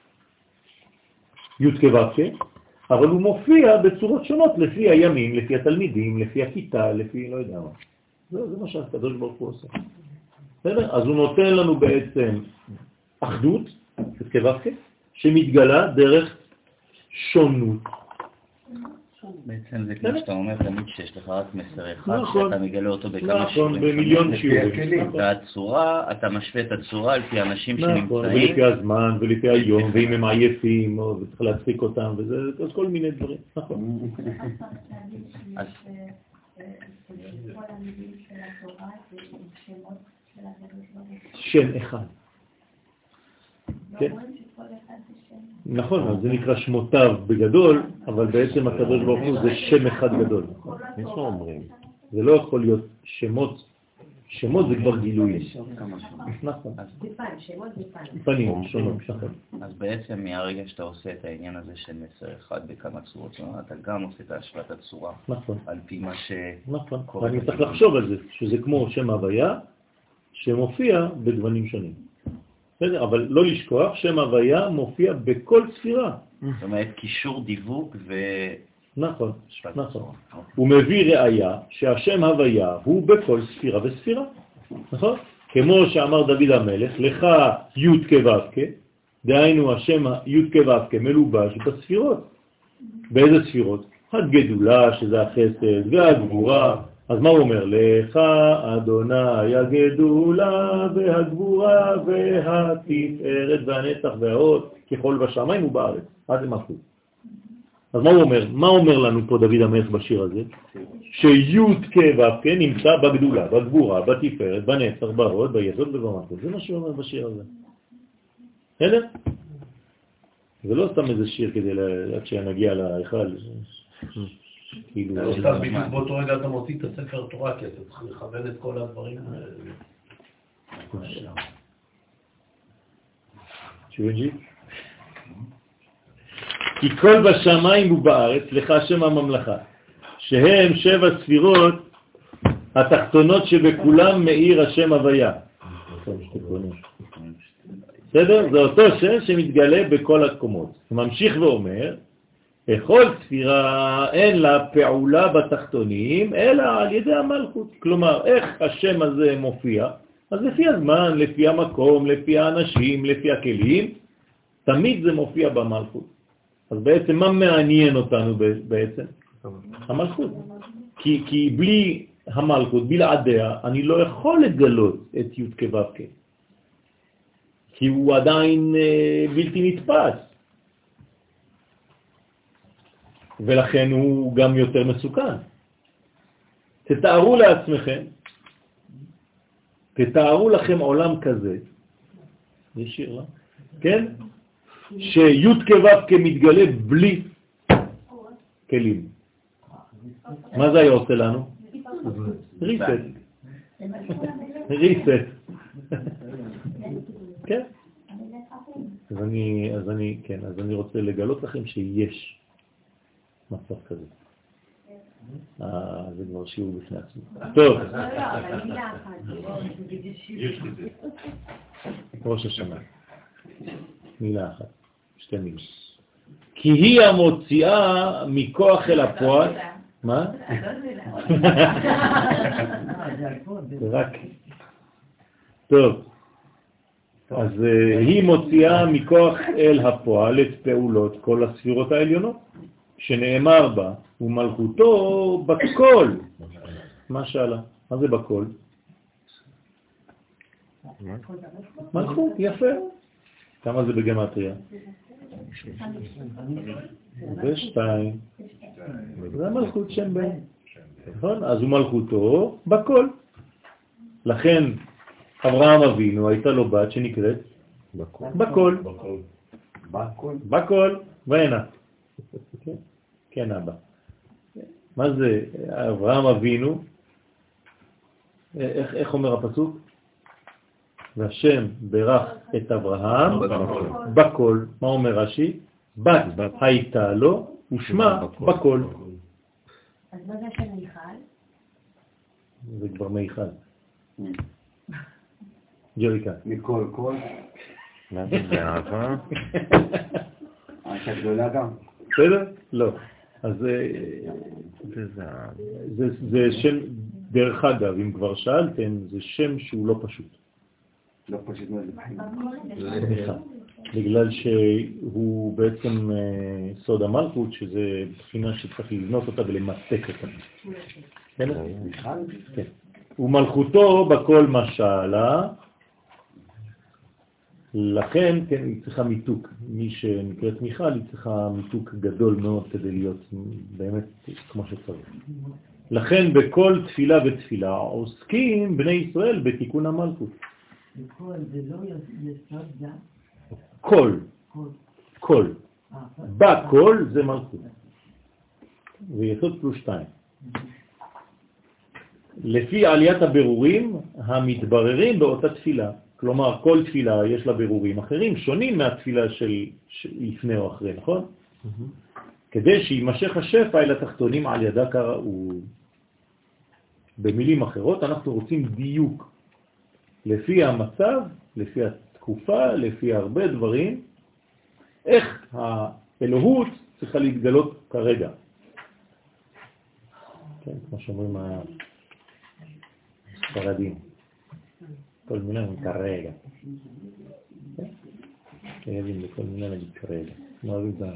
י' כ' ו' כ', אבל הוא מופיע בצורות שונות לפי הימים, לפי התלמידים, לפי הכיתה, לפי לא יודע מה. זה, זה מה שהקדוש ברוך הוא עושה. בסדר? אז הוא נותן לנו בעצם אחדות, י' כ' ו' כ', שמתגלה דרך שונות. בעצם זה כמו שאתה אומר תמיד שיש לך רק מסר אחד, נכון, שאתה מגלה אותו בכמה נכון, שיעורים. במיליון שיעורים. והצורה, אתה משווה את הצורה על פי אנשים נכון, שנמצאים. ולפי הזמן, ולפי היום, ואם הם עייפים, או צריך להצחיק אותם, וזה, אז כל מיני דברים. נכון. אז שם אחד. כן? נכון, אז זה נקרא שמותיו בגדול, אבל בעצם הקדוש ברוך הוא זה שם אחד גדול. יש לו אומרים. זה לא יכול להיות שמות שמות זה כבר גילוי. נכון. שמות זה פן. פנים, שונות, נכון. אז בעצם מהרגע שאתה עושה את העניין הזה של מסר אחד בכמה צורות, אתה גם עושה את השוואת הצורה. נכון. על פי מה ש... נכון. ואני צריך לחשוב על זה, שזה כמו שם הוויה, שמופיע בגוונים שונים. בסדר, אבל לא לשכוח, שם הוויה מופיע בכל ספירה. זאת אומרת, קישור דיווג ו... נכון, נכון. הוא מביא ראיה שהשם הוויה הוא בכל ספירה וספירה. נכון? כמו שאמר דוד המלך, לך י' כו' כ', דהיינו השם י' כו' כ' מלובש בספירות. באיזה ספירות? הגדולה, שזה החסד, והגבורה. אז מה הוא אומר? לך אדוני הגדולה והגבורה והתפארת והנצח וההוד ככל בשמיים ובארץ. עד למלכות. אז מה הוא אומר? מה אומר לנו פה דוד המלך בשיר הזה? שי' כו' כ' נמצא בגדולה, בגבורה, בתפארת, בנצח, בהוד, ביסוד ובמלכות. זה מה שהוא אומר בשיר הזה. בסדר? זה לא סתם איזה שיר כדי עד שנגיע להיכל. כאילו, סתם בדיוק באותו רגע אתה מוציא את הספר תורה, כי אתה צריך לכוון את כל הדברים. שובנג'י? כי כל בשמיים ובארץ לך שם הממלכה, שהם שבע ספירות התחתונות שבכולם מאיר השם הוויה. בסדר? זה אותו שם שמתגלה בכל הקומות. הוא ממשיך ואומר, בכל ספירה אין לה פעולה בתחתונים, אלא על ידי המלכות. כלומר, איך השם הזה מופיע? אז לפי הזמן, לפי המקום, לפי האנשים, לפי הכלים, תמיד זה מופיע במלכות. אז בעצם מה מעניין אותנו בעצם? המלכות. כי, כי בלי המלכות, בלעדיה, אני לא יכול לגלות את י' כו' כ'. כי הוא עדיין אה, בלתי נתפס. ולכן הוא גם יותר מסוכן. תתארו לעצמכם, תתארו לכם עולם כזה, יש שיר, לא? כן? שי' כו' כמתגלה בלי כלים. מה זה היה עושה לנו? ריסט. ריסט. כן? אז אני, אז אני, כן, אז אני רוצה לגלות לכם שיש מצב כזה. אה, זה כבר שיעור בפני עצמו. טוב. ראש השנה. מילה אחת. שתי מילים. כי היא המוציאה מכוח אל הפועל. מה? רק. טוב. אז היא מוציאה מכוח אל הפועל את פעולות כל הספירות העליונות, שנאמר בה, ומלכותו בכל. מה שאלה? מה זה בכל? מלכות, יפה. כמה זה בגמטריה? ושתיים. זה המלכות שם בן. נכון? אז הוא מלכותו בכל. לכן אברהם אבינו הייתה לו בת שנקראת בכל. בכל. בכל. והנה. כן אבא. מה זה אברהם אבינו? איך, איך אומר הפסוק? והשם ברך את אברהם בכל. מה אומר רש"י? בת הייתה לו ושמה בכל. אז מה זה השם מיכל? זה כבר מיכל. ג'ריקה. מכל כל. מה זה באהבה? הייתה גדולה גם. בסדר? לא. אז זה שם, דרך אגב, אם כבר שאלתם, זה שם שהוא לא פשוט. לא פשוט מאוד לבחין. בגלל שהוא בעצם סוד המלכות, שזה בחינה שצריך לבנות אותה ולמתק אותה. כן? כן. ומלכותו בכל משלה, לכן כן, היא צריכה מיתוק. מי שנקראת מיכל, היא צריכה מיתוק גדול מאוד כדי להיות באמת כמו שצריך. לכן בכל תפילה ותפילה עוסקים בני ישראל בתיקון המלכות. בכל, זה לא יסוד זה? כל. כל. בכל זה מלכות. ויסוד פלוס שתיים. לפי עליית הבירורים המתבררים באותה תפילה. כלומר, כל תפילה יש לה בירורים אחרים, שונים מהתפילה של, של לפני או אחרי, נכון? Mm-hmm. כדי שימשך השפע אל התחתונים על ידה כראוי. במילים אחרות, אנחנו רוצים דיוק לפי המצב, לפי התקופה, לפי הרבה דברים, איך האלוהות צריכה להתגלות כרגע. כן, כמו שאומרים הספרדים. כל מילה נגיד כרגע. כן, יודעים לכל מילה נגיד כרגע. מה אוהבים את ה...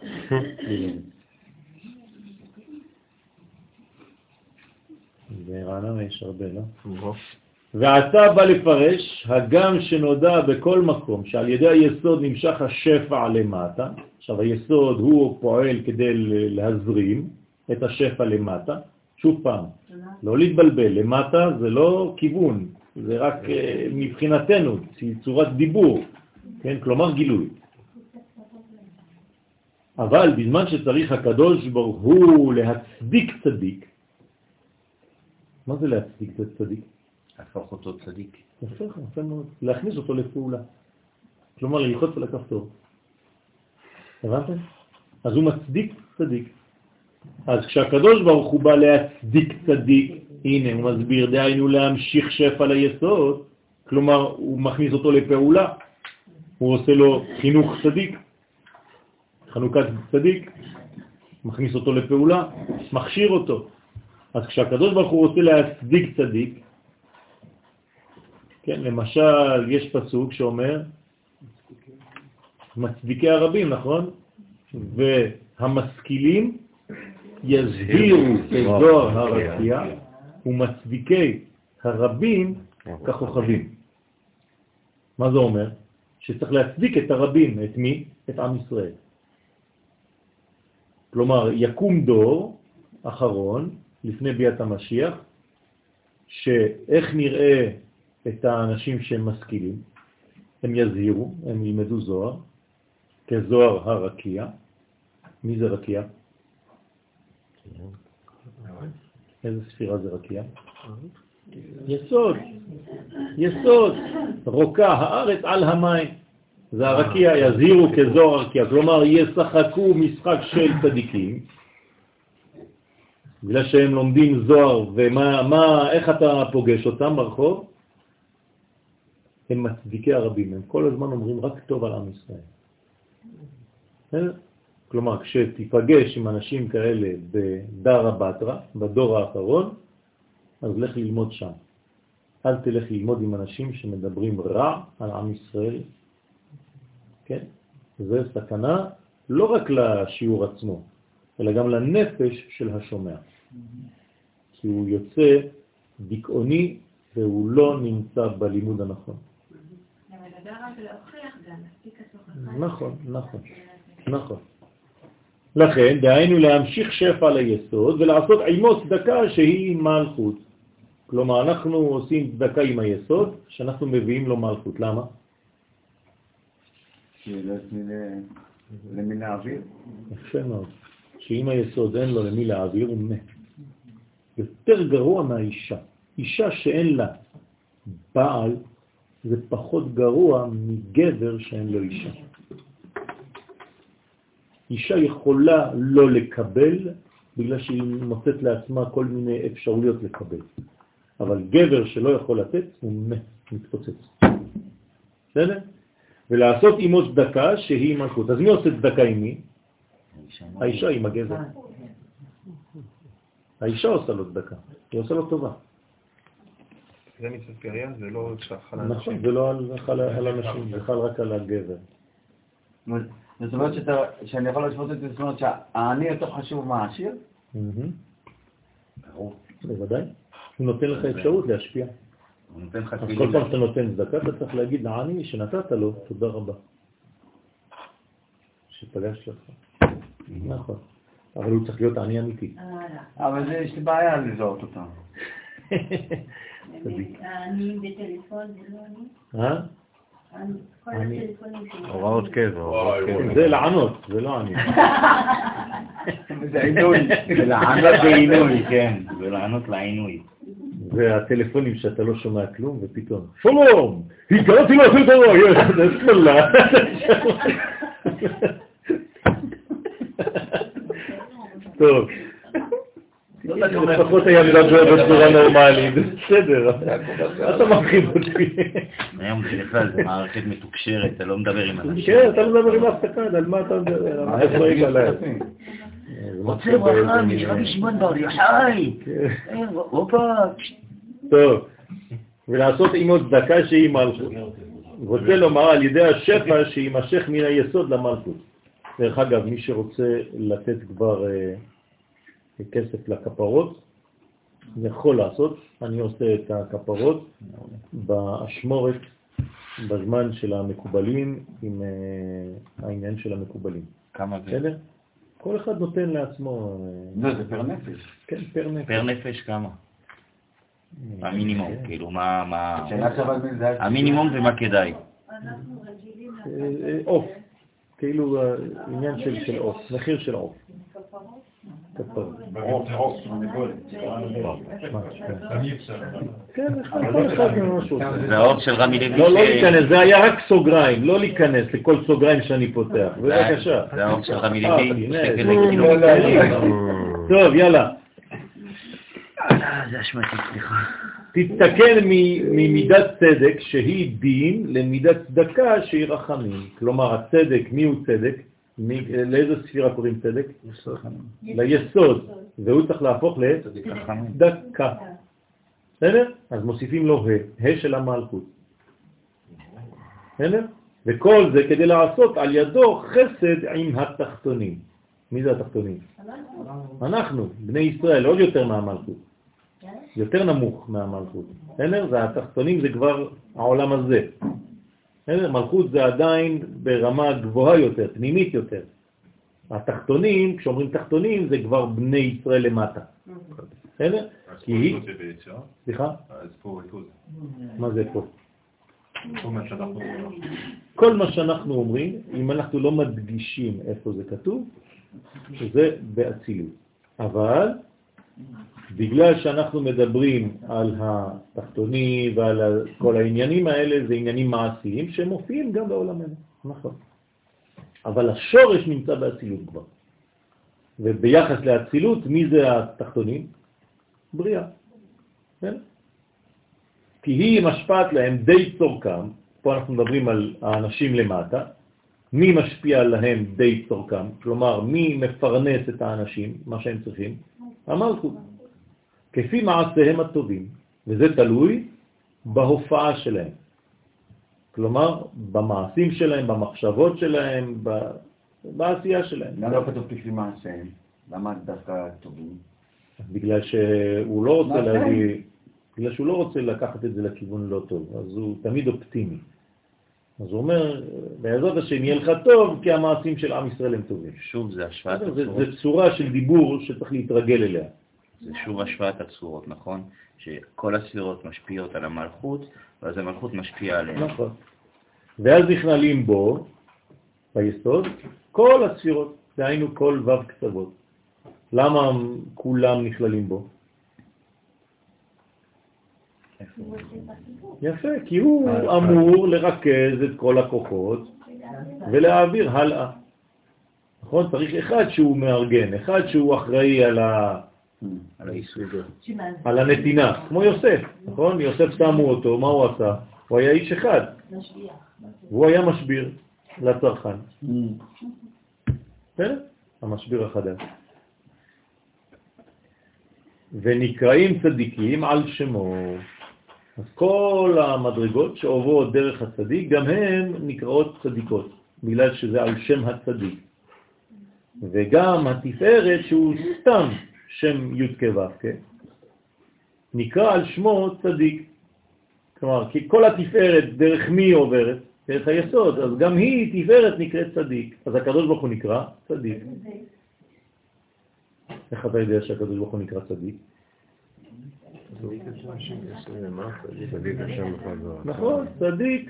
ברעננה יש הרבה, לא? ועתה בא לפרש, הגם שנודע בכל מקום שעל ידי היסוד נמשך השפע למטה, עכשיו היסוד הוא פועל כדי להזרים את השפע למטה, שוב פעם, לא להתבלבל, למטה זה לא כיוון, זה רק מבחינתנו, צורת דיבור, כן? כלומר גילוי. אבל בזמן שצריך הקדוש ברוך הוא להצדיק צדיק, מה זה להצדיק את הצדיק? להפוך אותו צדיק. יפה, יפה מאוד. להכניס אותו לפעולה. כלומר, ללחוץ על הכפתור. הבנתם? אז הוא מצדיק צדיק. אז כשהקדוש ברוך הוא בא להצדיק צדיק, הנה הוא מסביר, דהיינו להמשיך שפע ליסוד, כלומר הוא מכניס אותו לפעולה, הוא עושה לו חינוך צדיק, חנוכת צדיק, מכניס אותו לפעולה, מכשיר אותו. אז כשהקדוש ברוך הוא רוצה להצדיק צדיק, כן, למשל יש פסוק שאומר מצדיקי הרבים, נכון? והמשכילים יזהירו כזוהר הרקיע ומצדיקי הרבים ככוכבים. מה זה אומר? שצריך להצדיק את הרבים, את מי? את עם ישראל. כלומר, יקום דור אחרון לפני ביאת המשיח, שאיך נראה את האנשים שהם משכילים, הם יזהירו, הם ילמדו זוהר, כזוהר הרקיע. מי זה רקיע? איזה ספירה זה רקיע? יסוד, יסוד, רוקה הארץ על המים. זה הרקיע, יזהירו כזוהר הרקיע, כלומר ישחקו משחק של צדיקים, בגלל שהם לומדים זוהר, ומה, מה, איך אתה פוגש אותם ברחוב? הם מצדיקי הרבים, הם כל הזמן אומרים רק טוב על עם ישראל. כלומר, כשתיפגש עם אנשים כאלה בדרה בתרה, בדור האחרון, אז לך ללמוד שם. אל תלך ללמוד עם אנשים שמדברים רע על עם ישראל. כן? זה סכנה לא רק לשיעור עצמו, אלא גם לנפש של השומע. כי הוא יוצא דיכאוני והוא לא נמצא בלימוד הנכון. נכון, נכון, נכון. לכן, דהיינו להמשיך שפע ליסוד ולעשות עמו צדקה שהיא מלכות. כלומר, אנחנו עושים צדקה עם היסוד, שאנחנו מביאים לו מלכות. למה? כי לא יש למי להעביר. יפה מאוד. שאם היסוד אין לו למי להעביר, הוא מת. יותר גרוע מהאישה. אישה שאין לה בעל, זה פחות גרוע מגבר שאין לו אישה. אישה יכולה לא לקבל, בגלל שהיא מוצאת לעצמה כל מיני אפשרויות לקבל. אבל גבר שלא יכול לתת, הוא מת, מתפוצץ. בסדר? ולעשות עמו צדקה שהיא מלכות. אז מי עושה צדקה עם מי? האישה עם הגבר. האישה עושה לו צדקה, היא עושה לו טובה. זה מצוות פריה, זה לא חל על נכון, זה לא על אנשים, זה חל רק על הגבר. זאת אומרת שאני יכול לשפוט את זה, זאת אומרת שהעני יותר חשוב מהעשיר? ברור. בוודאי. הוא נותן לך אפשרות להשפיע. אז כל פעם שאתה נותן צדקה, אתה צריך להגיד לעני שנתת לו, תודה רבה. שפגש לך. נכון. אבל הוא צריך להיות עני אמיתי. אבל יש לי בעיה לזהות אותם. אני בטלפון, זה לא אני? אה? כל הטלפונים שלי. הוראות קבע. זה לענות, זה לא עני. זה עינוי. זה לענות בעינוי, כן. זה לענות לעינוי. והטלפונים שאתה לא שומע כלום, ופתאום, שלום, הגעתי לעשות דבר, יש, שמאלה. טוב. לפחות היה מדבר בצורה נורמלית, בסדר, אתה מרחיב אותי. היום בכלל זה מערכת מתוקשרת, אתה לא מדבר עם אנשים. כן, אתה לא מדבר עם אף אחד, על מה אתה מדבר? רוצה ברכה משרבי שמעון בר יוחאי. הופה. טוב, ולעשות עמו צדקה שהיא מלכות. רוצה לומר על ידי השפע שימשך מן היסוד למלכות. דרך אגב, מי שרוצה לתת כבר כסף לכפרות, יכול לעשות. אני עושה את הכפרות באשמורת בזמן של המקובלים עם העניין של המקובלים. כמה זה? בסדר? כל אחד נותן לעצמו... לא, זה פר נפש. כן, פר נפש. פר נפש כמה? המינימום, כאילו, מה... המינימום ומה כדאי? אוף, כאילו עניין של אוף, מחיר של אוף. ברוב, ברוב, כן, כל אחד משהו. זה האור של רמי לוי. לא, לא להיכנס, זה היה רק סוגריים, לא להיכנס לכל סוגריים שאני פותח. בבקשה. זה האור של רמי לוי. טוב, יאללה. זה אשמתי, סליחה. תתקן ממידת צדק שהיא דין למידת צדקה שהיא רחמים. כלומר, הצדק, מי הוא צדק? לאיזה ספירה קוראים צדק? ליסוד, והוא צריך להפוך לצדקה. בסדר? אז מוסיפים לו ה, ה של המלכות. בסדר? וכל זה כדי לעשות על ידו חסד עם התחתונים. מי זה התחתונים? אנחנו, בני ישראל, עוד יותר מהמלכות. יותר נמוך מהמלכות. בסדר? זה התחתונים, זה כבר העולם הזה. מלכות זה עדיין ברמה גבוהה יותר, פנימית יותר. התחתונים, כשאומרים תחתונים, זה כבר בני ישראל למטה. בסדר? אז פה איתו זה ביצירה? סליחה? אז פה איתו זה. מה זה פה? כל מה שאנחנו אומרים. כל מה שאנחנו אומרים, אם אנחנו לא מדגישים איפה זה כתוב, זה באצילות. אבל בגלל שאנחנו מדברים על התחתונים ועל כל העניינים האלה, זה עניינים מעשיים שמופיעים גם בעולמנו, נכון. אבל השורש נמצא באצילות כבר. וביחס לאצילות, מי זה התחתונים? בריאה. כן? כי היא משפעת להם די צורכם, פה אנחנו מדברים על האנשים למטה, מי משפיע להם די צורכם, כלומר מי מפרנס את האנשים, מה שהם צריכים? המלכות. כפי מעשיהם הטובים, וזה תלוי בהופעה שלהם. כלומר, במעשים שלהם, במחשבות שלהם, בעשייה שלהם. למה לא כתוב כפי מעשיהם? למה דווקא טובים? בגלל שהוא לא רוצה להביא, בגלל שהוא לא רוצה לקחת את זה לכיוון לא טוב, אז הוא תמיד אופטימי. אז הוא אומר, בעזרת השם יהיה לך טוב, כי המעשים של עם ישראל הם טובים. שוב, זה השוואת הצורות. זה צורה של דיבור שצריך להתרגל אליה. זה שוב השוואת הצורות, נכון? שכל הספירות משפיעות על המלכות, ואז המלכות משפיעה עליהם. נכון. ואז נכללים בו, ביסוד, כל הספירות, דהיינו כל וו קצוות. למה כולם נכללים בו? יפה, כי הוא אמור לרכז את כל הכוחות ולהעביר הלאה. נכון? צריך אחד שהוא מארגן, אחד שהוא אחראי על ה... על היסוד, על הנתינה, כמו יוסף, נכון? יוסף שמו אותו, מה הוא עשה? הוא היה איש אחד, והוא היה משביר לצרכן. בסדר? המשביר החדש. ונקראים צדיקים על שמו. אז כל המדרגות שעוברות דרך הצדיק, גם הן נקראות צדיקות, בגלל שזה על שם הצדיק. וגם התפארת שהוא סתם שם י' כו' כן? נקרא על שמו צדיק. כלומר, כי כל התפארת דרך מי עוברת? דרך היסוד, אז גם היא תפארת נקראת צדיק. אז הקדוש ברוך הוא נקרא צדיק. איך אתה יודע שהקדוש ברוך הוא נקרא צדיק? נכון, צדיק.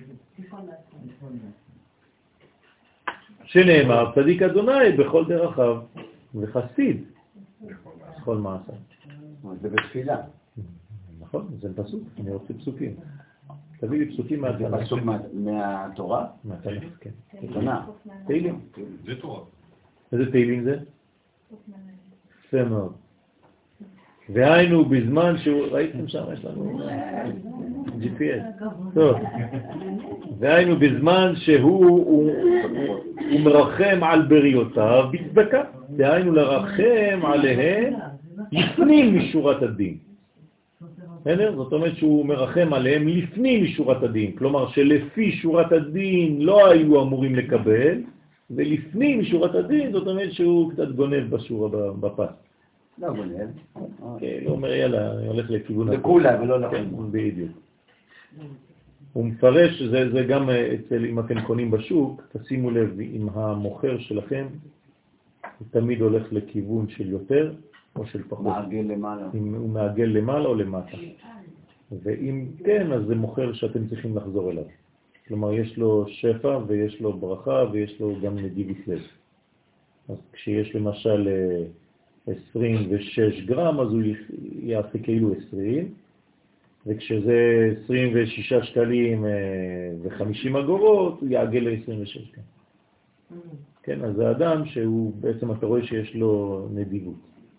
שנאמר, צדיק אדוני בכל דרכיו, וחסיד בכל מעשה. זה בתפילה. נכון, זה פסוק, אני רוצה פסוקים. תביא לי פסוקים מהתנ"ך. פסוק מהתורה? מהתנ"ך, כן. תנ"ך. תהילים. זה תורה. איזה תהילים זה? יפה מאוד. והיינו בזמן שהוא, ראיתם שם, יש לנו ג'י פי אס. טוב. והיינו בזמן שהוא הוא, הוא מרחם על בריאותיו בצדקה. והיינו לרחם עליהם לפנים משורת הדין. זאת אומרת שהוא מרחם עליהם לפנים משורת הדין. כלומר שלפי שורת הדין לא היו אמורים לקבל, ולפנים משורת הדין זאת אומרת שהוא קצת גונב בשורה בפס. לא גונב. כן, הוא אומר יאללה, אני הולך לכיוון... לכולה ולא לכולה. בדיוק. הוא מפרש, זה, זה גם אצל, אם אתם קונים בשוק, תשימו לב, אם המוכר שלכם הוא תמיד הולך לכיוון של יותר או של פחות. מעגל למעלה. אם הוא מעגל למעלה או למטה. ואם כן, אז זה מוכר שאתם צריכים לחזור אליו. כלומר, יש לו שפע ויש לו ברכה ויש לו גם נדיבות לב. אז כשיש למשל עשרים ושש גרם, אז הוא יעשה כאילו עשרים, וכשזה עשרים ושישה שקלים ו-חמישים אגורות, הוא יעגל ל-עשרים ושש גרם. כן, אז זה אדם שהוא בעצם אתה רואה שיש לו נדיבות.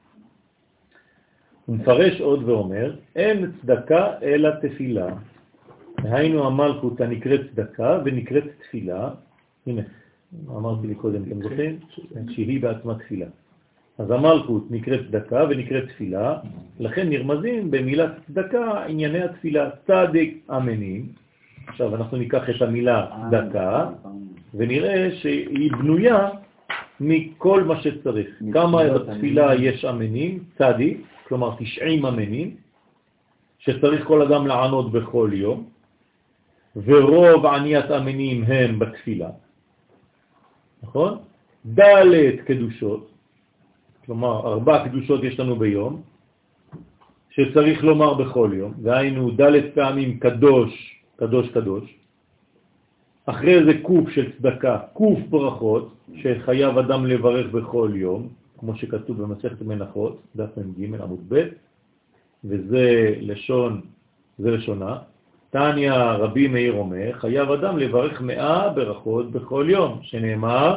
הוא מפרש עוד ואומר, אין צדקה אלא תפילה. היינו המלכות הנקראת צדקה ונקראת תפילה. הנה, אמרתי לי קודם, אתם זוכרים? שהיא בעצמה תפילה. אז המלכות נקראת צדקה ונקראת תפילה, לכן נרמזים במילת צדקה ענייני התפילה, צדק אמנים. עכשיו אנחנו ניקח את המילה צדקה ונראה שהיא בנויה מכל מה שצריך. כמה בתפילה יש אמנים, צדיק, כלומר תשעים אמנים, שצריך כל אדם לענות בכל יום, ורוב עניית אמנים הם בתפילה. נכון? ד' קדושות, כלומר ארבע קדושות יש לנו ביום, שצריך לומר בכל יום, והיינו ד' פעמים קדוש, קדוש קדוש. אחרי זה קוף של צדקה, קוף ברכות, שחייב אדם לברך בכל יום, כמו שכתוב במסכת מנחות, דף מ"ג עמוד ב', וזה לשון, זה לשונה. תניא רבי מאיר אומר, חייב אדם לברך מאה ברכות בכל יום, שנאמר,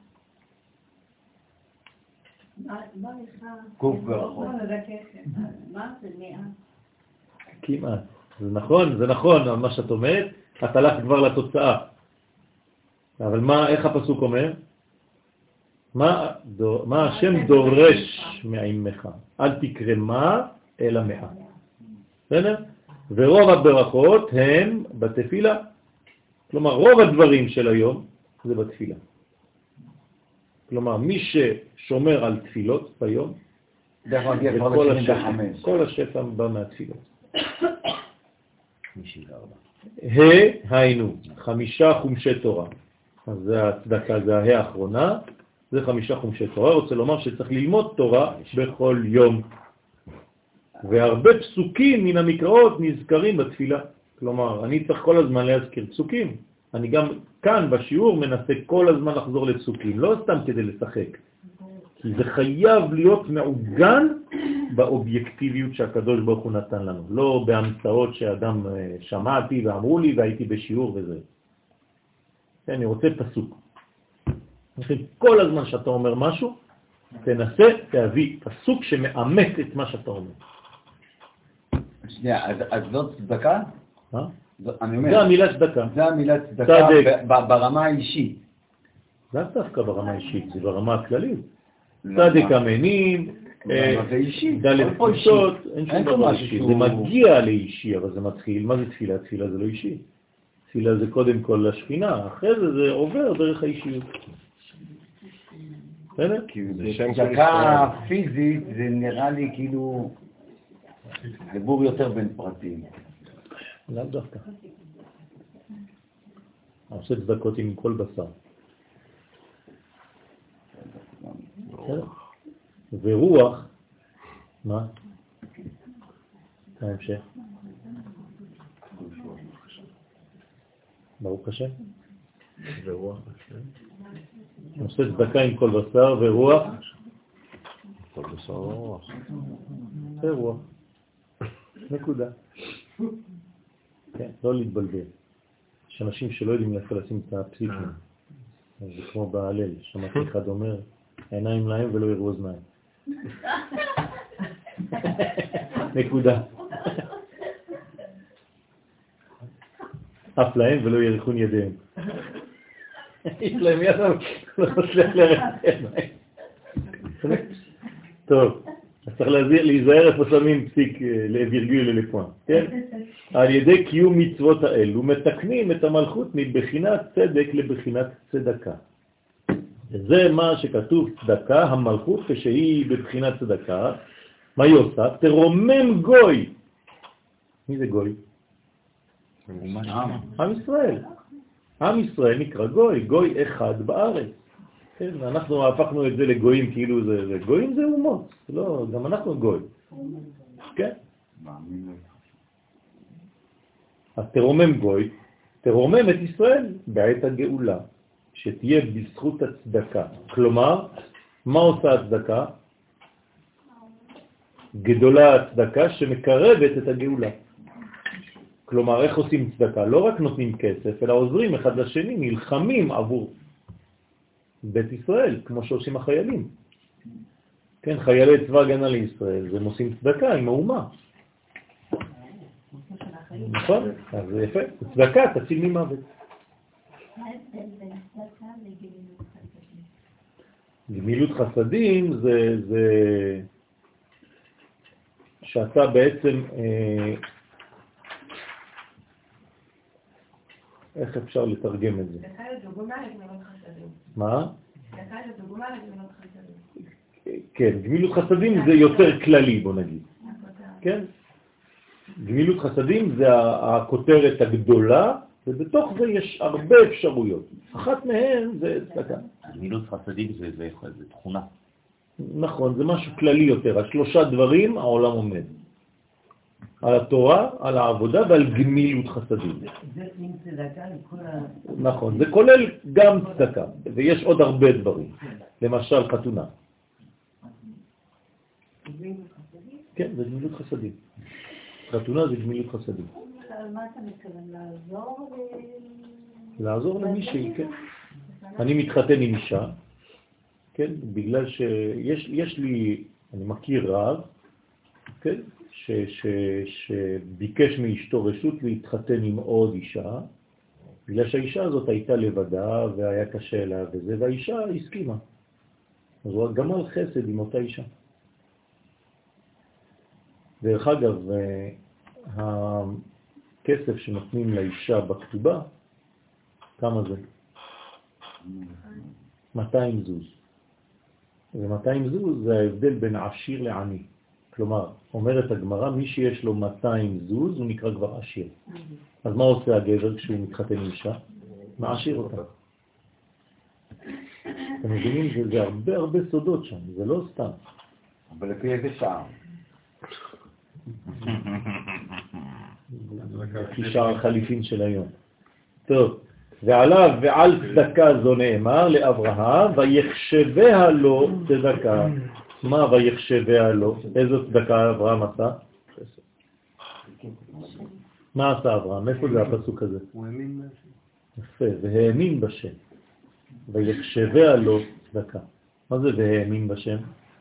קוף ברכות. מה זה מאה? כמעט. זה נכון, זה נכון, מה שאת אומרת, את הלכת כבר לתוצאה. אבל מה, איך הפסוק אומר? מה, דו, מה השם דורש מעמך? אל תקרא מה, אלא מאה. בסדר? ורוב הברכות הם בתפילה. כלומר, רוב הדברים של היום זה בתפילה. כלומר, מי ששומר על תפילות ביום, כל השפע, כל השפע בא מהתפילות. היינו, חמישה חומשי תורה. אז זה הצדקה, זה הה האחרונה, זה חמישה חומשי תורה. רוצה לומר שצריך ללמוד תורה בכל יום. והרבה פסוקים מן המקראות נזכרים בתפילה. כלומר, אני צריך כל הזמן להזכיר פסוקים. אני גם כאן בשיעור מנסה כל הזמן לחזור לפסוקים, לא סתם כדי לשחק. כי זה חייב להיות מעוגן באובייקטיביות שהקדוש ברוך הוא נתן לנו. לא בהמצאות שאדם שמעתי ואמרו לי והייתי בשיעור וזה. אני רוצה פסוק. כל הזמן שאתה אומר משהו, תנסה להביא פסוק שמאמת את מה שאתה אומר. שנייה, אז זאת צדקה? מה? אני אומר, זה המילה צדקה. זה המילה צדקה ברמה האישית. זה דווקא ברמה האישית, זה ברמה הכללית. צדק אמנים, ד' קדושות, אין שום דבר אישי. זה מגיע לאישי, אבל זה מתחיל. מה זה תפילה? תפילה זה לא אישי. תפילה זה קודם כל לשכינה, אחרי זה זה עובר דרך האישיות. בסדר? צדקה פיזית זה נראה לי כאילו חיבור יותר בין פרטים. לאו דווקא. עושה צדקות עם כל בשר. ורוח, מה? ההמשך. ברוך השם. ורוח. עושה צדקה עם כל בשר ורוח. כל בשר ורוח. זה רוח. נקודה. כן, לא להתבלבל. יש אנשים שלא יודעים איפה לשים את הפסיקים. זה כמו בהלל, שמעתי אחד אומר, העיניים להם ולא יראו אוזניים. נקודה. אף להם ולא ירחון ידיהם. יש להם יד, לא מצליח לרחם עיניים. טוב, אז צריך להיזהר איפה שמים פסיק לווירגול ללפון, כן? על ידי קיום מצוות האלו מתקנים את המלכות מבחינת צדק לבחינת צדקה. זה מה שכתוב צדקה, המלכות כשהיא בבחינת צדקה, מה היא עושה? תרומם גוי. מי זה גוי? עם ישראל. עם ישראל נקרא גוי, גוי אחד בארץ. כן, אנחנו הפכנו את זה לגויים כאילו זה, זה גויים זה אומות, לא, גם אנחנו גוי. כן? אז תרומם גוי, תרומם את ישראל בעת הגאולה, שתהיה בזכות הצדקה. כלומר, מה עושה הצדקה? גדולה הצדקה שמקרבת את הגאולה. כלומר, איך עושים צדקה? לא רק נותנים כסף, אלא עוזרים אחד לשני, נלחמים עבור בית ישראל, כמו שעושים החיילים. כן, חיילי צבא הגנה לישראל, זה עושים צדקה עם האומה. נכון? אז זה יפה. צדקה תציל ממוות. מה ההבדל בין צדקה לגמילות חסדים? גמילות חסדים זה, זה שאתה בעצם, אה, איך אפשר לתרגם את זה? צדקה זה דוגמה לגמילות חסדים. מה? צדקה זה דוגמה לגמילות חסדים. כן, גמילות חסדים זה יותר כללי, בוא נגיד. כן? גמילות חסדים זה הכותרת הגדולה, ובתוך זה יש הרבה אפשרויות. אחת מהן זה צדקה. גמילות חסדים זה, זה, זה תכונה. נכון, זה משהו כללי יותר. על שלושה דברים העולם עומד. על התורה, על העבודה ועל גמילות חסדים. זה עם צדקה לכל ה... נכון, זה כולל גם צדקה, ויש עוד הרבה דברים. למשל חתונה. כן, זה גמילות חסדים. חתונה זה גמילות חסדים. על מה אתה מתכוון? לעזור? לעזור למישהי, כן. אני מתחתן עם אישה, כן, בגלל שיש יש לי, אני מכיר רב, כן, ש, ש, שביקש מאשתו רשות להתחתן עם עוד אישה, בגלל שהאישה הזאת הייתה לבדה והיה קשה לה וזה, והאישה הסכימה. אז הוא גמל חסד עם אותה אישה. דרך אגב, הכסף שנותנים לאישה בכתובה, כמה זה? מאתיים זוז. ו-מאתיים זוז זה ההבדל בין עשיר לעני. כלומר, אומרת הגמרא, מי שיש לו מאתיים זוז הוא נקרא כבר עשיר. אז מה עושה הגבר כשהוא מתחתן עם אישה? מעשיר אותה. אתם מבינים? זה, זה הרבה הרבה סודות שם, זה לא סתם. אבל לפי איזה שער? לפי שער החליפין של היום. טוב, ועליו ועל צדקה זו נאמר לאברהם, ויחשביה לו צדקה. מה ויחשביה לו? איזו צדקה אברהם עשה? מה עשה אברהם? איפה זה הפסוק הזה? הוא האמין בשם. יפה, והאמין בשם. ויחשביה לו צדקה. מה זה והאמין בשם?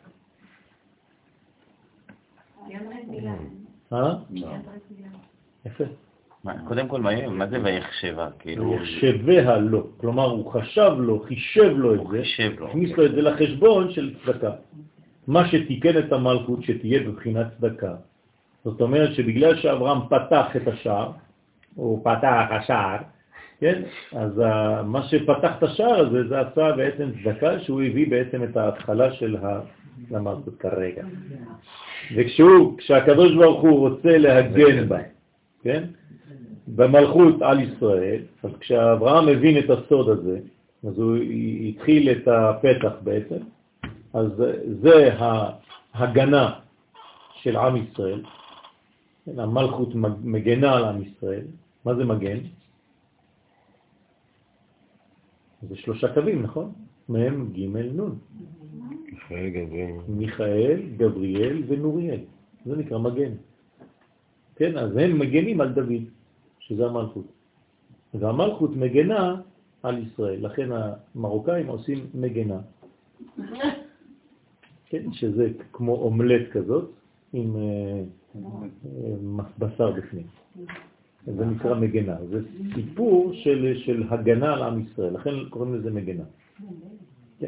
אה? יפה. קודם כל, מה זה ויחשבה? ויחשביה לו. כלומר, הוא חשב לו, חישב לו את זה, הכניס לו את זה לחשבון של צדקה. מה שתיקן את המלכות שתהיה בבחינת צדקה. זאת אומרת שבגלל שאברהם פתח את השער, הוא פתח השער, כן? אז מה שפתח את השער הזה, זה עשה בעצם צדקה, שהוא הביא בעצם את ההתחלה של המלכות כרגע. וכשהוא, כשהקדוש ברוך הוא רוצה להגן בה, כן? במלכות על ישראל, אז כשאברהם מבין את הסוד הזה, אז הוא התחיל את הפתח בעצם, אז זה ההגנה של עם ישראל, המלכות מגנה על עם ישראל. מה זה מגן? זה שלושה קווים, נכון? מהם ג' נון. מיכאל, גבריאל. מיכאל, גבריאל ונוריאל. זה נקרא מגן. כן, אז הם מגנים על דוד, שזה המלכות. והמלכות מגנה על ישראל, לכן המרוקאים עושים מגנה. כן, שזה כמו אומלט כזאת, עם בשר בפנים. זה נקרא מגנה. זה סיפור של, של הגנה על עם ישראל, לכן קוראים לזה מגנה. כן.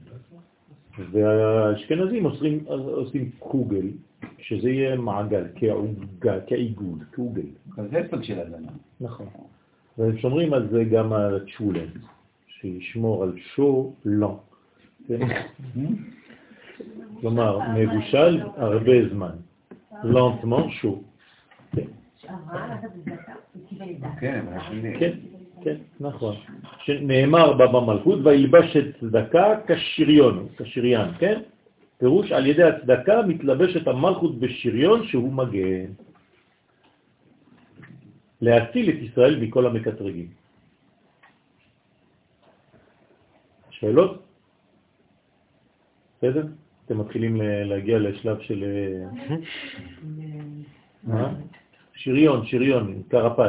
והאשכנזים עושים, עושים קוגל, שזה יהיה מעגל, כעוגה, כעיגול, קוגל. זה סוג של הגנה. נכון. והם שומרים על זה גם על צ'ולן, שישמור על שו לא. כלומר, מבושל הרבה זמן. לנטמן שו. כן, כן, כן, נכון. שנאמר בה במלכות, וילבש את צדקה כשריון, כשריין, כן? פירוש על ידי הצדקה מתלבשת המלכות בשריון שהוא מגן. להציל את ישראל מכל המקטרגים. שאלות? בסדר? אתם מתחילים להגיע לשלב של... מה? שריון, שריון, קרפס.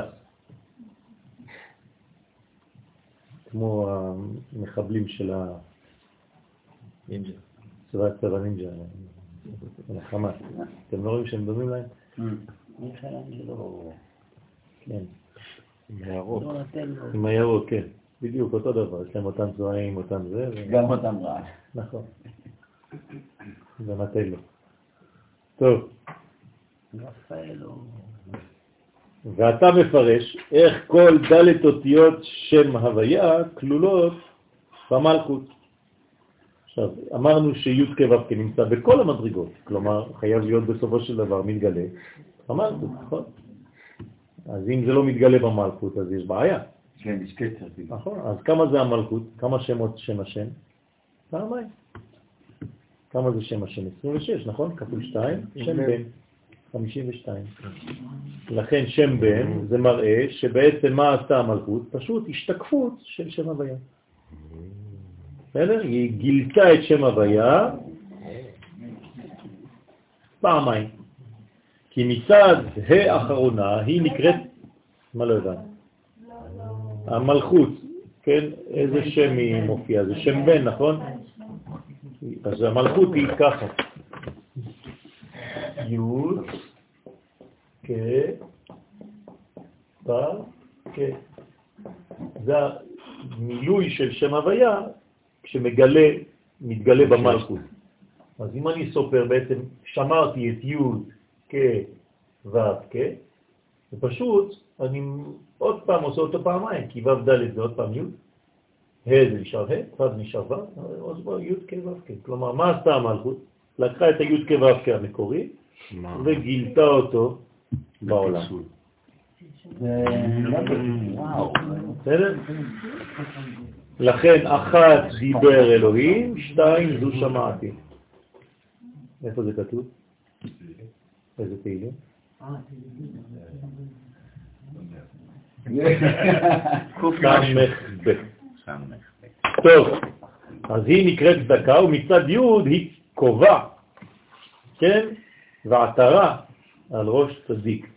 כמו המחבלים של הנינג'ה. צבא צבא נינג'ה. החמאס. אתם לא רואים שהם דומים להם? כן. עם הירוק. עם הירוק, כן. בדיוק, אותו דבר. יש להם אותם צבעים, אותם זה. גם אותם רע. נכון. ונתלו. טוב. ואתה מפרש איך כל דלת אותיות שם הוויה כלולות במלכות. עכשיו, אמרנו שי' כו' נמצא בכל המדרגות, כלומר, חייב להיות בסופו של דבר מתגלה במלכות, נכון? אז אם זה לא מתגלה במלכות, אז יש בעיה. כן, יש קצר. נכון, אז כמה זה המלכות? כמה שמות שם השם? פעמיים. כמה זה שם השם? עשרים ושש, נכון? כפול שתיים, שם בן. חמישים ושתיים. לכן שם בן זה מראה שבעצם מה עשתה המלכות? פשוט השתקפות של שם הוויה. בסדר? היא גילתה את שם הוויה פעמיים. כי מצד האחרונה היא נקראת, מה לא יודע? המלכות, כן? איזה שם היא מופיעה? זה שם בן, נכון? אז המלכות היא ככה. י' כ' ו' כ'. זה המילוי של שם הוויה כשמגלה, מתגלה במלכות. אז אם אני סופר בעצם שמרתי את י' כ' ו' כ', ופשוט אני עוד פעם עושה אותו פעמיים, כי ו' ד' זה עוד פעם י', ה' זה נשאר ה', ו' נשאר ו', עוד פעם י' כ' ו' כ'. כלומר, מה עשתה המלכות? לקחה את הי' כ' ו' כ' המקורי, וגילתה אותו בעולם. בסדר? לכן אחת דיבר אלוהים, שתיים זו שמעתי. איפה זה כתוב? איזה תהילים? סמך ב'. טוב, אז היא נקראת צדקה, ומצד י' היא קובע, כן? ועטרה על ראש צדיק.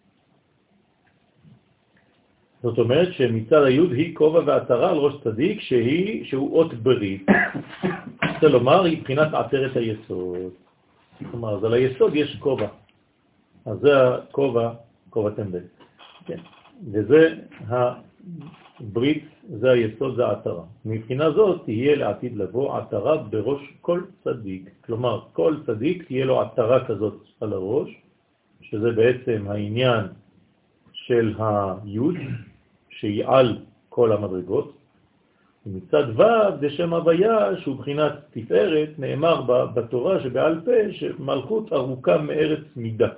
זאת אומרת שמצד היוד היא כובע ועטרה על ראש צדיק שהיא, שהוא אות ברית. רוצה לומר, היא בחינת עטרת היסוד. כלומר, אז על היסוד יש כובע. אז זה הכובע, כובע טמבל. כן. וזה הברית, זה היסוד, זה העטרה. מבחינה זאת תהיה לעתיד לבוא עטרה בראש כל צדיק. כלומר, כל צדיק תהיה לו עטרה כזאת על הראש, שזה בעצם העניין של היוד, שהיא על כל המדרגות. ומצד ו' זה שם הוויה, שהוא בחינת תפארת, נאמר בתורה שבעל פה, שמלכות ארוכה מארץ מידה.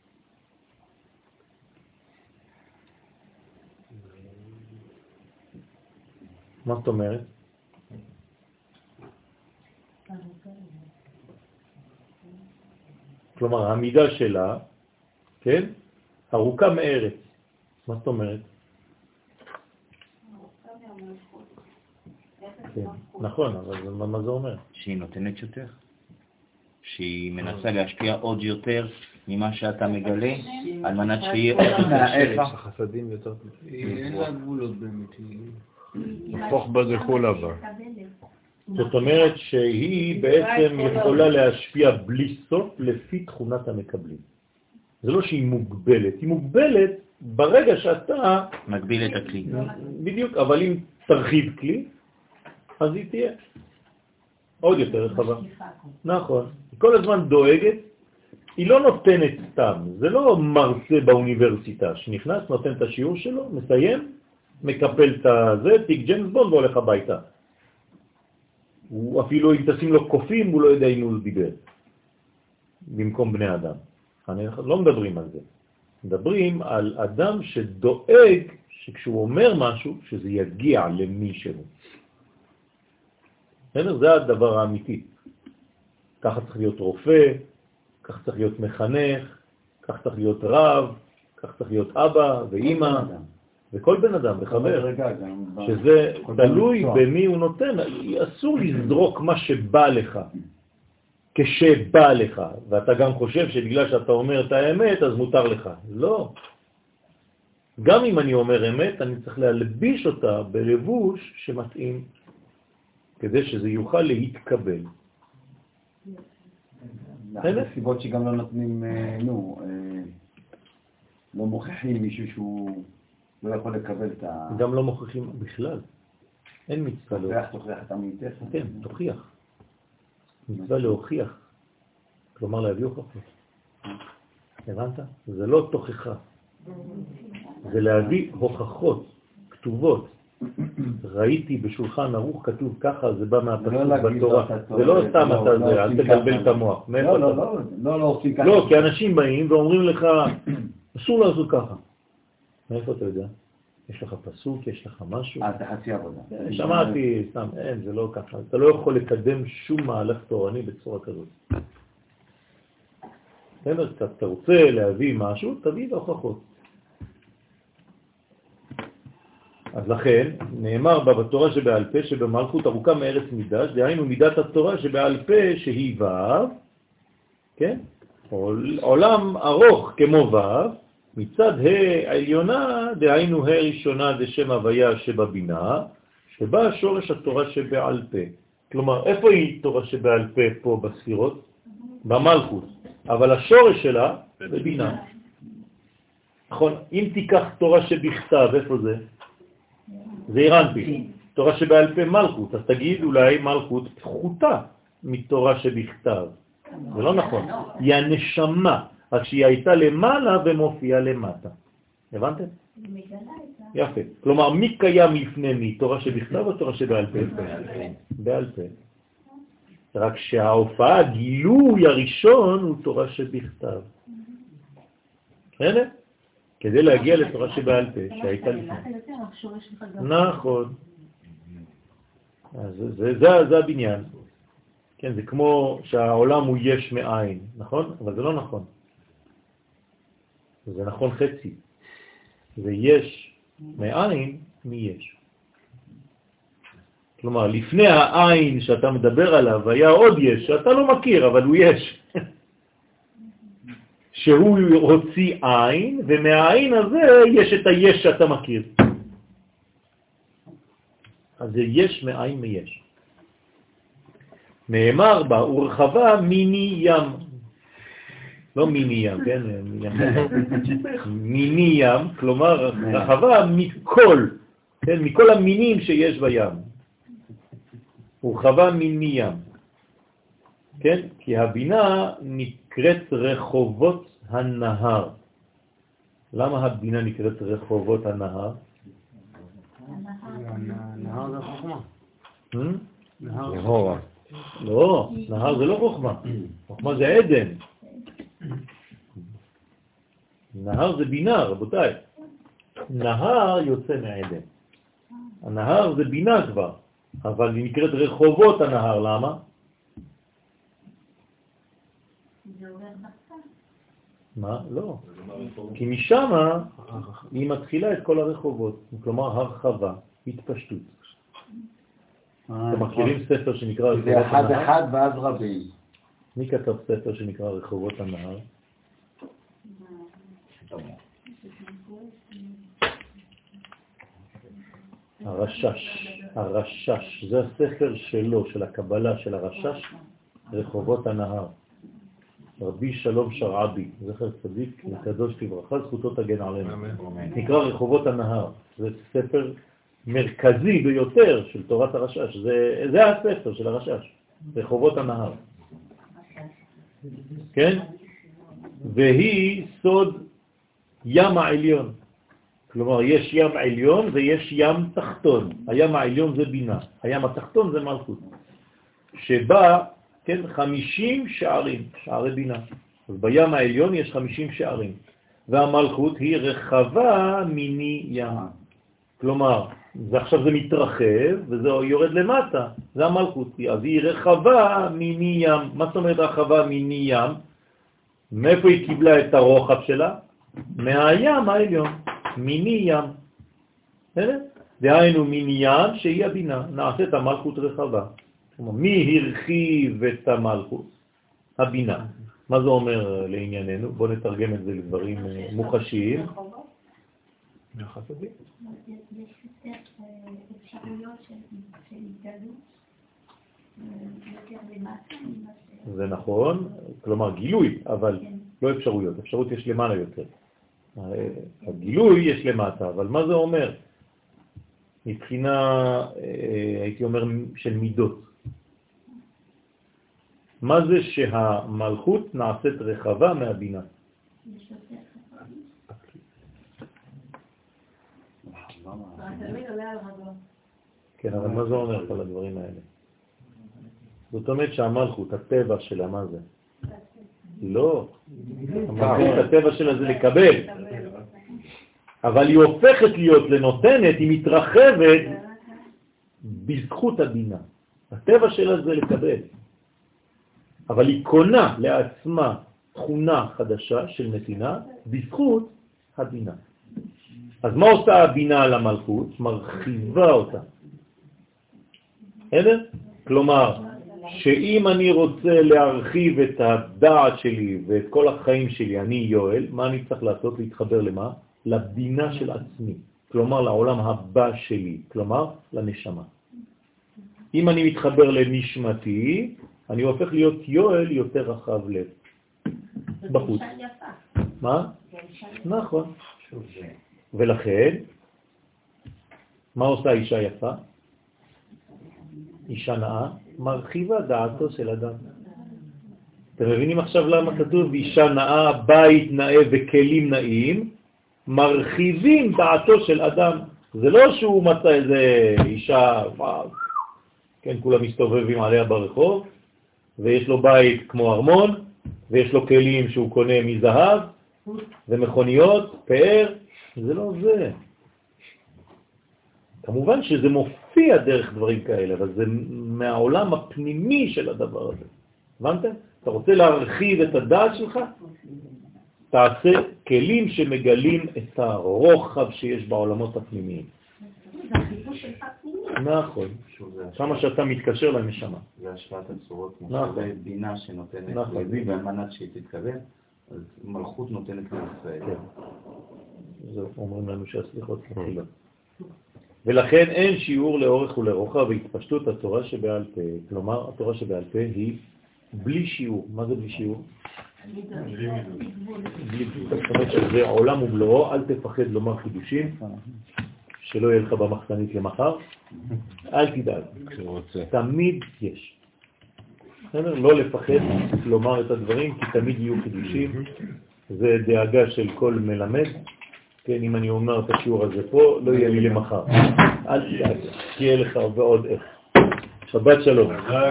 מה זאת אומרת? כלומר, המידה שלה, כן, ארוכה מארץ. מה זאת אומרת? כן, נכון, אבל מה זה אומר? שהיא נותנת יותר, שהיא מנסה להשפיע עוד יותר ממה שאתה מגלה, על מנת שיהיה עוד מהאיפה. החסדים יותר... אין לה גבולות באמת. הפוך בגחול הבא. זאת אומרת שהיא בעצם יכולה להשפיע בלי סוף לפי תכונת המקבלים. זה לא שהיא מוגבלת, היא מוגבלת ברגע שאתה... מגביל את הכלי. בדיוק, אבל אם תרחיב כלי, אז היא תהיה עוד יותר רחבה. נכון. היא כל הזמן דואגת, היא לא נותנת סתם, זה לא מרצה באוניברסיטה שנכנס, נותן את השיעור שלו, מסיים, מקפל את זה, תיק ג'יימס בונד והולך הביתה. הוא אפילו אם תשים לו קופים, הוא לא יודע אם הוא דיבר. במקום בני אדם. אני לא מדברים על זה. מדברים על אדם שדואג שכשהוא אומר משהו, שזה יגיע למישהו. זה הדבר האמיתי. ככה צריך להיות רופא, ככה צריך להיות מחנך, ככה צריך להיות רב, ככה צריך להיות אבא ואמא, וכל בן אדם, וחבר, שזה תלוי במי הוא נותן. אסור לזרוק מה שבא לך, כשבא לך, ואתה גם חושב שבגלל שאתה אומר את האמת, אז מותר לך. לא. גם אם אני אומר אמת, אני צריך להלביש אותה בלבוש שמתאים, כדי שזה יוכל להתקבל. זה סיבות שגם לא נותנים, נו, לא מוכיחים מישהו שהוא לא יכול לקבל את ה... גם לא מוכיחים בכלל. אין מצווה להוכיח. תוכיח את עמיתך. כן, תוכיח. מצווה להוכיח. כלומר להביא הוכחות. הבנת? זה לא תוכחה. זה להביא הוכחות, כתובות. ראיתי בשולחן ערוך כתוב ככה, זה בא מהפסוק בתורה. זה לא סתם אתה זה, אל תגלבל את המוח. לא, לא, לא, לא, לא עושים ככה. לא, כי אנשים באים ואומרים לך, אסור לעשות ככה. מאיפה אתה יודע? יש לך פסוק, יש לך משהו? אה, זה חצי עבודה. שמעתי, סתם, אין, זה לא ככה. אתה לא יכול לקדם שום מהלך תורני בצורה כזאת. אתה רוצה להביא משהו, תביא להוכחות. אז לכן, נאמר בה בתורה שבעל פה שבמלכות ארוכה מארץ מידש, דהיינו מידת התורה שבעל פה שהיא ו', כן? עולם ארוך כמו ו', מצד ה' העליונה, דהיינו ה' ראשונה זה שם הוויה שבבינה, שבה שורש התורה שבעל פה. כלומר, איפה היא תורה שבעל פה פה בספירות? במלכות. אבל השורש שלה בבינה. נכון, אם תיקח תורה שבכתב, איפה זה? זה אירנפי. תורה שבעל פה מלכות, אז תגיד אולי מלכות פחותה מתורה שבכתב. זה לא נכון. היא הנשמה, רק שהיא הייתה למעלה ומופיעה למטה. הבנתם? יפה. כלומר, מי קיים לפני מי? תורה שבכתב או תורה שבעל פה? בעל פה. רק שההופעה, הגילוי הראשון הוא תורה שבכתב. בסדר? כדי להגיע לתורה שבעל פה, שהייתה לפני. נכון. זה הבניין. כן, זה כמו שהעולם הוא יש מאין, נכון? אבל זה לא נכון. זה נכון חצי. זה יש מאין מי יש. כלומר, לפני העין שאתה מדבר עליו היה עוד יש, שאתה לא מכיר, אבל הוא יש. שהוא הוציא עין, ומהעין הזה יש את היש שאתה מכיר. אז זה יש מאין מיש. נאמר בה, ורחבה מיני ים. לא מיני ים, כן? מיני ים, כלומר רחבה מכל, כן? מכל המינים שיש בים. ורחבה מיני ים. כן? כי הבינה נקראת רחובות הנהר. למה הבינה נקראת רחובות הנהר? נהר זה חוכמה. נהורה. לא, נהר זה לא חוכמה. חוכמה זה עדן. נהר זה בינה, רבותיי. נהר יוצא מעדן. הנהר זה בינה כבר, אבל היא נקראת רחובות הנהר. למה? מה? לא. כי משם היא מתחילה את כל הרחובות, כלומר הרחבה, התפשטות. אתם מכירים ספר שנקרא רחובות הנהר? זה אחד אחד ואז רבים. מי כתב ספר שנקרא רחובות הנהר? הרשש, הרשש, זה הספר שלו, של הקבלה, של הרשש, רחובות הנהר. רבי שלום שרעבי, זכר צדיק, לקדוש לברכה, זכותו תגן עלינו. נקרא רחובות הנהר, זה ספר מרכזי ביותר של תורת הרשש, זה, זה הספר של הרשש, רחובות הנהר. כן? והיא סוד ים העליון. כלומר, יש ים עליון ויש ים תחתון. הים העליון זה בינה, הים התחתון זה מלכות. שבה, כן, חמישים שערים, שערי בינה. אז בים העליון יש חמישים שערים. והמלכות היא רחבה מיני ים. כלומר, זה עכשיו זה מתרחב וזה יורד למטה. זה המלכות. אז היא רחבה מיני ים. מה זאת אומרת רחבה מיני ים? מאיפה היא קיבלה את הרוחב שלה? מהים העליון. מיני ים. דהיינו מיני ים שהיא הבינה. נעשית המלכות רחבה. מי הרחיב את המלכות? הבינה. מה זה אומר לענייננו? בואו נתרגם את זה לדברים מוחשיים. יש יותר אפשרויות של התגלות יותר למטה. זה נכון, כלומר גילוי, אבל לא אפשרויות. אפשרות יש למעלה יותר. הגילוי יש למטה, אבל מה זה אומר? מבחינה, הייתי אומר, של מידות. מה זה שהמלכות נעשית רחבה מהבינה? כן, אבל מה זה אומר על הדברים האלה? זאת אומרת שהמלכות, הטבע שלה, מה זה? לא. המלכות, הטבע שלה זה לקבל. אבל היא הופכת להיות לנותנת, היא מתרחבת בזכות הבינה. הטבע שלה זה לקבל. אבל היא קונה לעצמה תכונה חדשה של נתינה בזכות הבינה. אז מה עושה הבינה על המלכות? מרחיבה אותה. בסדר? כלומר, שאם אני רוצה להרחיב את הדעת שלי ואת כל החיים שלי, אני יואל, מה אני צריך לעשות? להתחבר למה? לבינה של עצמי. כלומר, לעולם הבא שלי. כלומר, לנשמה. אם אני מתחבר לנשמתי, אני הופך להיות יואל יותר רחב לב. בחוץ. מה? נכון. ולכן, מה עושה אישה יפה? אישה נאה, מרחיבה דעתו של אדם. אתם מבינים עכשיו למה כתוב אישה נאה, בית נאה וכלים נאים, מרחיבים דעתו של אדם. זה לא שהוא מצא איזה אישה, וואו, כן, כולם מסתובבים עליה ברחוב, ויש לו בית כמו ארמון, ויש לו כלים שהוא קונה מזהב, ומכוניות, פאר, זה לא זה. כמובן שזה מופיע דרך דברים כאלה, אבל זה מהעולם הפנימי של הדבר הזה. הבנתם? אתה רוצה להרחיב את הדעת שלך? תעשה כלים שמגלים את הרוחב שיש בעולמות הפנימיים. נכון. כמה שאתה מתקשר לנשמה. זה השפעת הצורות, זה בינה שנותנת לוי, ועל מנת שהיא תתקבל, אז מלכות נותנת לישראל. זה אומרים לנו שהסליחות מתחילה. ולכן אין שיעור לאורך ולרוחב והתפשטות התורה שבעל פה. כלומר, התורה שבעל פה היא בלי שיעור. מה זה בלי שיעור? בלי מידות. זאת אומרת שזה עולם ומלואו, אל תפחד לומר חידושים, שלא יהיה לך במחסנית למחר. אל תדאג. תמיד יש. לא לפחד לומר את הדברים, כי תמיד יהיו חידושים. זה דאגה של כל מלמד. כן, אם אני אומר את השיעור הזה פה, לא יהיה לי למחר. אל תדאג, תהיה לך ועוד איך. שבת שלום.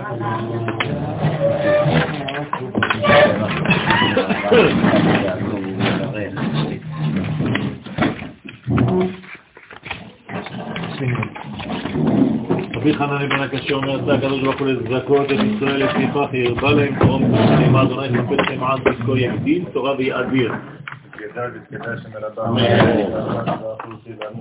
רבי חנן בן הקשה אומר, עשה הקדוש ברוך הוא לזכות את ישראל לפיכך, ירבה להם תרום תרום אדוני תפל לכם עד בזכו יגדיל, תורה ויאדיר.